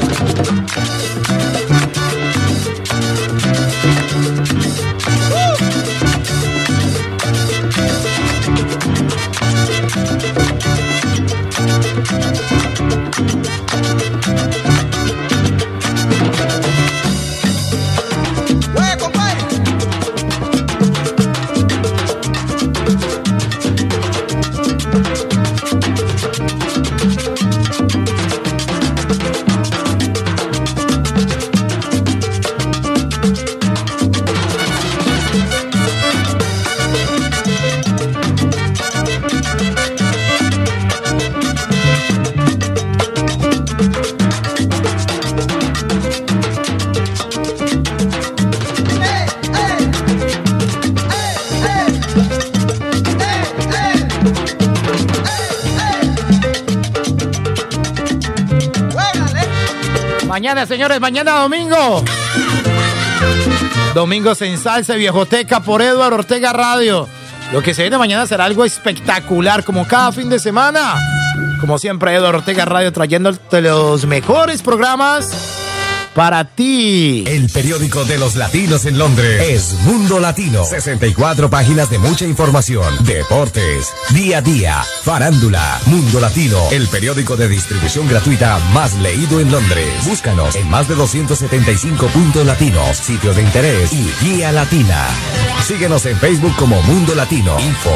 Mañana, señores, mañana domingo. Domingos en Salsa Viejoteca por Eduardo Ortega Radio. Lo que se viene mañana será algo espectacular, como cada fin de semana. Como siempre, Eduardo Ortega Radio trayéndote los mejores programas para ti. El periódico de los latinos en Londres es Mundo Latino. 64 páginas de mucha información, deportes, día a día, farándula. Mundo Latino, el periódico de distribución gratuita más leído en Londres. Búscanos en más de 275 puntos latinos, sitios de interés y guía latina. Síguenos en Facebook como Mundo Latino. Info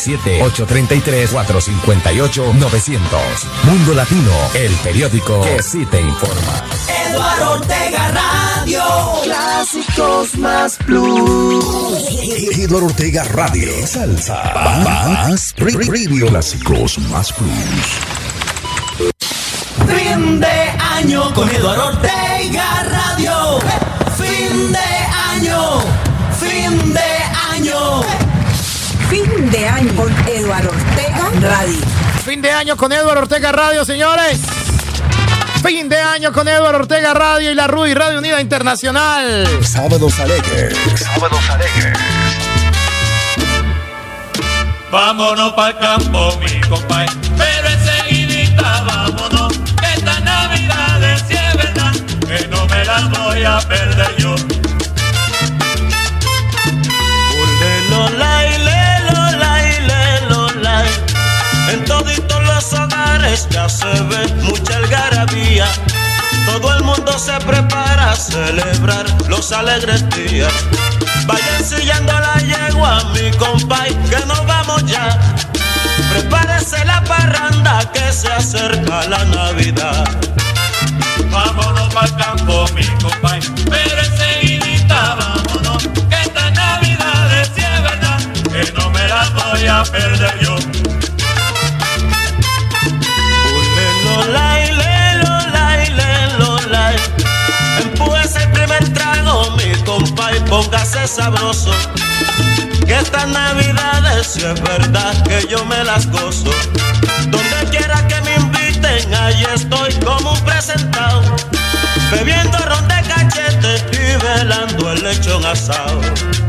07-833-458-900. Mundo Latino, el periódico que sí te informa. Eduardo Ortega Radio. Clásicos más plus. Eduardo Ortega Radio. Salsa más preview. Clásicos más plus. Fin de año con Eduardo Ortega Radio. Fin de año. Fin de año. Fin de año con Eduardo Ortega Radio. Fin de año con Eduardo Ortega Radio, señores. Fin de año con Eduardo Ortega Radio y la RUI Radio Unida Internacional. Sábados alegres. Sábados alegres. Vámonos pa'l campo, mi compay, pero enseguidita vámonos. Esta Navidad sí es verdad, que no me las voy a perder yo. En toditos los hogares ya se ve mucha algarabía. Todo el mundo se prepara a celebrar los alegres días. Vayan sillando la yegua, mi compay, que nos vamos ya. Prepárese la parranda que se acerca la Navidad. Vámonos pa'l campo, mi compay, pero enseguidita vámonos. Que esta Navidad sí es verdad, que no me las voy a perder yo. Empújese el primer trago, mi compa, y póngase sabroso. Que estas navidades si es verdad que yo me las gozo. Donde quiera que me inviten, allí estoy como un presentado. Bebiendo ron de cachete y velando el lechón asado.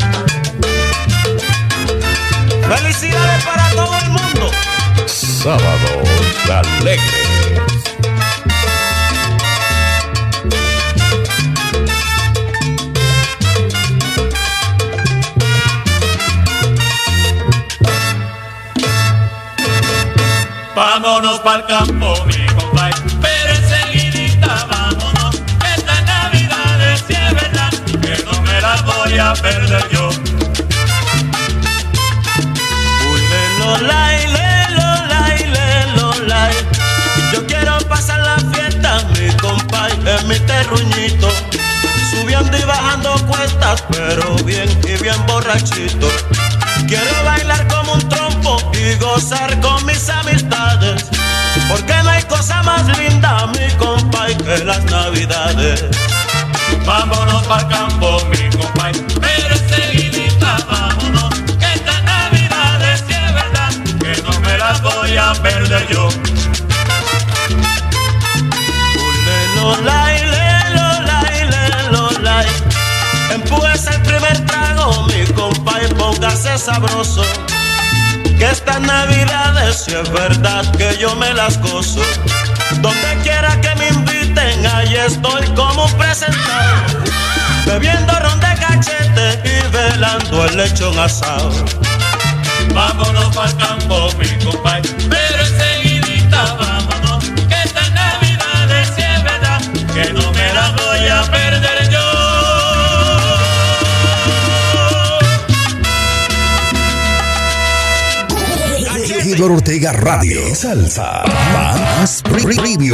Felicidades para todo el mundo. Sábados alegres. Vámonos pa'l campo, mi compay, pero enseguidita vámonos. Esta Navidad sí es verdad, que no me la voy a perder yo. Yo quiero pasar la fiesta, mi compay, en mi terruñito. Subiendo y bajando cuestas, pero bien y bien borrachito. Quiero bailar como un trompo y gozar con mis amistades. Porque no hay cosa más linda, mi compay, que las navidades. Vámonos pa'l campo, mi compay, pero enseguidita vámonos. Que esta Navidad perder yo. Empújese el primer trago, mi compa, y póngase sabroso. Que estas navidades, si es verdad que yo me las gozo. Donde quiera que me inviten, ahí estoy como un presentado. Bebiendo ron de cachete y velando el lechón asado. Vámonos pa'l campo, mi compa, pero enseguidita vámonos. Que estas navidades, si es verdad que no me las voy a perder yo. Edward Ortega Radio. Salsa más preview.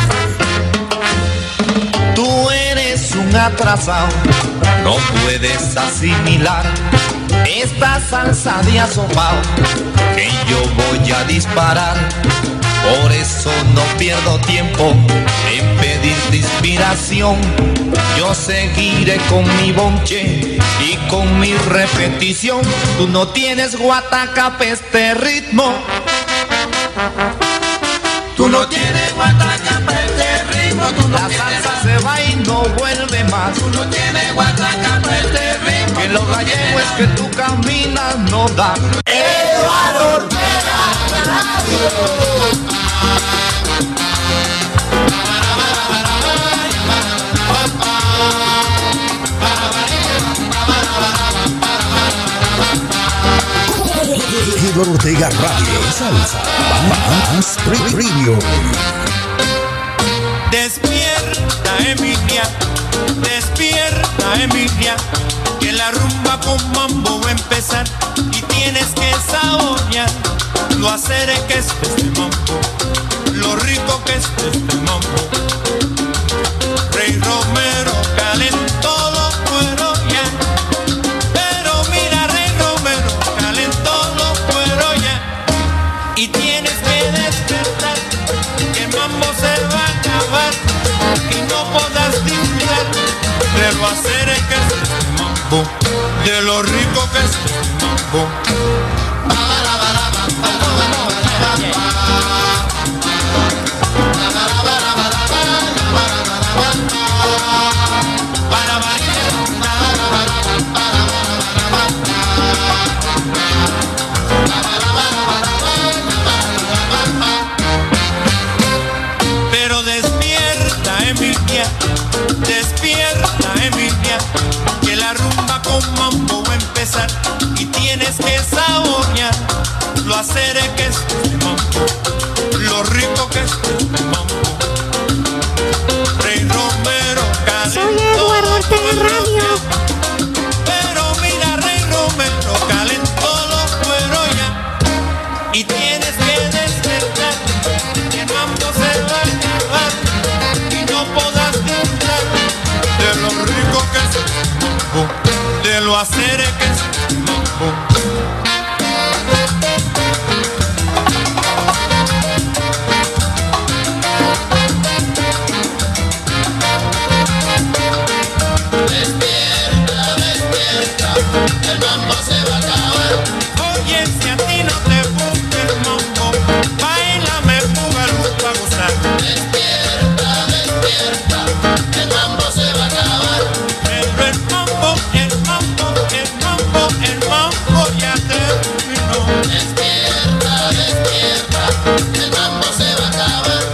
Tú eres un atrasado, no puedes asimilar esta salsa de asopao que yo voy a disparar. Por eso no pierdo tiempo en pedirte inspiración. Yo seguiré con mi bonche y con mi repetición. Tú no tienes guataca pa' este ritmo. Tú no tienes guataca pa' este ritmo. La salsa se va y no vuelve más. Tú no tienes guataca pa' este ritmo. Que lo gallego es que tú caminas, no da. Eduardo Ortega Radio. Edward Ortega Radio. Salsa más preview. Despierta, Emilia, despierta, Emilia, que la rumba con mambo va a empezar y tienes que saborear lo acere que es este mambo, lo rico que es este mambo. Rey Romero calentó los cueros ya, pero mira, Rey Romero calentó los cueros ya, y tienes que despertar, que el mambo se va a acabar y no podrás disfrutar de lo acere que es este mambo, de lo rico que es este mambo. Pero despierta, Emilia, despierta, Emilia, que la rumba con mambo va a empezar y tienes que saborear lo acere que es este mambo, lo rico que es este mambo. Rey Romero calentó. Soy Eduardo Ortega Radio. Pero mira, Rey Romero calentó los cueros ya, y tienes que despertar, que el mambo se va a acabar y no podrás disfrutar de lo rico que es este mambo, de lo acere que es este mambo. Despierta, despierta, el mambo se va a acabar. Oye, si a ti no te gusta el mambo, bailame búgalo pa' gozar. Despierta, despierta, el mambo se va a acabar. Pero el mambo, el mambo, el mambo, el mambo ya terminó. Despierta, despierta, el mambo se va a acabar.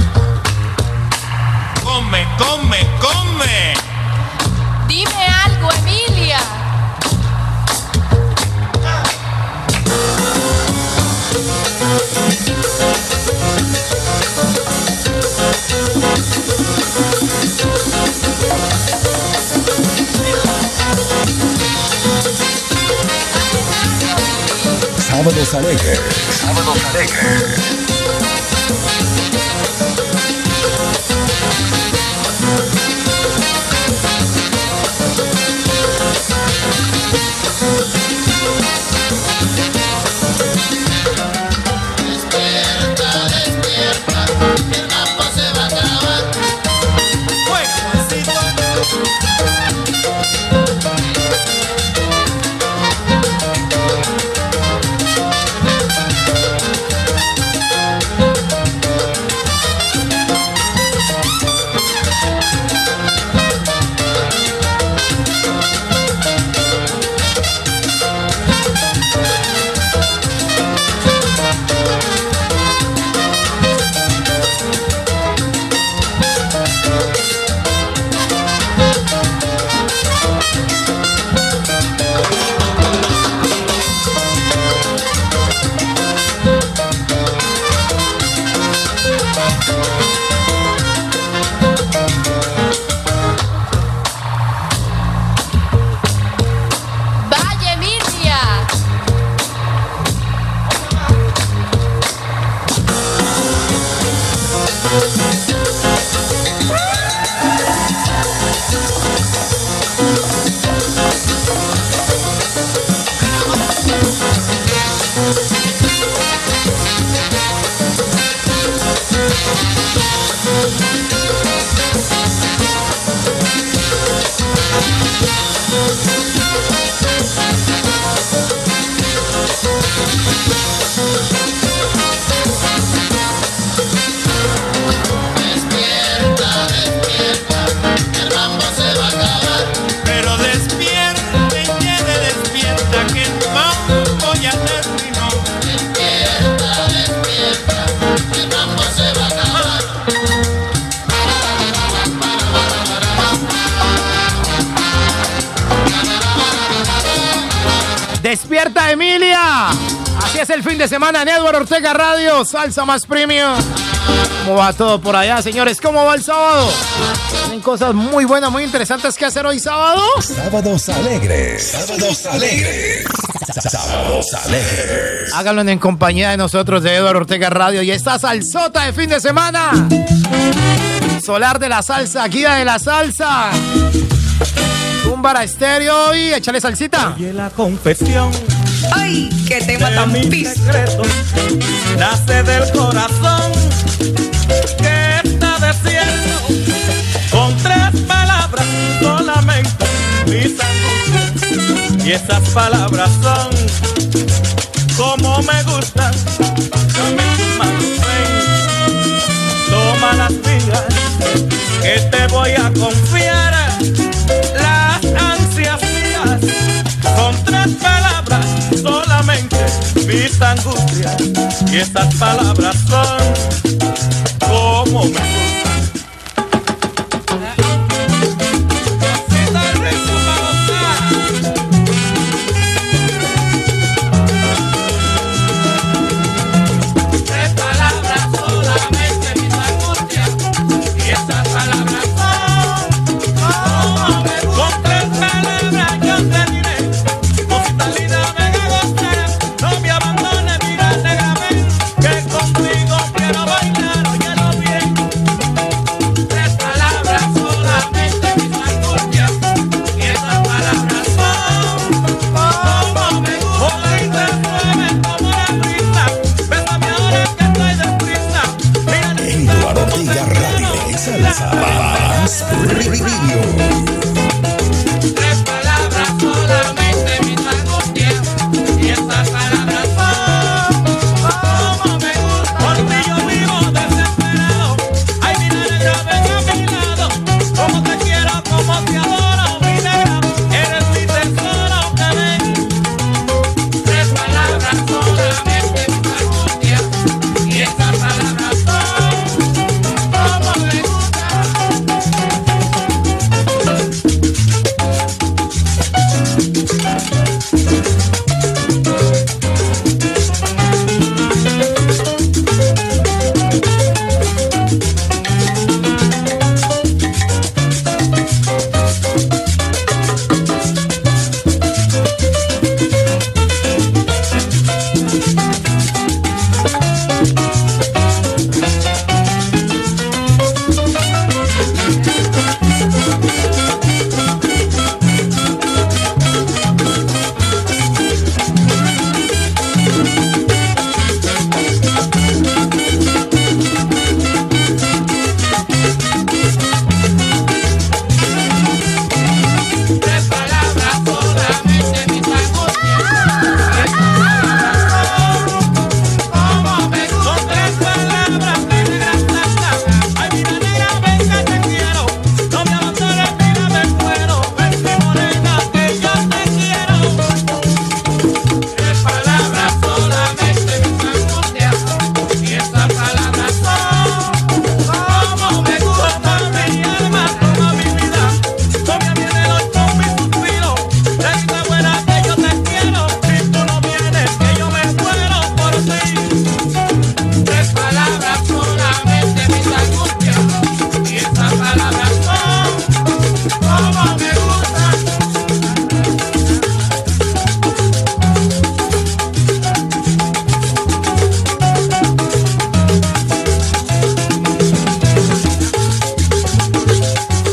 Come, come, come. Dime algo, Emilia. Sábados Alegres. Sábados Alegres. Despierta, despierta, el mambo se va a acabar. Despierta, Emilia. Así es el fin de semana en Eduardo Ortega Radio, salsa más premium. ¿Cómo va todo por allá, señores? ¿Cómo va el sábado? Tienen cosas muy buenas, muy interesantes que hacer hoy sábado. Sábados alegres. Sábados alegres. Sábados alegres. Háganlo en compañía de nosotros de Eduardo Ortega Radio y esta salsota de fin de semana. Solar de la salsa, guía de la salsa. Para estéreo y échale salsita. Oye la confesión. Ay, qué tema tan piso. Nace del corazón que está desierto. Con 3 palabras solamente mis angustias. Y esas palabras son como me gustan. Dame tus manos, ven. Toma las mías que te voy a confiar. Con 3 palabras solamente mis angustias. Y esas palabras son como me gustan.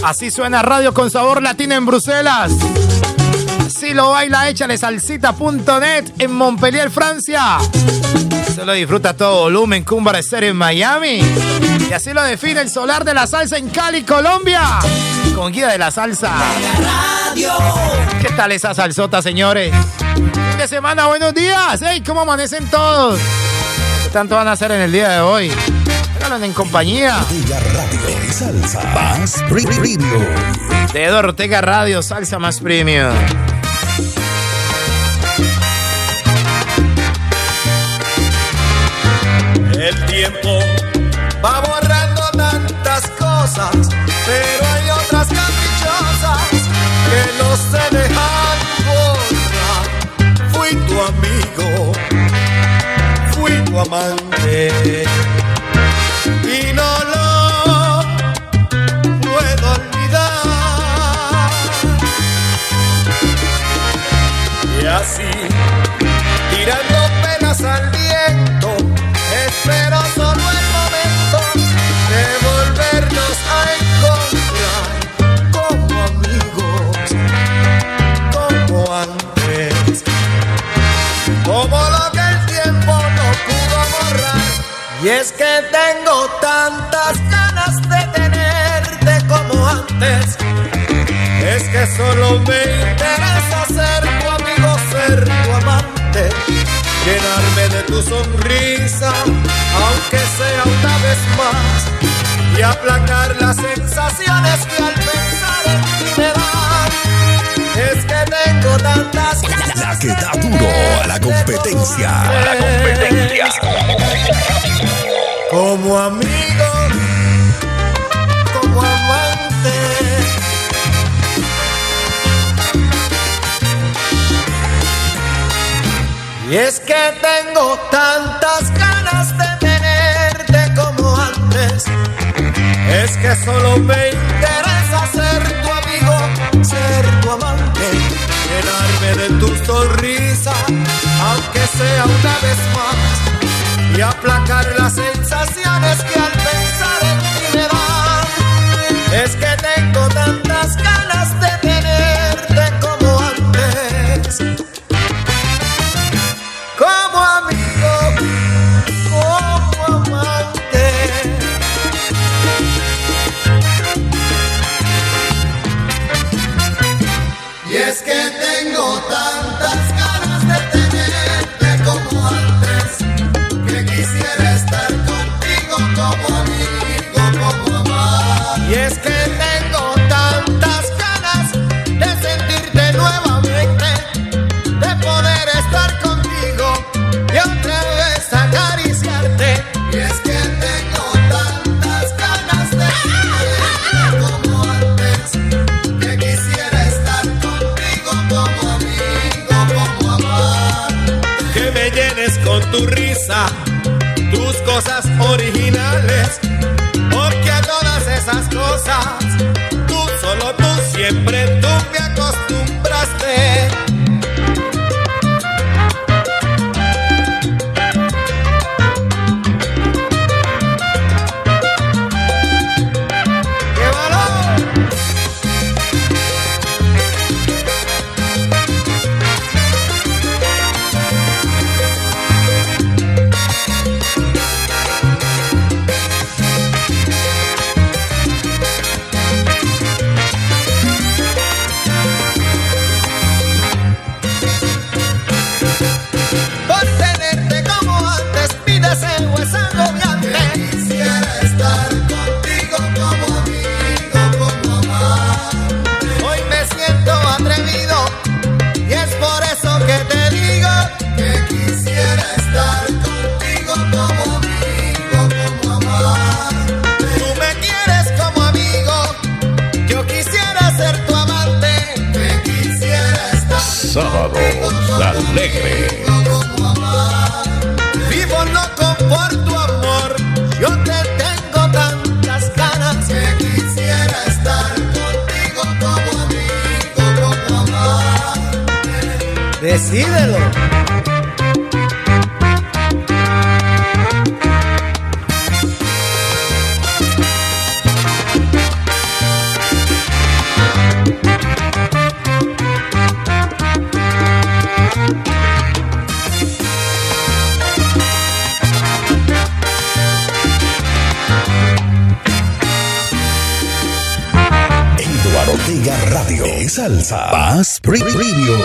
Así suena Radio con Sabor Latino en Bruselas. Así lo baila Échale Salsita.net en Montpellier, Francia. Se lo disfruta a todo volumen Cumbar Estéreo en Miami. Y así lo define el Solar de la Salsa en Cali, Colombia. Con Guía de la Salsa. ¿Qué tal esa salsota, señores? Fin de semana, buenos días. Hey, ¿cómo amanecen todos? ¿Qué tanto van a hacer en el día de hoy? Háganlo en compañía Ortega Radio y Salsa más Premium. de Eduardo Ortega Radio, Salsa más Premium. El tiempo va borrando tantas cosas, pero hay otras caprichosas que no se dejan borrar. Fui tu amigo, fui tu amante y no lo puedo olvidar. Y así, tirando penas al viento, espero solo el momento de volvernos a encontrar como amigos, como antes, como lo que el tiempo no pudo borrar. Y es que tengo tantas ganas de tenerte como antes, es que solo me interesa ser tu amigo, ser tu amante, llenarme de tu sonrisa, aunque sea una vez más, y aplacar las sensaciones que al pensar en ti me dan. Es que tengo tantas ganas. La que da duro a la competencia. La competencia. Como amigo, como amante. Y es que tengo tantas ganas de tenerte como antes, es que solo me interesa ser tu amigo, ser tu amante, llenarme de tu sonrisa, aunque sea una vez más, y aplacar las sensaciones que al pensar en ti me dan. Es que tengo tantas ganas de tenerte como antes, como amigo, como amante. Y es que tengo tantas ganas de tenerte como antes, que quisiera estar contigo como amigo, como amante. Y es que tengo tantas ganas de sentirte nuevamente, de poder estar contigo y otra vez acariciarte. Y es que tengo tantas ganas de tenerte como antes, que quisiera estar contigo como amigo, como amante. Que me llenes con tu risa, tus cosas originales, porque a todas esas cosas solo tú, siempre tú me acostumbraste. ¡Qué valor! Por tenerte como antes, mi deseo es agobiante. Quisiera estar contigo como amigo, como amante. Hoy me siento atrevido y es por eso que te digo que quisiera estar contigo como amigo, como amante. Tú me quieres como amigo, yo quisiera ser tu amante. Que quisiera estar Sábados Alegre. Vivo loco por tu amor, yo te tengo tantas ganas, que quisiera estar contigo como amigo, como amante. Decídelo. Radio. Salsa. Más Preview.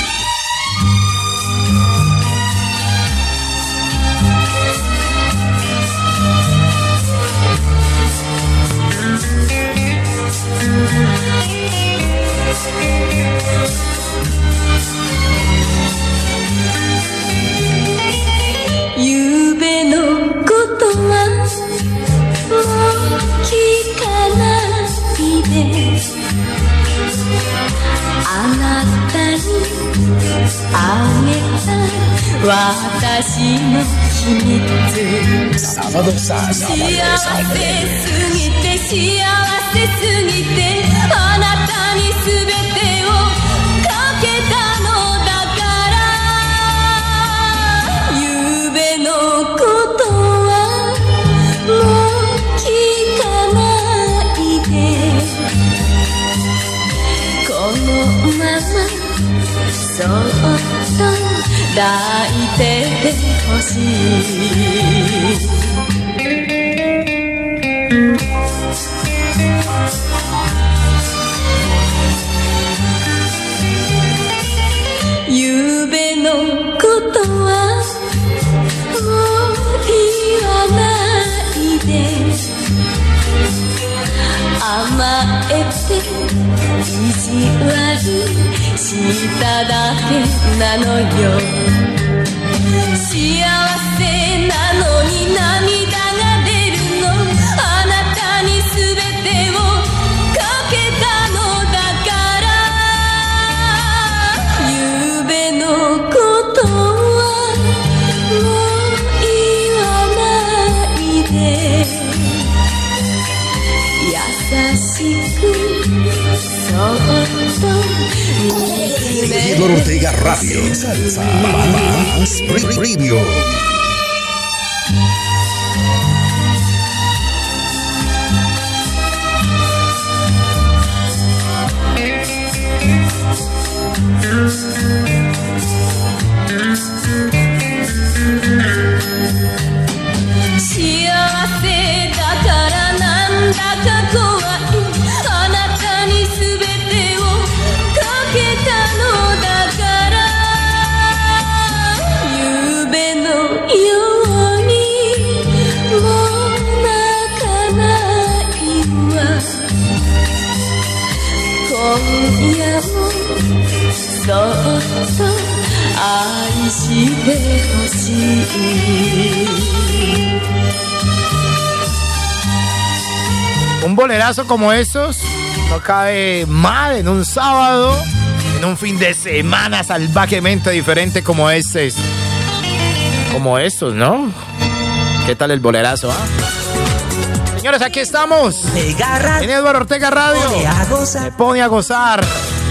Sábado,幸せすぎて幸せすぎてあなたに全てをかけたのだから夕べのことはもう聞かないでこのままそっと抱いててほしい夕べのことはもう言わないで甘えて意地悪しただけなのよ幸せなのに涙が出るのあなたに全てをかけたのだから夕べのことはもう言わないで優しくそっと Eduardo Ortega Radio. Salsa. Más Preview.そっと愛してほしい Un bolerazo como esos no cabe mal en un sábado, en un fin de semana salvajemente diferente como este. Como estos, ¿no? ¿Qué tal el bolerazo, Señores, aquí estamos en Eduardo Ortega Radio. Me pone a gozar.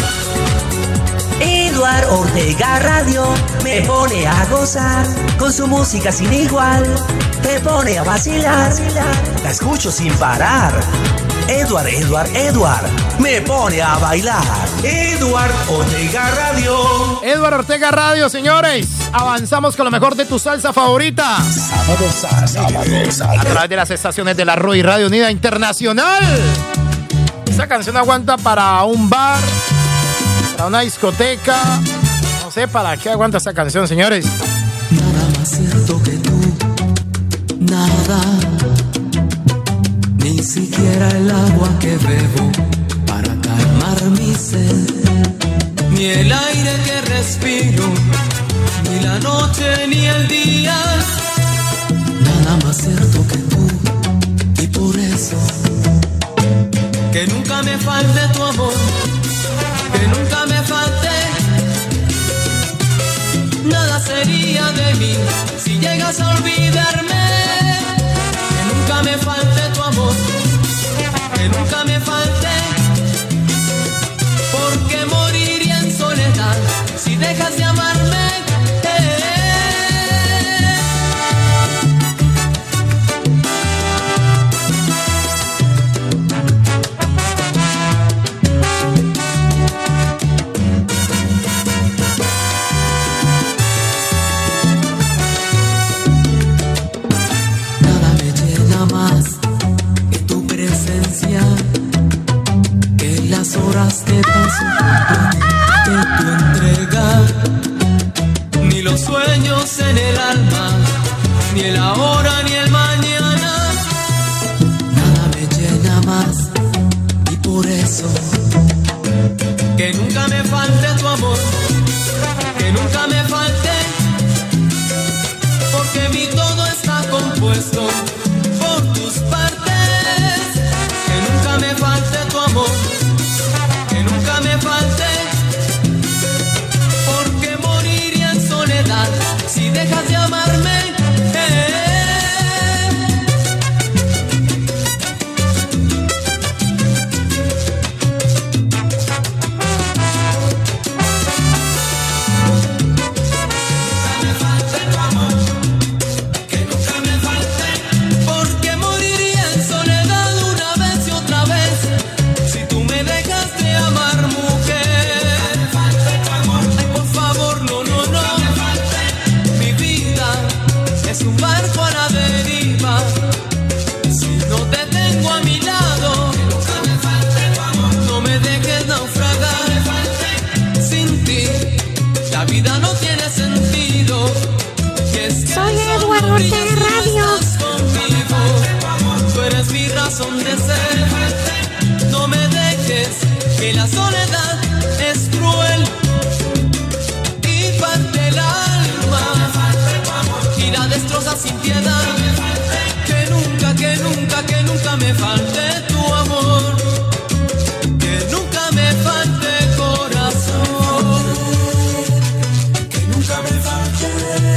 Eduardo Ortega Radio me pone a gozar con su música sin igual. Te pone a vacilar, la escucho sin parar. Eduard, me pone a bailar. Eduardo Ortega Radio. Eduardo Ortega Radio, señores. Avanzamos con lo mejor de tu salsa favorita. Sábado. A través de las estaciones de la ROI Radio Unida Internacional. Esta canción aguanta para un bar, para una discoteca. No sé para qué aguanta esta canción, señores. Nada más cierto que tú. Nada. Ni siquiera el agua que bebo para calmar mi sed, ni el aire que respiro, ni la noche ni el día. Nada más cierto que tú, y por eso que nunca me falte tu amor, que nunca me falte. Nada sería de mí si llegas a olvidarme. Que nunca me falte tu amor, que nunca me falte, porque moriría en soledad si dejas de amarme. mi razón de ser. No me dejes, que la soledad es cruel y parte el alma y la destroza sin piedad. Que nunca, que nunca, que nunca me falte tu amor, que nunca me falte corazón, que nunca me falte.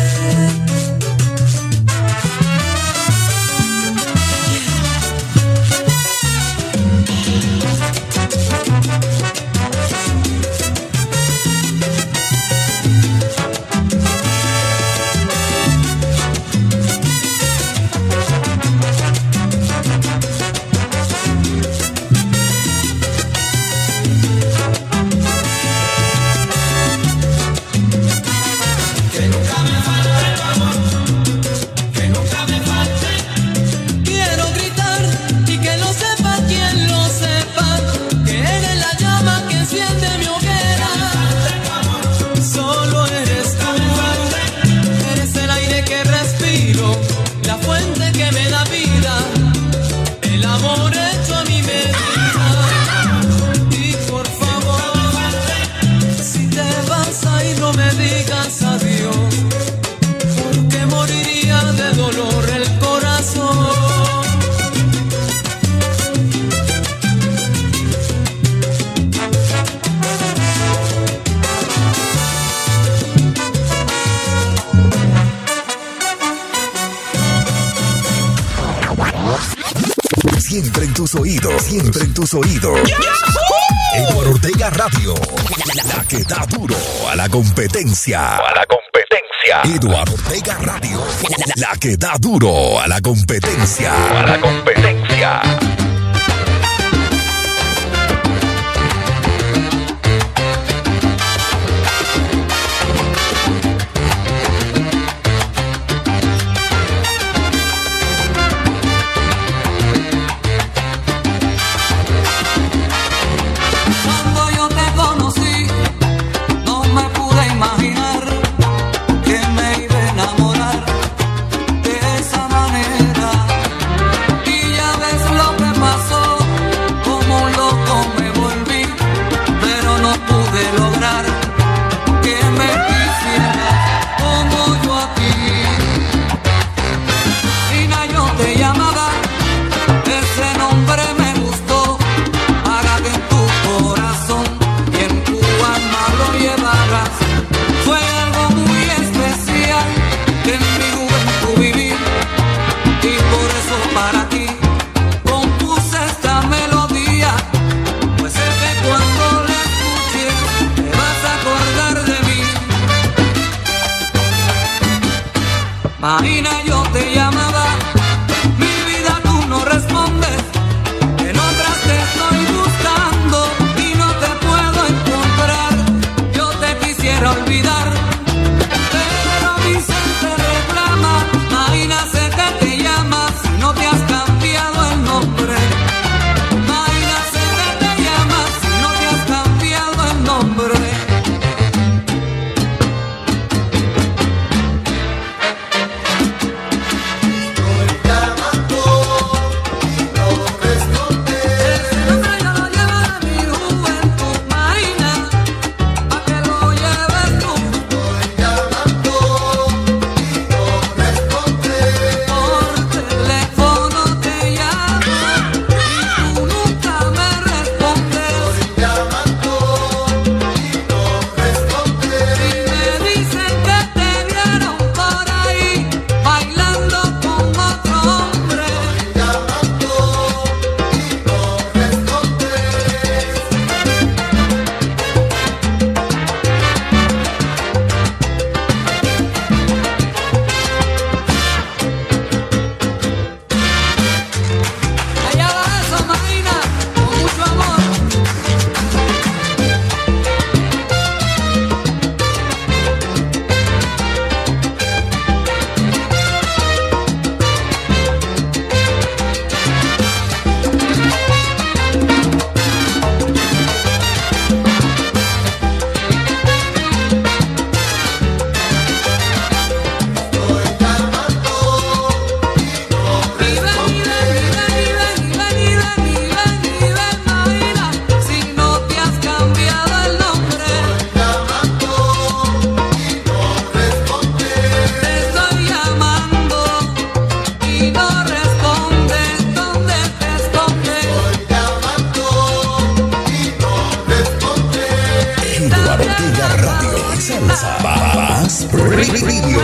Siempre en tus oídos, siempre en tus oídos. Eduardo Ortega Radio, la que da duro a la competencia. Eduardo Ortega Radio, la que da duro a la competencia. Y ya ves Radio.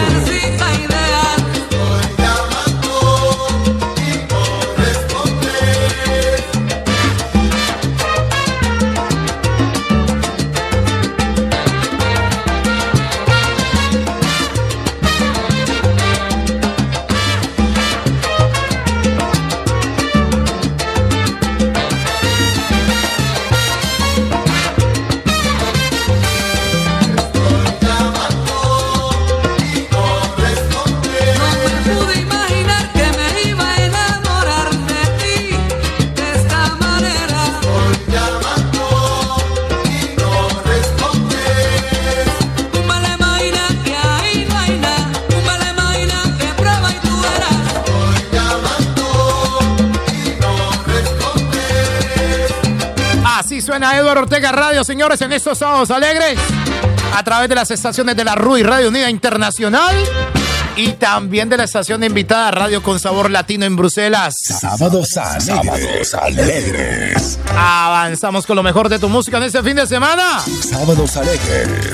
Suena Eduardo Ortega Radio, señores, en estos sábados alegres, a través de las estaciones de la RUI Radio Unida Internacional y también de la estación de invitada Radio con Sabor Latino en Bruselas. Sábados alegres. Avanzamos con lo mejor de tu música en este fin de semana. Sábados alegres.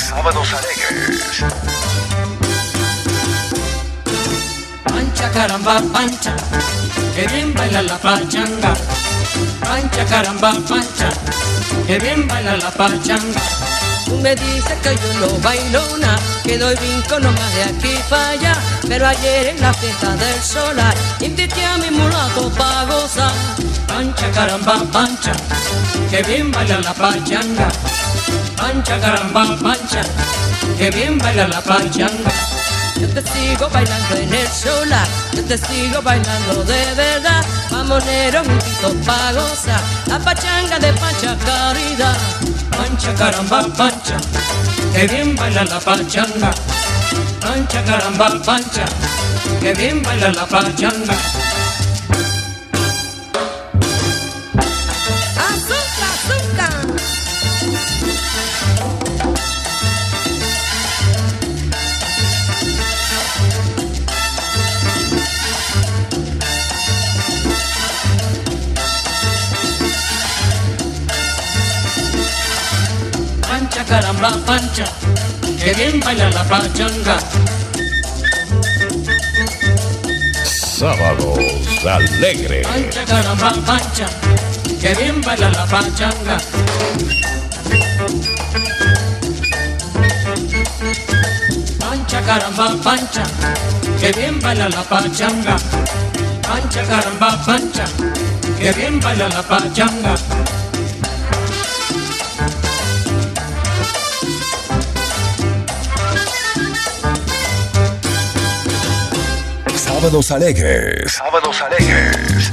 Pancha caramba, pancha, que bien baila la pachanga. Pancha caramba, pancha, que bien baila la pachanga. Tú me dices que yo no bailo nada, que doy brinco nomás de aquí para allá. Pero ayer en la fiesta del solar invité a mi mulato pa' gozar. Pancha caramba, pancha, que bien baila la pachanga. Pancha caramba, pancha, que bien baila la pachanga. Yo te sigo bailando en el solar, yo te sigo bailando de verdad. Mamoneros juntitos pa' gozar la pachanga de Pancha Caridad. Pancha caramba, pancha, que bien baila la pachanga. Pancha caramba, pancha, que bien baila la pachanga. Azúcar, azúcar. Pancha caramba, pancha, que bien baila la pachanga. Sábados alegres. Pancha caramba, pancha, que bien baila la pachanga. Pancha caramba, pancha, que bien baila la pachanga. Pancha caramba, pancha, que bien baila la pachanga. Sábados alegres. Sábados alegres.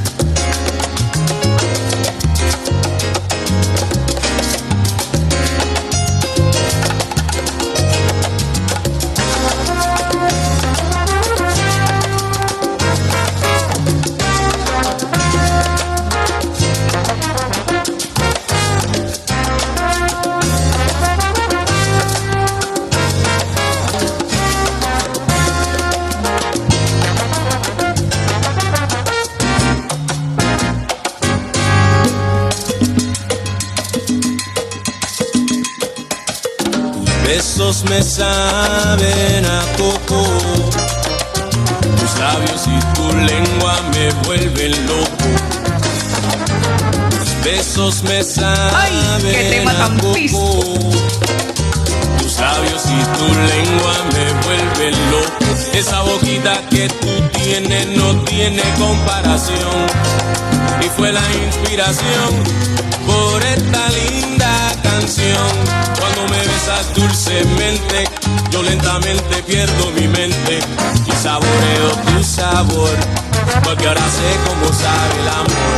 Besos me saben a coco, tus labios y tu lengua me vuelven loco. Tus besos me saben a coco, tus labios y tu lengua me vuelven loco. Esa boquita que tú tienes no tiene comparación, y fue la inspiración por esta linda canción. Cuando me besas dulcemente, yo lentamente pierdo mi mente y saboreo tu sabor, porque ahora sé cómo sabe el amor.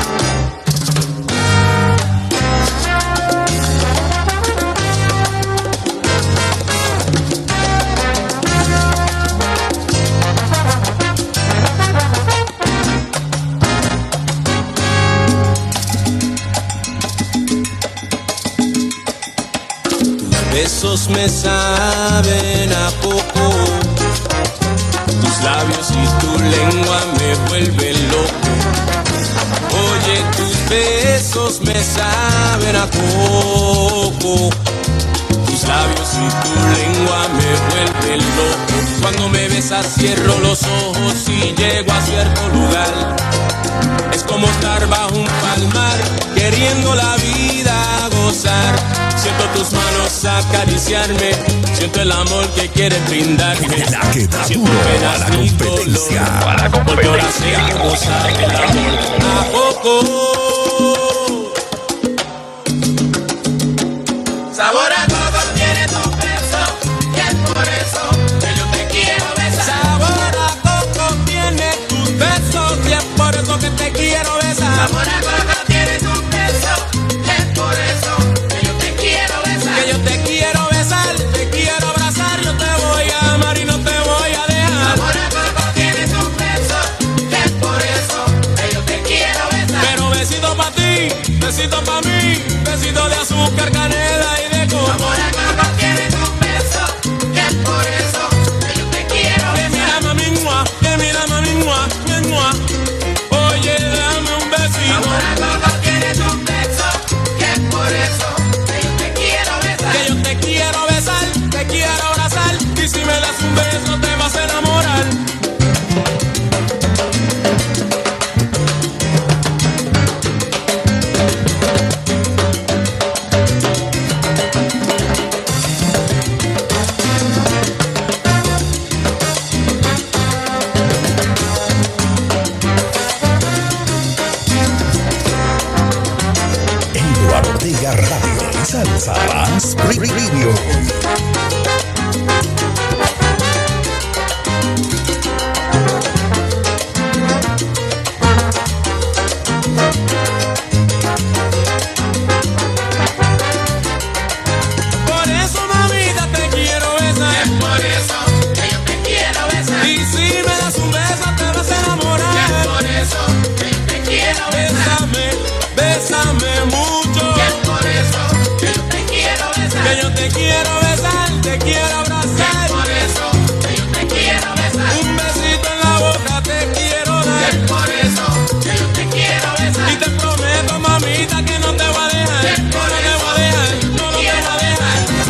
Besos me saben a poco, tus labios y tu lengua me vuelven loco. Oye, tus besos me saben a poco, tus labios y tu lengua me vuelve loco. Cuando me besas cierro los ojos y llego a cierto lugar. Es como estar bajo un palmar, queriendo la vida gozar. Siento tus manos acariciarme, siento el amor que quieres brindarme. La que da duro a la competencia. Volver a hacer gozar el amor a poco. Sabor a coco tiene tu beso, y es por eso que yo te quiero besar. Sabor a coco tiene tus besos, y es por eso que te quiero besar. Sabor a coco tiene tu beso, y es por eso que yo te quiero besar. Que yo te quiero besar, te quiero abrazar, yo te voy a amar y no te voy a dejar. Sabor a coco tiene tu beso, y es por eso que yo te quiero besar. Pero besito pa' ti, besito pa' mí, besito de azúcar, canela y de coco. Sabor a coco tiene tu beso, y es por eso que yo te quiero besar. Que mira mami, mua, que mira mami, mua, mua. Oye, dame un besito. Sabor a coco tiene tu beso, y es por eso que yo te quiero besar. Que yo te quiero besar, te quiero abrazar, y si me das un beso te vas a enamorar. Eduardo Ortega Radio. Salsa Más Radio. Por eso, mamita, te quiero besar. Es por eso que yo te quiero besar. Y si me das un beso te vas a enamorar. Es por eso que yo te quiero besar. Bésame, bésame mucho. Es por eso que yo te quiero besar. Que yo te quiero besar, te quiero abrazar. Es por eso que yo te quiero besar. Un besito en la boca te quiero dar. Es por eso que yo te quiero besar. Y te prometo, mamita, que no te voy a dejar. Es por No te eso voy a dejar, que yo no te voy quiero a dejar.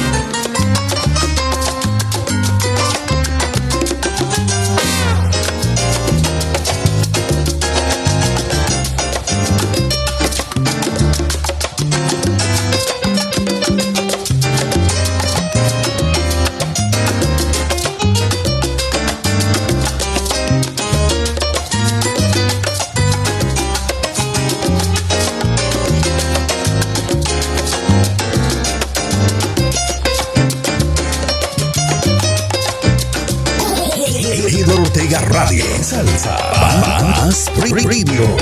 Eduardo Ortega Radio. Salsa Más Radio.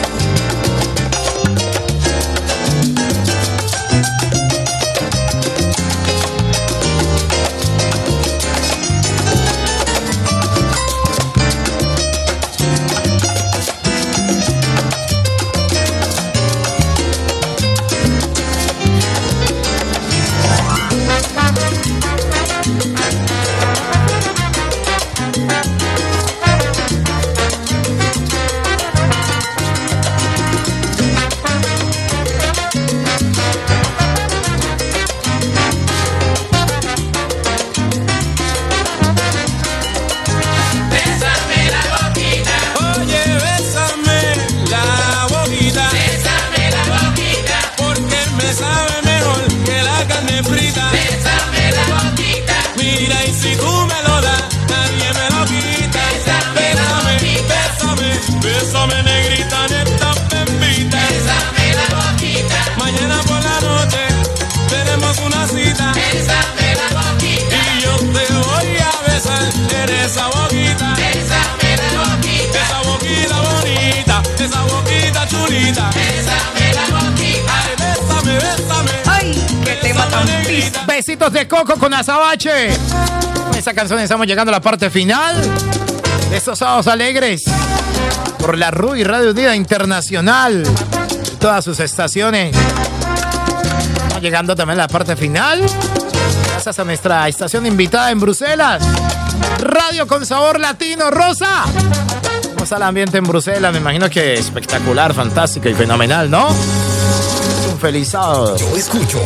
Bésame la boquita. Oye, bésame la boquita. Bésame la boquita. Porque me sabe mejor que la carne frita. Bésame la boquita. Mira, y si tú me lo das, nadie me lo quita. Bésame la boquita. Bésame, bésame, negrita, neta, bembita. Bésame la boquita. Mañana por la noche tenemos una cita. Bésame la boquita. Y yo te voy a besar en esa boquita. Bésame la boquita. Esa boquita bonita, esa boquita chulita. Bésame la boquita. Ay, bésame, bésame. Ay, qué tema tan pis. Besitos de coco con azabache. Con esta canción estamos llegando a la parte final de estos sábados alegres por la RUI Radio Unida Internacional y todas sus estaciones. Estamos llegando también a la parte final gracias a nuestra estación invitada en Bruselas, Radio con Sabor Latino. Rosa, ¿cómo está el ambiente en Bruselas? Me imagino que espectacular, fantástico y fenomenal, ¿no? Un feliz sábado. Yo escucho.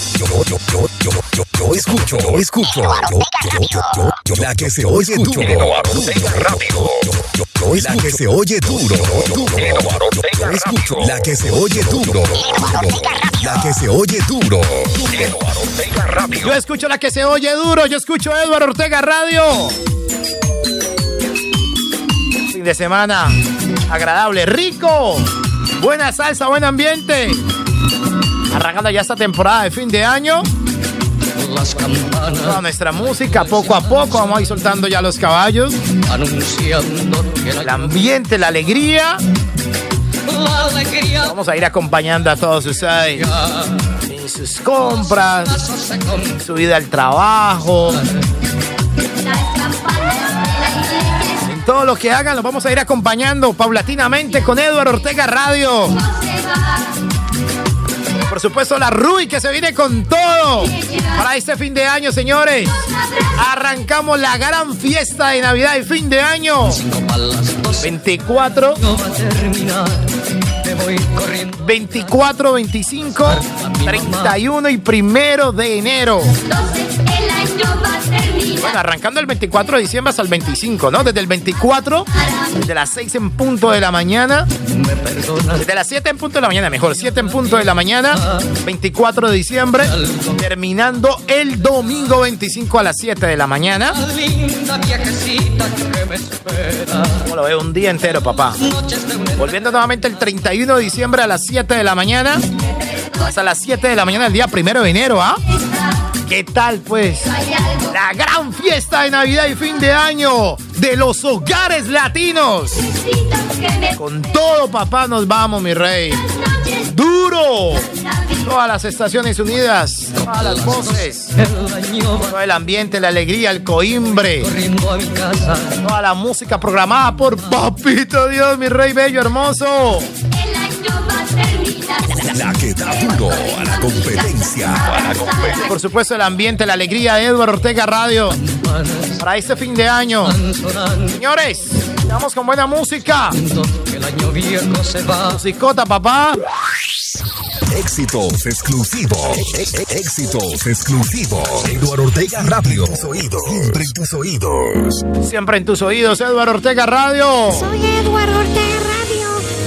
La que se oye duro. La que se oye duro. Yo escucho. La que se oye duro. La que se oye duro. Yo escucho la que se oye duro. Yo escucho Eduardo Ortega Radio. Fin de semana agradable, rico. Buena salsa, buen ambiente. Arrancando ya esta temporada de fin de año. Toda nuestra música, poco a poco, vamos a ir soltando ya los caballos. El ambiente, la alegría. Vamos a ir acompañando a todos ustedes en sus compras, en su vida al trabajo. En todo lo que hagan, los vamos a ir acompañando paulatinamente con Eduardo Ortega Radio. Por supuesto, la Rui que se viene con todo para este fin de año, señores. Arrancamos la gran fiesta de Navidad y fin de año. 24, 25, 31 y 1 de enero. Bueno, arrancando el 24 de diciembre hasta el 25, ¿no? Desde el 24, desde las 6 en punto de la mañana. Desde las 7 en punto de la mañana, mejor, 7 en punto de la mañana, 24 de diciembre, terminando el domingo 25 a las 7 de la mañana. ¿Cómo lo veo? Un día entero, papá. Volviendo nuevamente el 31 de diciembre a las 7 de la mañana, hasta las 7 de la mañana el día 1 de enero, ¿ah? ¿Qué tal, pues? La gran fiesta de Navidad y fin de año de los hogares latinos. Con todo, papá, nos vamos, mi rey. ¡Duro! Todas las estaciones unidas, todas las voces, todo el ambiente, la alegría, el coimbre, toda la música programada por Papito Dios, mi rey bello, hermoso. La que da duro a la competencia. Por supuesto, el ambiente, la alegría de Eduardo Ortega Radio para este fin de año. Señores, vamos con buena música. Musicota, papá. Éxitos exclusivos. Éxitos exclusivos. Eduardo Ortega Radio. Siempre en tus oídos. Siempre en tus oídos, Eduardo Ortega Radio. Soy Eduardo Ortega Radio.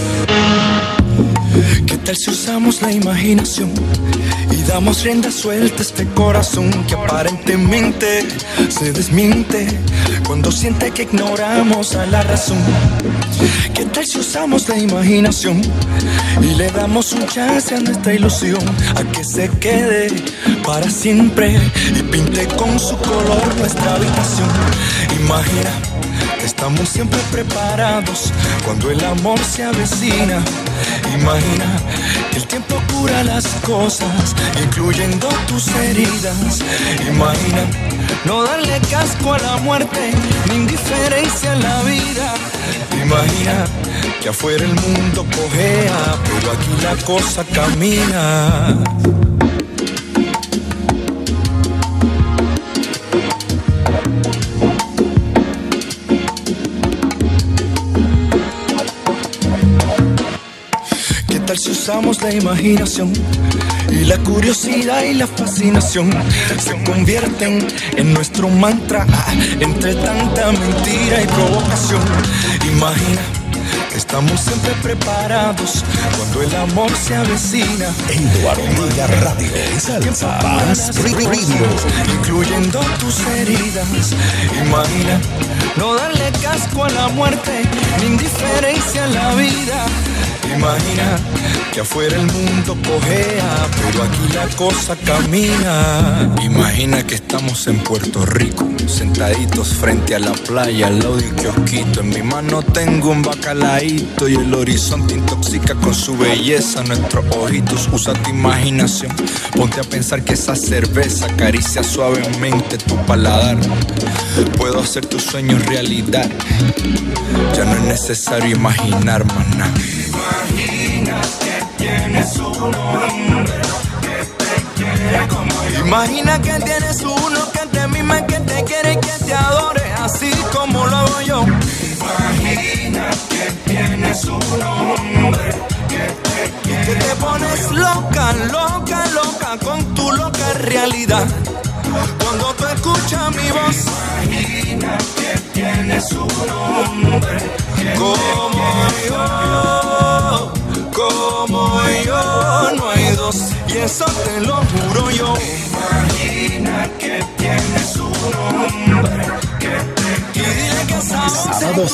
¿Qué tal si usamos la imaginación y damos rienda suelta a este corazón que aparentemente se desmiente cuando siente que ignoramos a la razón? ¿Qué tal si usamos la imaginación y le damos un chance a nuestra ilusión a que se quede para siempre y pinte con su color nuestra habitación? Imagina, estamos siempre preparados cuando el amor se avecina. Imagina, el tiempo cura las cosas, incluyendo tus heridas. Imagina, no darle casco a la muerte, ni indiferencia a la vida. Imagina, que afuera el mundo cojea, pero aquí la cosa camina. ¿Qué tal si usamos la imaginación y la curiosidad y la fascinación se convierten en nuestro mantra entre tanta mentira y provocación? Imagina, estamos siempre preparados cuando el amor se avecina. Eduardo Ortega Radio. Salsa Radio. Incluyendo tus heridas. Imagina, no darle casco a la muerte, ni indiferencia a la vida. Imagina, que afuera el mundo cojea, pero aquí la cosa camina. Imagina que estamos en Puerto Rico, sentaditos frente a la playa, al lado del kiosquito. En mi mano tengo un bacalaíto y el horizonte intoxica con su belleza nuestros ojitos. Usa tu imaginación, ponte a pensar que esa cerveza acaricia suavemente tu paladar. Puedo hacer tus sueños realidad, ya no es necesario imaginar más nada. Imagina que tienes un hombre que te quiere como yo. Imagina que tienes uno que te mima, que te quiere y que te adore, así como lo hago yo. Imagina que tienes un hombre que te quiere que te pones loca, loca, loca con tu loca realidad. Cuando tú escuchas mi voz, imagina que tienes un hombre como yo, no hay dos, y eso te lo juro yo. Imagina que tienes un hombre que te quiere. Y dile que Sábado,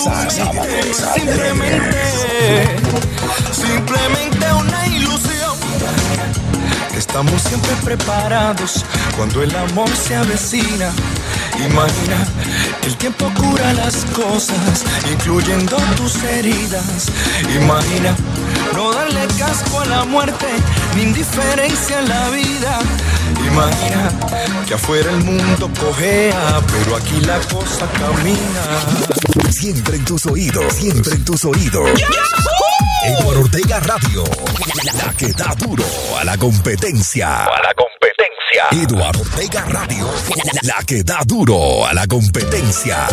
simplemente una ilusión. Estamos siempre preparados cuando el amor se avecina. Imagina, el tiempo cura las cosas, incluyendo tus heridas. Imagina, no darle casco a la muerte, ni indiferencia a la vida. Imagina, que afuera el mundo cojea, pero aquí la cosa camina. Siempre en tus oídos, siempre en tus oídos. Eduardo Ortega Radio, la que da duro a la competencia. Eduardo Ortega Radio, la que da duro a la competencia.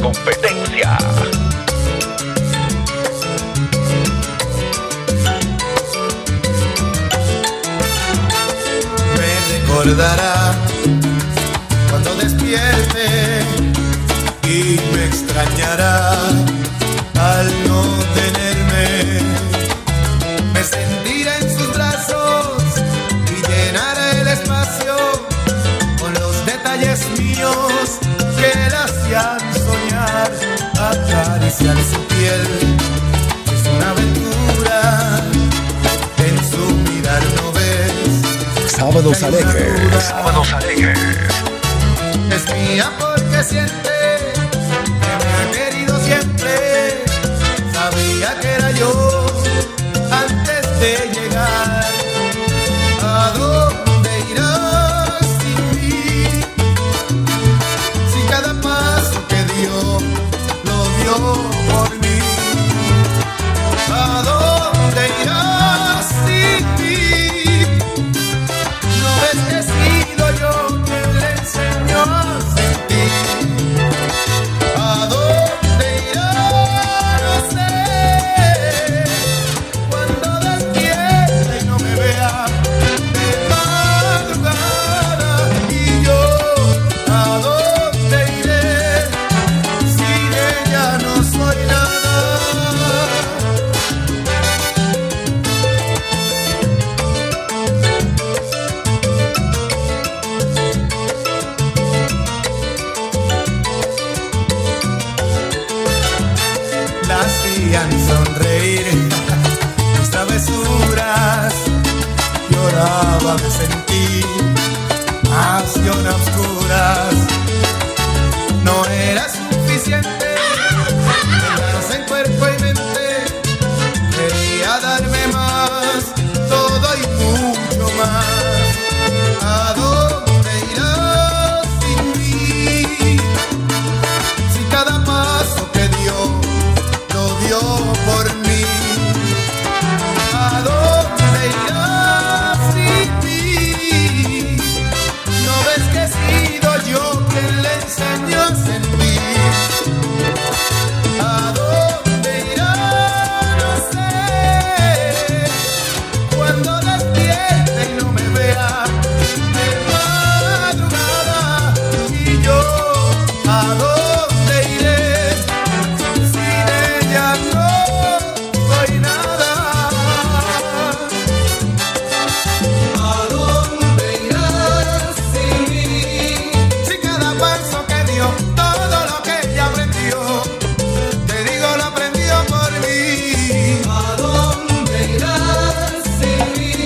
Me recordará cuando despierte y me extrañará al no tenerme. Me sentiré en sus brazos y llenaré el espacio con los detalles míos que la hacían soñar. Acariciar su piel es una aventura, en su mirar no ves. Sábados alegres. Es mía porque siente que me ha querido siempre. Sabía que era yo antes de llegar. ¿A dónde irás sin mí? Si cada paso que dio lo dio por mí. ¿A dónde irás sin mí? No ves que he sido yo quien le enseñó a sentir. ¿A dónde irá? No sé. Cuando despierte y no me vea de madrugada. Y yo, ¿a dónde iré? Sin ella no soy nada. La hacían sonreír mis travesuras, lloraba de sentir pasión a oscuras. No era suficiente quedarse en cuerpo y mente, quería darme más, todo y mucho más. ¿A dónde irás sin mí? Si cada paso que dio lo dio por mí. ¿A dónde irás sin mí? ¿No ves que he sido yo quien le enseñó a sentir? ¿A dónde irá? No sé. Cuando despierte y no me vea de madrugada. Y yo, ¿a dónde iré? Sin ella no soy nada. ¿A dónde irás sin mí? Si cada paso que dio, todo lo que ella aprendió, te digo lo aprendió por mí. ¿A dónde irás sin mí?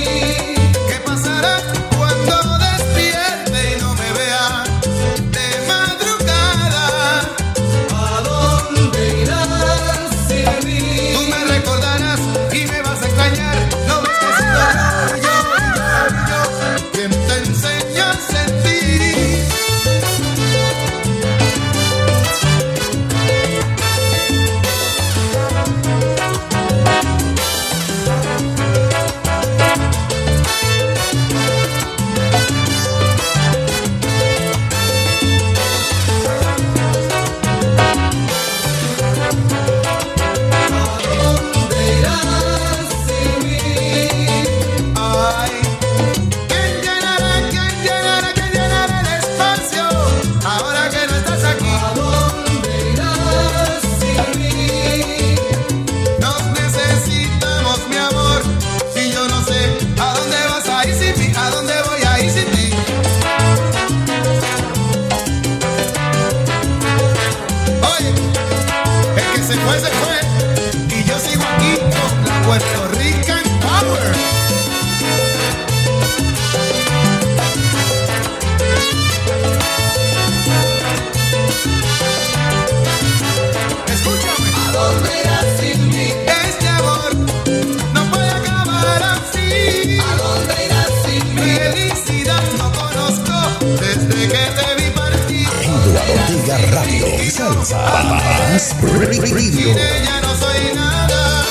salsa. Más Radio. Sin ella no soy nada.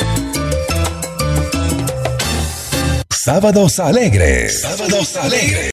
Sábados Alegres. Sábados Alegres.